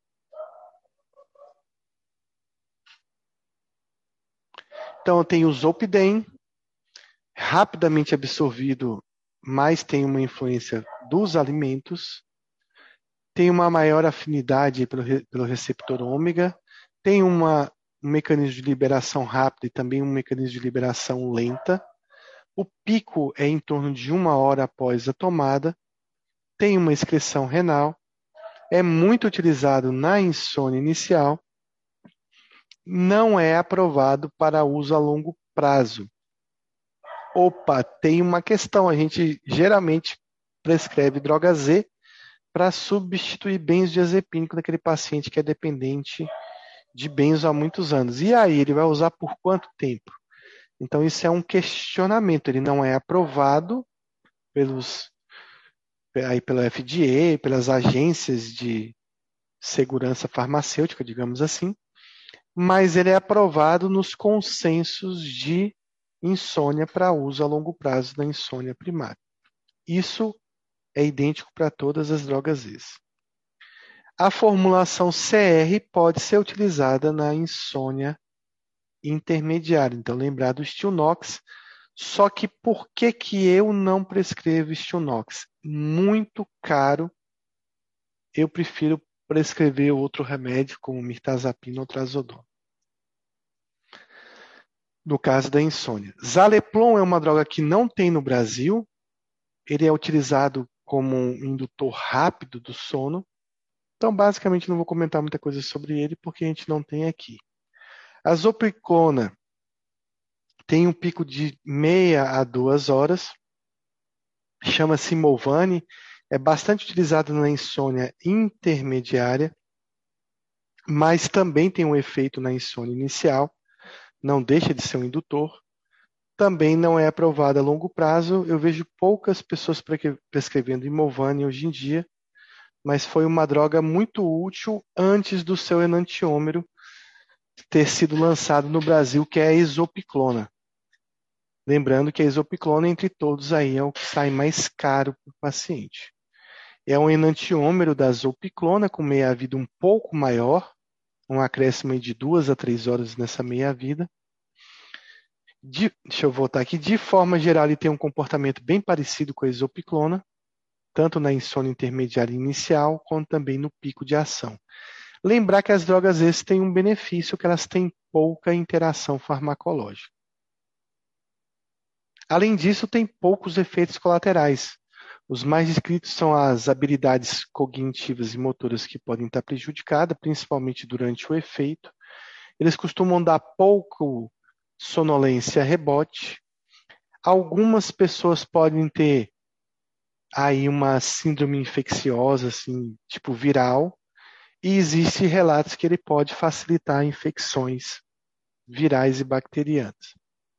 Speaker 1: Então, eu tenho o Zolpidem, rapidamente absorvido, mas tem uma influência dos alimentos. tem uma maior afinidade pelo, re- pelo receptor ômega, tem uma, um mecanismo de liberação rápida e também um mecanismo de liberação lenta. O pico é em torno de uma hora após a tomada, tem uma excreção renal, é muito utilizado na insônia inicial, não é aprovado para uso a longo prazo. Opa, tem uma questão, a gente geralmente prescreve droga Z para substituir benzodiazepínico naquele paciente que é dependente de benzo há muitos anos. E aí, ele vai usar por quanto tempo? Então, isso é um questionamento, ele não é aprovado pelos, aí pelo F D A, pelas agências de segurança farmacêutica, digamos assim, mas ele é aprovado nos consensos de insônia para uso a longo prazo da insônia primária. Isso é idêntico para todas as drogas Z. A formulação C R pode ser utilizada na insônia intermediária. Então, lembrar do Stilnox. Só que por que, que eu não prescrevo Stilnox? Muito caro. Eu prefiro prescrever outro remédio, como mirtazapina ou trazodona. No caso da insônia. Zaleplon é uma droga que não tem no Brasil. Ele é utilizado como um indutor rápido do sono. Então, basicamente, não vou comentar muita coisa sobre ele, porque a gente não tem aqui. A zopiclona tem um pico de meia a duas horas. Chama-se Movane. É bastante utilizado na insônia intermediária, mas também tem um efeito na insônia inicial. Não deixa de ser um indutor. Também não é aprovado a longo prazo. Eu vejo poucas pessoas prescrevendo Imovane hoje em dia, mas foi uma droga muito útil antes do seu enantiômero ter sido lançado no Brasil, que é a isopiclona. Lembrando que a isopiclona, entre todos, aí é o que sai mais caro para o paciente. É um enantiômero da zopiclona, com meia-vida um pouco maior, um acréscimo de duas a três horas nessa meia-vida. De, deixa eu voltar aqui. De forma geral, ele tem um comportamento bem parecido com a isopiclona, tanto na insônia intermediária inicial, quanto também no pico de ação. Lembrar que as drogas essas têm um benefício, que elas têm pouca interação farmacológica. Além disso, tem poucos efeitos colaterais. Os mais descritos são as habilidades cognitivas e motoras que podem estar prejudicadas, principalmente durante o efeito. Eles costumam dar pouco sonolência a rebote. Algumas pessoas podem ter aí uma síndrome infecciosa, assim, tipo viral, e existem relatos que ele pode facilitar infecções virais e bacterianas.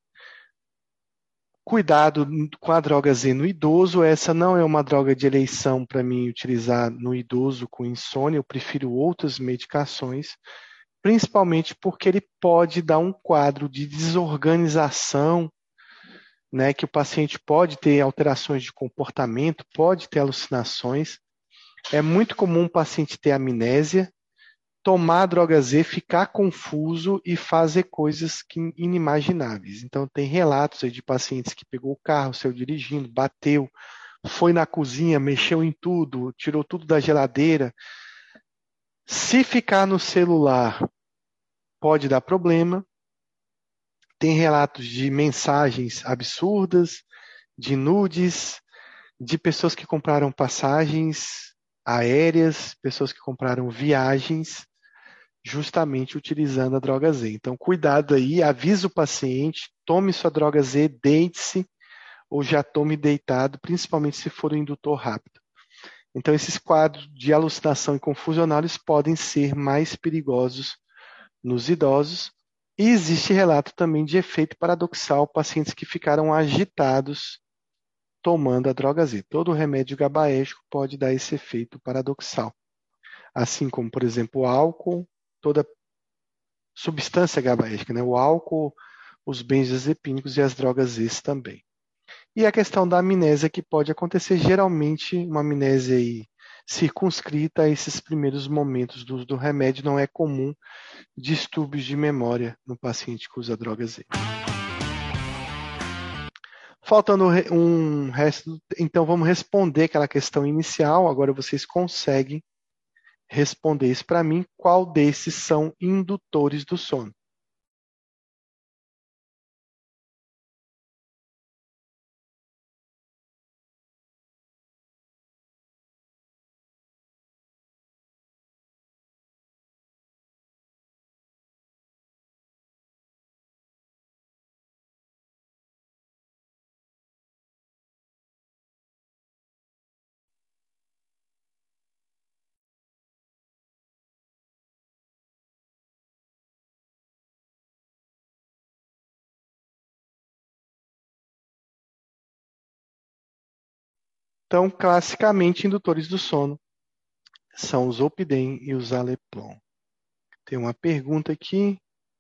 Speaker 1: Cuidado com a droga Z no idoso. Essa não é uma droga de eleição para mim utilizar no idoso com insônia. Eu prefiro outras medicações, principalmente porque ele pode dar um quadro de desorganização, né, que o paciente pode ter alterações de comportamento, pode ter alucinações. É muito comum o paciente ter amnésia, tomar a droga Z, ficar confuso e fazer coisas que, inimagináveis. Então, tem relatos aí de pacientes que pegou o carro, saiu dirigindo, bateu, foi na cozinha, mexeu em tudo, tirou tudo da geladeira. Se ficar no celular, pode dar problema. Tem relatos de mensagens absurdas, de nudes, de pessoas que compraram passagens aéreas, pessoas que compraram viagens, justamente utilizando a droga Z. Então, cuidado aí, avisa o paciente, tome sua droga Z, deite-se ou já tome deitado, principalmente se for um indutor rápido. Então, esses quadros de alucinação e confusional eles podem ser mais perigosos nos idosos. E existe relato também de efeito paradoxal, pacientes que ficaram agitados tomando a droga Z. Todo remédio gabaérgico pode dar esse efeito paradoxal. Assim como, por exemplo, o álcool, toda substância gabaérgica, né? O álcool, os benzodiazepínicos e as drogas Z também. E a questão da amnésia que pode acontecer, geralmente uma amnésia aí circunscrita a esses primeiros momentos do, do remédio, não é comum distúrbios de memória no paciente que usa droga Z. Faltando um resto, então vamos responder aquela questão inicial, agora vocês conseguem respondeis para mim qual desses são indutores do sono. Então, classicamente, indutores do sono são os Zolpidem e os Aleplon. Tem uma pergunta aqui.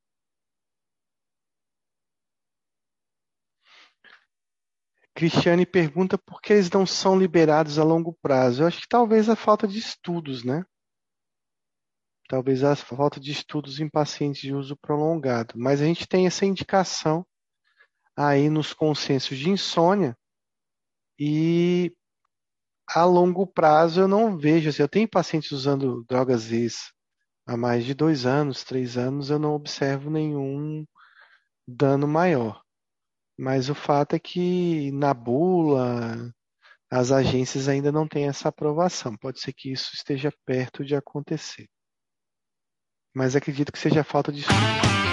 Speaker 1: Cristiane pergunta por que eles não são liberados a longo prazo. Eu acho que talvez a falta de estudos, né? Talvez a falta de estudos em pacientes de uso prolongado. Mas a gente tem essa indicação aí nos consensos de insônia e a longo prazo eu não vejo. Assim, eu tenho pacientes usando drogas às vezes há mais de dois anos, três anos, eu não observo nenhum dano maior. Mas o fato é que na bula, as agências ainda não têm essa aprovação. Pode ser que isso esteja perto de acontecer. Mas acredito que seja falta de estudo.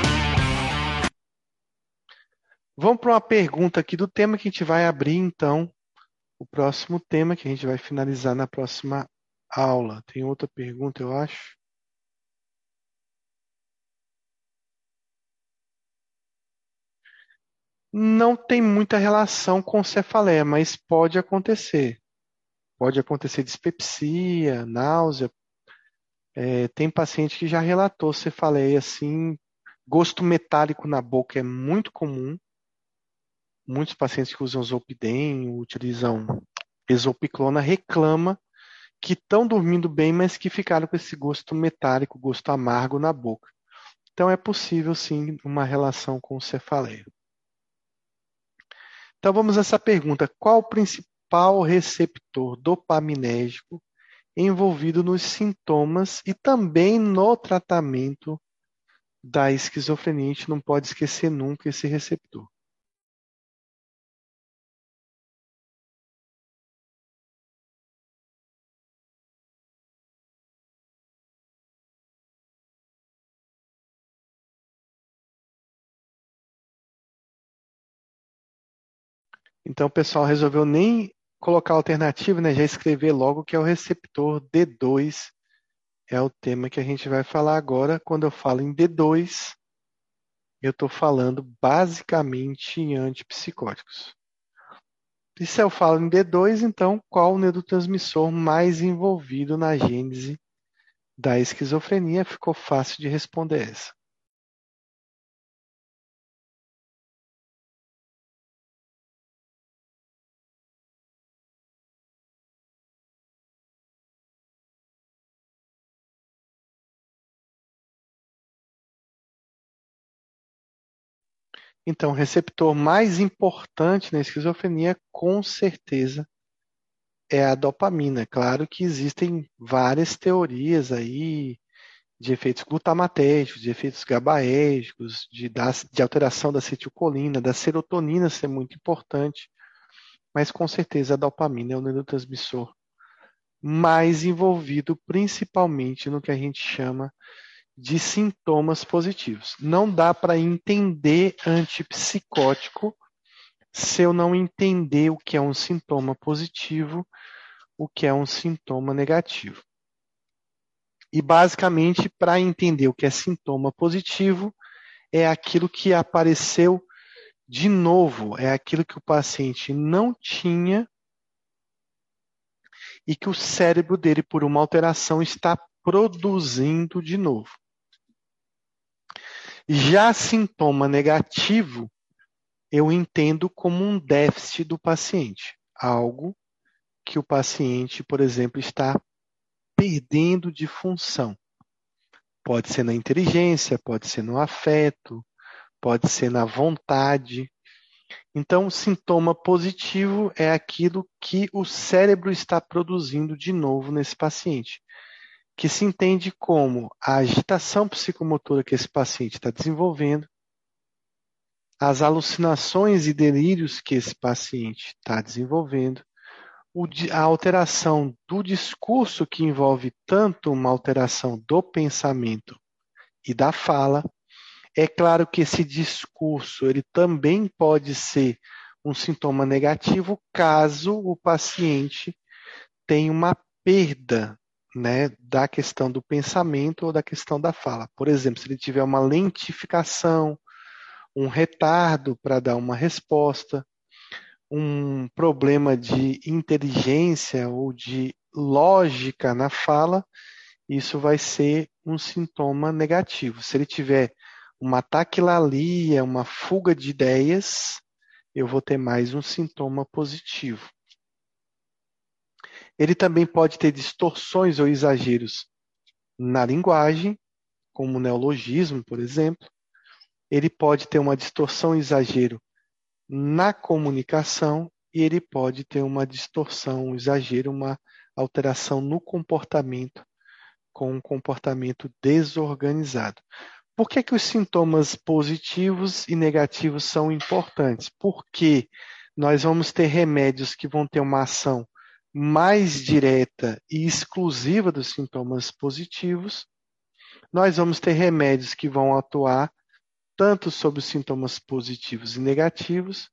Speaker 1: Vamos para uma pergunta aqui do tema que a gente vai abrir, então, o próximo tema que a gente vai finalizar na próxima aula. Tem outra pergunta, eu acho. Não tem muita relação com cefaleia, mas pode acontecer. Pode acontecer dispepsia, náusea. É, tem paciente que já relatou cefaleia assim. Gosto metálico na boca é muito comum. Muitos pacientes que usam Zolpidem, utilizam Exopiclona, reclamam que estão dormindo bem, mas que ficaram com esse gosto metálico, gosto amargo na boca. Então é possível sim uma relação com cefaleia. Então vamos a essa pergunta: qual o principal receptor dopaminérgico envolvido nos sintomas e também no tratamento da esquizofrenia? A gente não pode esquecer nunca esse receptor. Então o pessoal resolveu nem colocar alternativa, né? Já escrever logo que é o receptor D dois. É o tema que a gente vai falar agora. Quando eu falo em D dois, eu estou falando basicamente em antipsicóticos. E se eu falo em D dois, então qual o neurotransmissor mais envolvido na gênese da esquizofrenia? Ficou fácil de responder essa. Então, o receptor mais importante na esquizofrenia, com certeza, é a dopamina. Claro que existem várias teorias aí de efeitos glutamatérgicos, de efeitos GABAérgicos, de, de alteração da acetilcolina, da serotonina ser muito importante, mas com certeza a dopamina é o neurotransmissor mais envolvido principalmente no que a gente chama de sintomas positivos. Não dá para entender antipsicótico se eu não entender o que é um sintoma positivo, o que é um sintoma negativo. E basicamente, para entender o que é sintoma positivo, é aquilo que apareceu de novo, é aquilo que o paciente não tinha e que o cérebro dele, por uma alteração, está produzindo de novo. Já sintoma negativo, eu entendo como um déficit do paciente, algo que o paciente, por exemplo, está perdendo de função. Pode ser na inteligência, pode ser no afeto, pode ser na vontade. Então, o sintoma positivo é aquilo que o cérebro está produzindo de novo nesse paciente. que se entende como a agitação psicomotora que esse paciente está desenvolvendo, as alucinações e delírios que esse paciente está desenvolvendo, a alteração do discurso que envolve tanto uma alteração do pensamento e da fala. É claro que esse discurso ele também pode ser um sintoma negativo caso o paciente tenha uma perda, né, da questão do pensamento ou da questão da fala. Por exemplo, se ele tiver uma lentificação, um retardo para dar uma resposta, um problema de inteligência ou de lógica na fala, isso vai ser um sintoma negativo. Se ele tiver uma taquilalia, uma fuga de ideias, eu vou ter mais um sintoma positivo. Ele também pode ter distorções ou exageros na linguagem, como o neologismo, por exemplo. Ele pode ter uma distorção e exagero na comunicação e ele pode ter uma distorção, um exagero, uma alteração no comportamento, com um comportamento desorganizado. Por que que os sintomas positivos e negativos são importantes? Porque nós vamos ter remédios que vão ter uma ação mais direta e exclusiva dos sintomas positivos. Nós vamos ter remédios que vão atuar tanto sobre os sintomas positivos e negativos,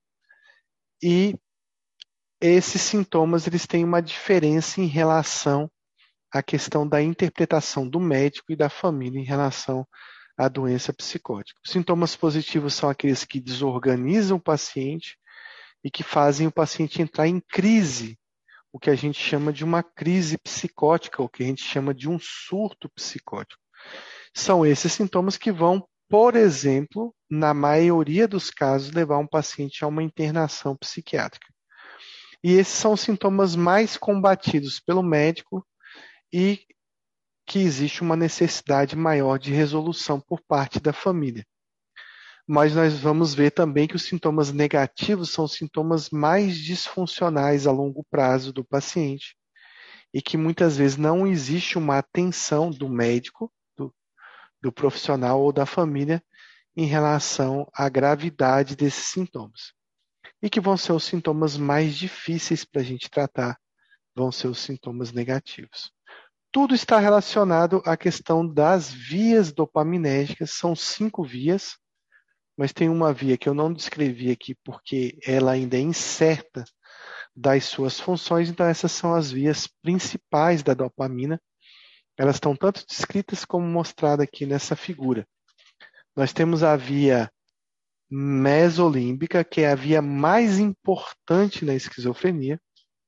Speaker 1: e esses sintomas eles têm uma diferença em relação à questão da interpretação do médico e da família em relação à doença psicótica. Os sintomas positivos são aqueles que desorganizam o paciente e que fazem o paciente entrar em crise, o que a gente chama de uma crise psicótica, o que a gente chama de um surto psicótico. São esses sintomas que vão, por exemplo, na maioria dos casos, levar um paciente a uma internação psiquiátrica. E esses são os sintomas mais combatidos pelo médico e que existe uma necessidade maior de resolução por parte da família. Mas nós vamos ver também que os sintomas negativos são os sintomas mais disfuncionais a longo prazo do paciente e que muitas vezes não existe uma atenção do médico, do profissional ou da família em relação à gravidade desses sintomas. E que vão ser os sintomas mais difíceis para a gente tratar, vão ser os sintomas negativos. Tudo está relacionado à questão das vias dopaminérgicas, são cinco vias, mas tem uma via que eu não descrevi aqui porque ela ainda é incerta das suas funções, então essas são as vias principais da dopamina. Elas estão tanto descritas como mostradas aqui nessa figura. Nós temos a via mesolímbica, que é a via mais importante na esquizofrenia,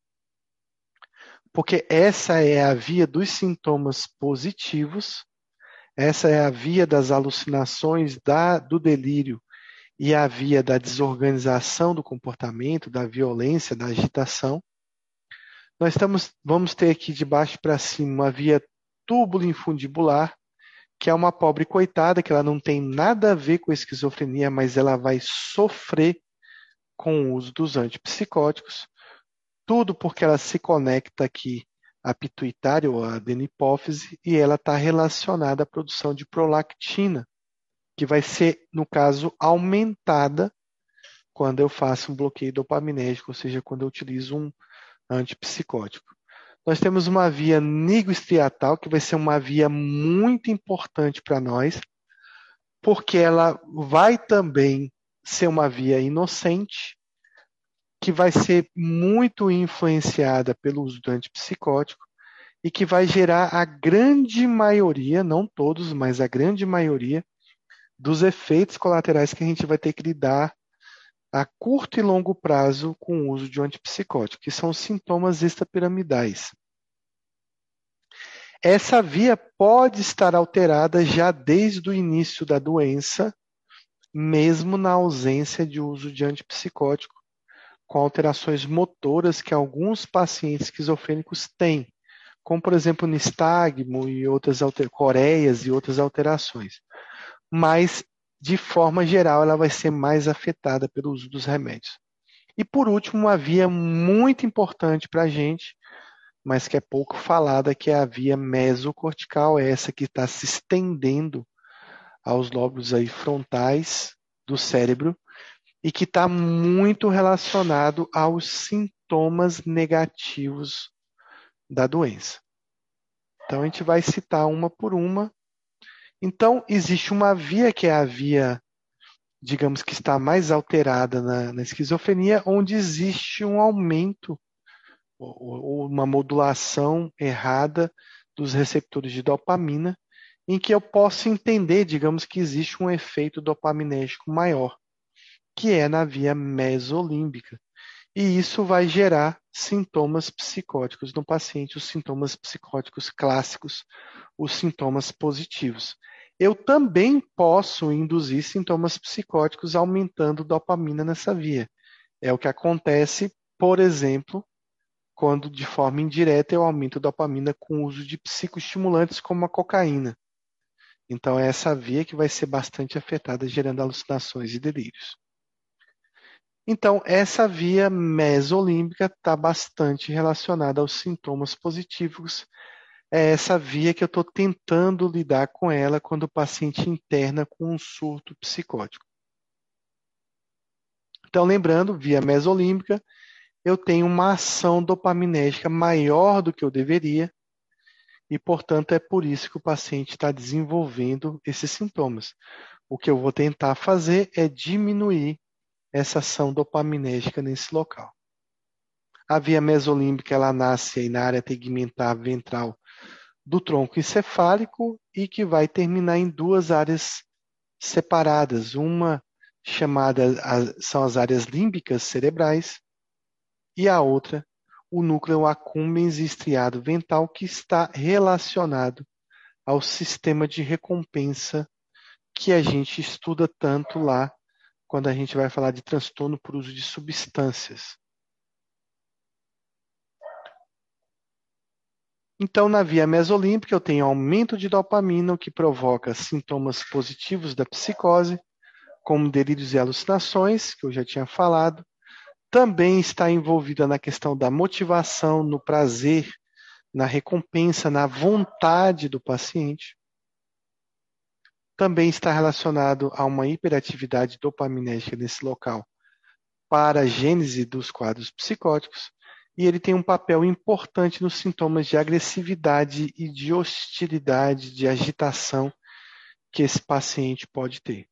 Speaker 1: porque essa é a via dos sintomas positivos, essa é a via das alucinações, da, do delírio e a via da desorganização do comportamento, da violência, da agitação. Nós estamos, vamos ter aqui de baixo para cima uma via túbulo-infundibular, que é uma pobre coitada, que ela não tem nada a ver com a esquizofrenia, mas ela vai sofrer com o uso dos antipsicóticos, tudo porque ela se conecta aqui à pituitária ou à adenopófise e ela está relacionada à produção de prolactina, que vai ser, no caso, aumentada quando eu faço um bloqueio dopaminérgico, ou seja, quando eu utilizo um antipsicótico. Nós temos uma via nigrostriatal, que vai ser uma via muito importante para nós, porque ela vai também ser uma via inocente, que vai ser muito influenciada pelo uso do antipsicótico e que vai gerar a grande maioria, não todos, mas a grande maioria dos efeitos colaterais que a gente vai ter que lidar a curto e longo prazo com o uso de um antipsicótico, que são os sintomas extrapiramidais. Essa via pode estar alterada já desde o início da doença, mesmo na ausência de uso de antipsicótico, com alterações motoras que alguns pacientes esquizofrênicos têm, como, por exemplo, nistagmo e outras alter... coreias e outras alterações. Mas, de forma geral, ela vai ser mais afetada pelo uso dos remédios. E, por último, uma via muito importante para a gente, mas que é pouco falada, que é a via mesocortical, é essa que está se estendendo aos lóbulos aí frontais do cérebro e que está muito relacionado aos sintomas negativos da doença. Então, a gente vai citar uma por uma. Então, existe uma via que é a via, digamos que está mais alterada na, na esquizofrenia, onde existe um aumento ou, ou uma modulação errada dos receptores de dopamina, em que eu posso entender, digamos que existe um efeito dopaminérgico maior, que é na via mesolímbica. E isso vai gerar sintomas psicóticos no paciente, os sintomas psicóticos clássicos, os sintomas positivos. Eu também posso induzir sintomas psicóticos aumentando dopamina nessa via. É o que acontece, por exemplo, quando de forma indireta eu aumento dopamina com o uso de psicoestimulantes como a cocaína. Então é essa via que vai ser bastante afetada, gerando alucinações e delírios. Então, essa via mesolímbica está bastante relacionada aos sintomas positivos. É essa via que eu estou tentando lidar com ela quando o paciente interna com um surto psicótico. Então, lembrando, via mesolímbica, eu tenho uma ação dopaminérgica maior do que eu deveria e, portanto, é por isso que o paciente está desenvolvendo esses sintomas. O que eu vou tentar fazer é diminuir essa ação dopaminérgica nesse local. A via mesolímbica ela nasce aí na área tegmentar ventral do tronco encefálico e que vai terminar em duas áreas separadas. Uma chamada são as áreas límbicas cerebrais e a outra o núcleo accumbens e estriado ventral, que está relacionado ao sistema de recompensa que a gente estuda tanto lá quando a gente vai falar de transtorno por uso de substâncias. Então, na via mesolímbica, eu tenho aumento de dopamina, o que provoca sintomas positivos da psicose, como delírios e alucinações, que eu já tinha falado. Também está envolvida na questão da motivação, no prazer, na recompensa, na vontade do paciente. Também está relacionado a uma hiperatividade dopaminérgica nesse local para a gênese dos quadros psicóticos, e ele tem um papel importante nos sintomas de agressividade e de hostilidade, de agitação que esse paciente pode ter.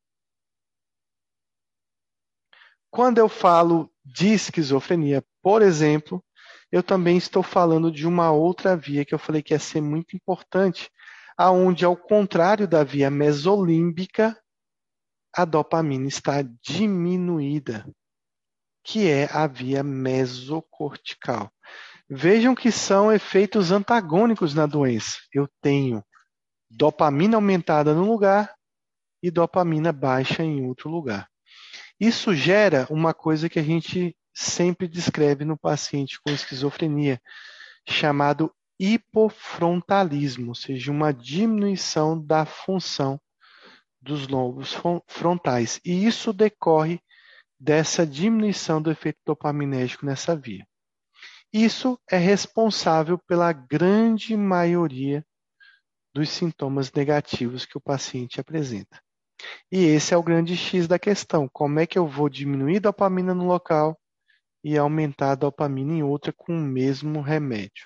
Speaker 1: Quando eu falo de esquizofrenia, por exemplo, eu também estou falando de uma outra via que eu falei que ia ser muito importante, aonde, ao contrário da via mesolímbica, a dopamina está diminuída, que é a via mesocortical. Vejam que são efeitos antagônicos na doença. Eu tenho dopamina aumentada num lugar e dopamina baixa em outro lugar. Isso gera uma coisa que a gente sempre descreve no paciente com esquizofrenia, chamado hipofrontalismo, ou seja, uma diminuição da função dos lobos frontais. E isso decorre dessa diminuição do efeito dopaminérgico nessa via. Isso é responsável pela grande maioria dos sintomas negativos que o paciente apresenta. E esse é o grande X da questão. Como é que eu vou diminuir a dopamina no local e aumentar a dopamina em outra com o mesmo remédio?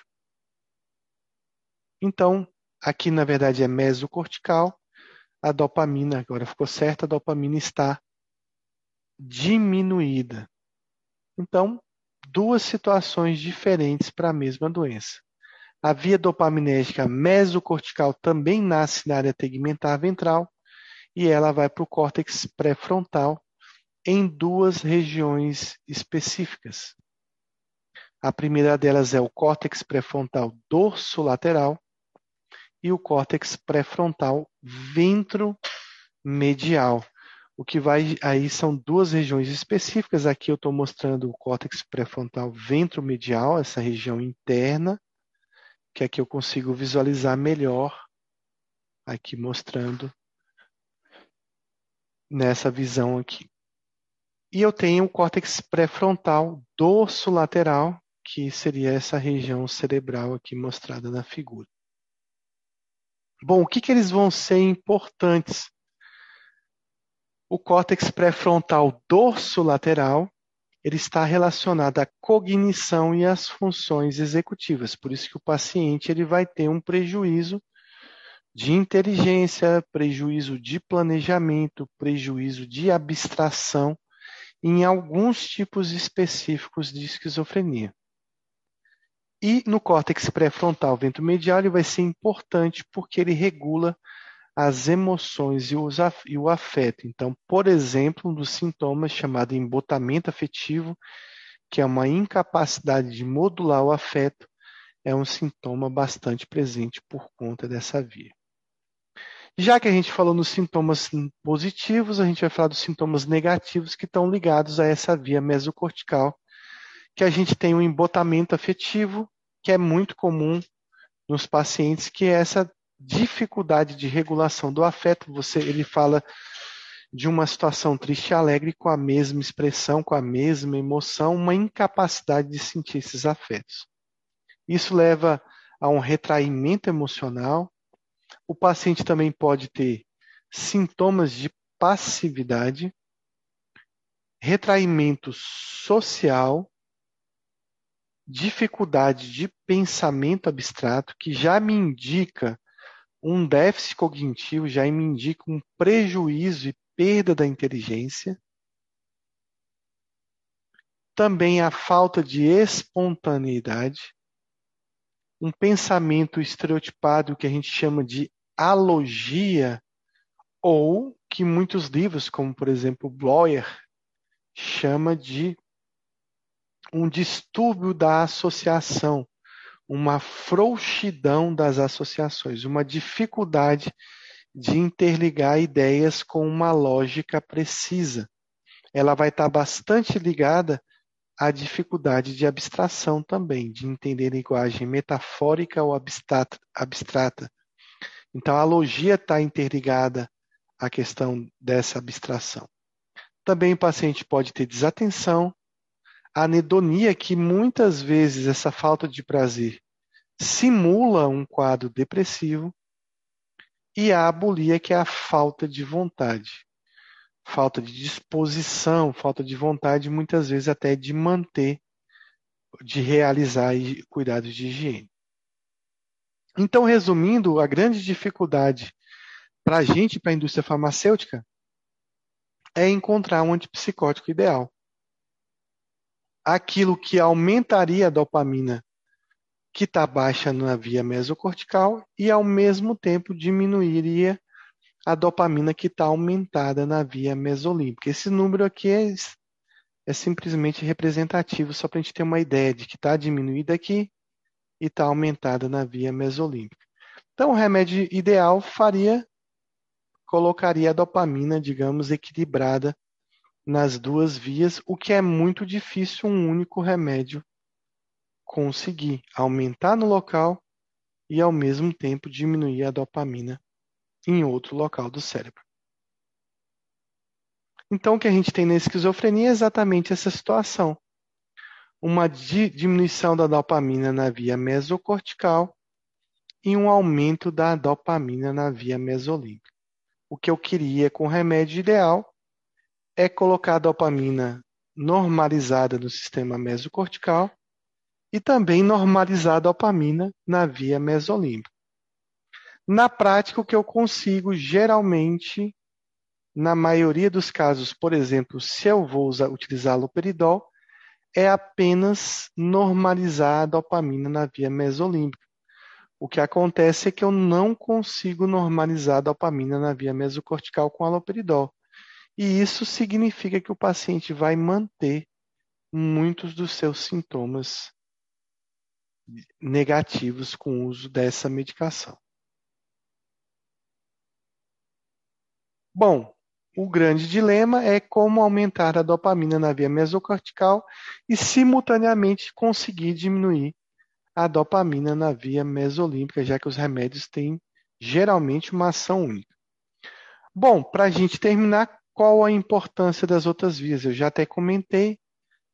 Speaker 1: Então, aqui na verdade é mesocortical. A dopamina, agora ficou certa, a dopamina está diminuída. Então, duas situações diferentes para a mesma doença. A via dopaminérgica mesocortical também nasce na área tegmentar ventral e ela vai para o córtex pré-frontal em duas regiões específicas. A primeira delas é o córtex pré-frontal dorsolateral e o córtex pré-frontal ventromedial. O que vai aí são duas regiões específicas. Aqui eu estou mostrando o córtex pré-frontal ventromedial, essa região interna, que aqui eu consigo visualizar melhor, aqui mostrando nessa visão aqui. E eu tenho o córtex pré-frontal dorsolateral, que seria essa região cerebral aqui mostrada na figura. Bom, o que, que eles vão ser importantes? O córtex pré-frontal dorsolateral, ele está relacionado à cognição e às funções executivas. Por isso que o paciente ele vai ter um prejuízo de inteligência, prejuízo de planejamento, prejuízo de abstração em alguns tipos específicos de esquizofrenia. E no córtex pré-frontal ventromedial ele vai ser importante porque ele regula as emoções e, os, e o afeto. Então, por exemplo, um dos sintomas chamado embotamento afetivo, que é uma incapacidade de modular o afeto, é um sintoma bastante presente por conta dessa via. Já que a gente falou nos sintomas positivos, a gente vai falar dos sintomas negativos que estão ligados a essa via mesocortical, que a gente tem um embotamento afetivo, que é muito comum nos pacientes, que é essa dificuldade de regulação do afeto. Você, ele fala de uma situação triste e alegre com a mesma expressão, com a mesma emoção, uma incapacidade de sentir esses afetos. Isso leva a um retraimento emocional. O paciente também pode ter sintomas de passividade, retraimento social, dificuldade de pensamento abstrato, que já me indica um déficit cognitivo, já me indica um prejuízo e perda da inteligência. Também a falta de espontaneidade, um pensamento estereotipado que a gente chama de alogia, ou que muitos livros, como por exemplo Bloyer, chama de um distúrbio da associação, uma frouxidão das associações, uma dificuldade de interligar ideias com uma lógica precisa. Ela vai estar bastante ligada à dificuldade de abstração também, de entender linguagem metafórica ou abstrata. abstrata. Então, a logia está interligada à questão dessa abstração. Também o paciente pode ter desatenção, anedonia, que muitas vezes essa falta de prazer simula um quadro depressivo, e a abulia, que é a falta de vontade, falta de disposição, falta de vontade, muitas vezes até de manter, de realizar cuidados de higiene. Então, resumindo, a grande dificuldade para a gente, para a indústria farmacêutica, é encontrar um antipsicótico ideal. Aquilo que aumentaria a dopamina que está baixa na via mesocortical e, ao mesmo tempo, diminuiria a dopamina que está aumentada na via mesolímbica. Esse número aqui é, é simplesmente representativo, só para a gente ter uma ideia de que está diminuída aqui e está aumentada na via mesolímbica. Então, o remédio ideal faria, colocaria a dopamina, digamos, equilibrada nas duas vias, o que é muito difícil um único remédio conseguir aumentar no local e, ao mesmo tempo, diminuir a dopamina em outro local do cérebro. Então, o que a gente tem na esquizofrenia é exatamente essa situação. Uma di- diminuição da dopamina na via mesocortical e um aumento da dopamina na via mesolímbica. O que eu queria com o remédio ideal é colocar a dopamina normalizada no sistema mesocortical e também normalizar a dopamina na via mesolímbica. Na prática, o que eu consigo, geralmente, na maioria dos casos, por exemplo, se eu vou usar, utilizar haloperidol, é apenas normalizar a dopamina na via mesolímbica. O que acontece é que eu não consigo normalizar a dopamina na via mesocortical com haloperidol. E isso significa que o paciente vai manter muitos dos seus sintomas negativos com o uso dessa medicação. Bom, o grande dilema é como aumentar a dopamina na via mesocortical e, simultaneamente, conseguir diminuir a dopamina na via mesolímbica, já que os remédios têm geralmente uma ação única. Bom, para a gente terminar, qual a importância das outras vias? Eu já até comentei,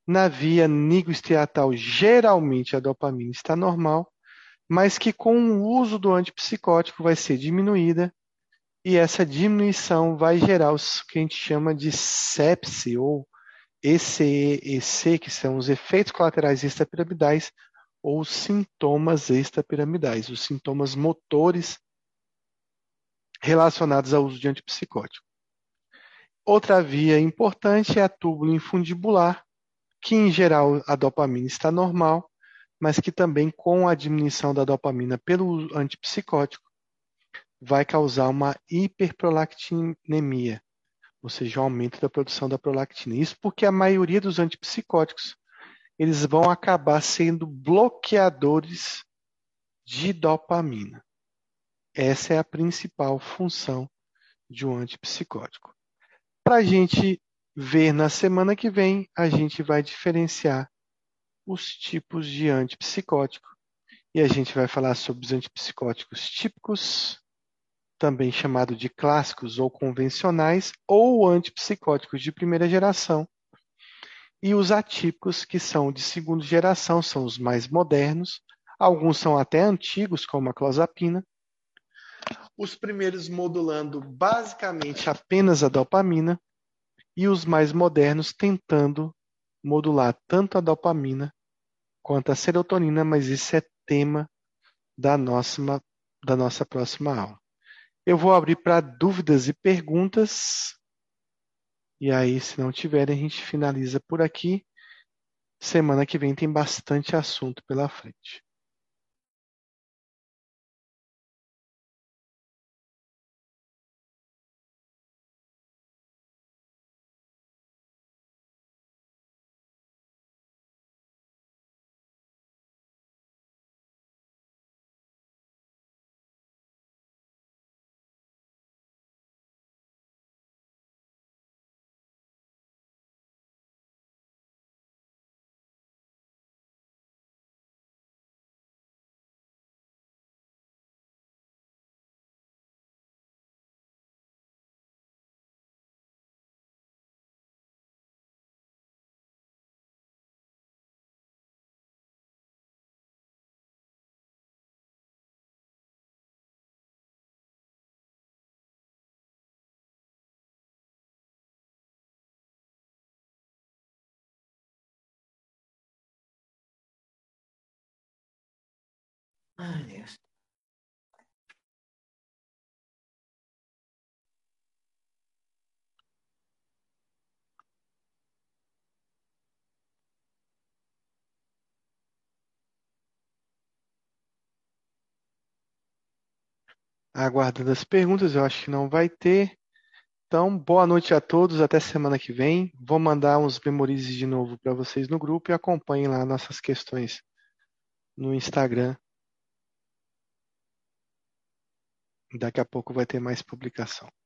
Speaker 1: Na via nigrostriatal, geralmente a dopamina está normal, mas que com o uso do antipsicótico vai ser diminuída, e essa diminuição vai gerar o que a gente chama de sepse, ou E C E E C, que são os efeitos colaterais extrapiramidais, ou sintomas extrapiramidais, os sintomas motores relacionados ao uso de antipsicótico. Outra via importante é a túbulo infundibular, que em geral a dopamina está normal, mas que também com a diminuição da dopamina pelo antipsicótico vai causar uma hiperprolactinemia, ou seja, um aumento da produção da prolactina. Isso porque a maioria dos antipsicóticos eles vão acabar sendo bloqueadores de dopamina. Essa é a principal função de um antipsicótico. Para a gente ver na semana que vem, a gente vai diferenciar os tipos de antipsicótico e a gente vai falar sobre os antipsicóticos típicos, também chamado de clássicos ou convencionais, ou antipsicóticos de primeira geração, e os atípicos, que são de segunda geração, são os mais modernos, alguns são até antigos, como a clozapina, os primeiros modulando basicamente apenas a dopamina, e os mais modernos tentando modular tanto a dopamina quanto a serotonina, mas isso é tema da nossa, da nossa próxima aula. Eu vou abrir para dúvidas e perguntas, e aí, se não tiverem, a gente finaliza por aqui. Semana que vem tem bastante assunto pela frente.
Speaker 2: Ai, Deus.
Speaker 1: Aguardando as perguntas, eu acho que não vai ter. Então, boa noite a todos, até semana que vem. Vou mandar uns memorizes de novo para vocês no grupo e acompanhem lá nossas questões no Instagram. Daqui a pouco vai ter mais publicação.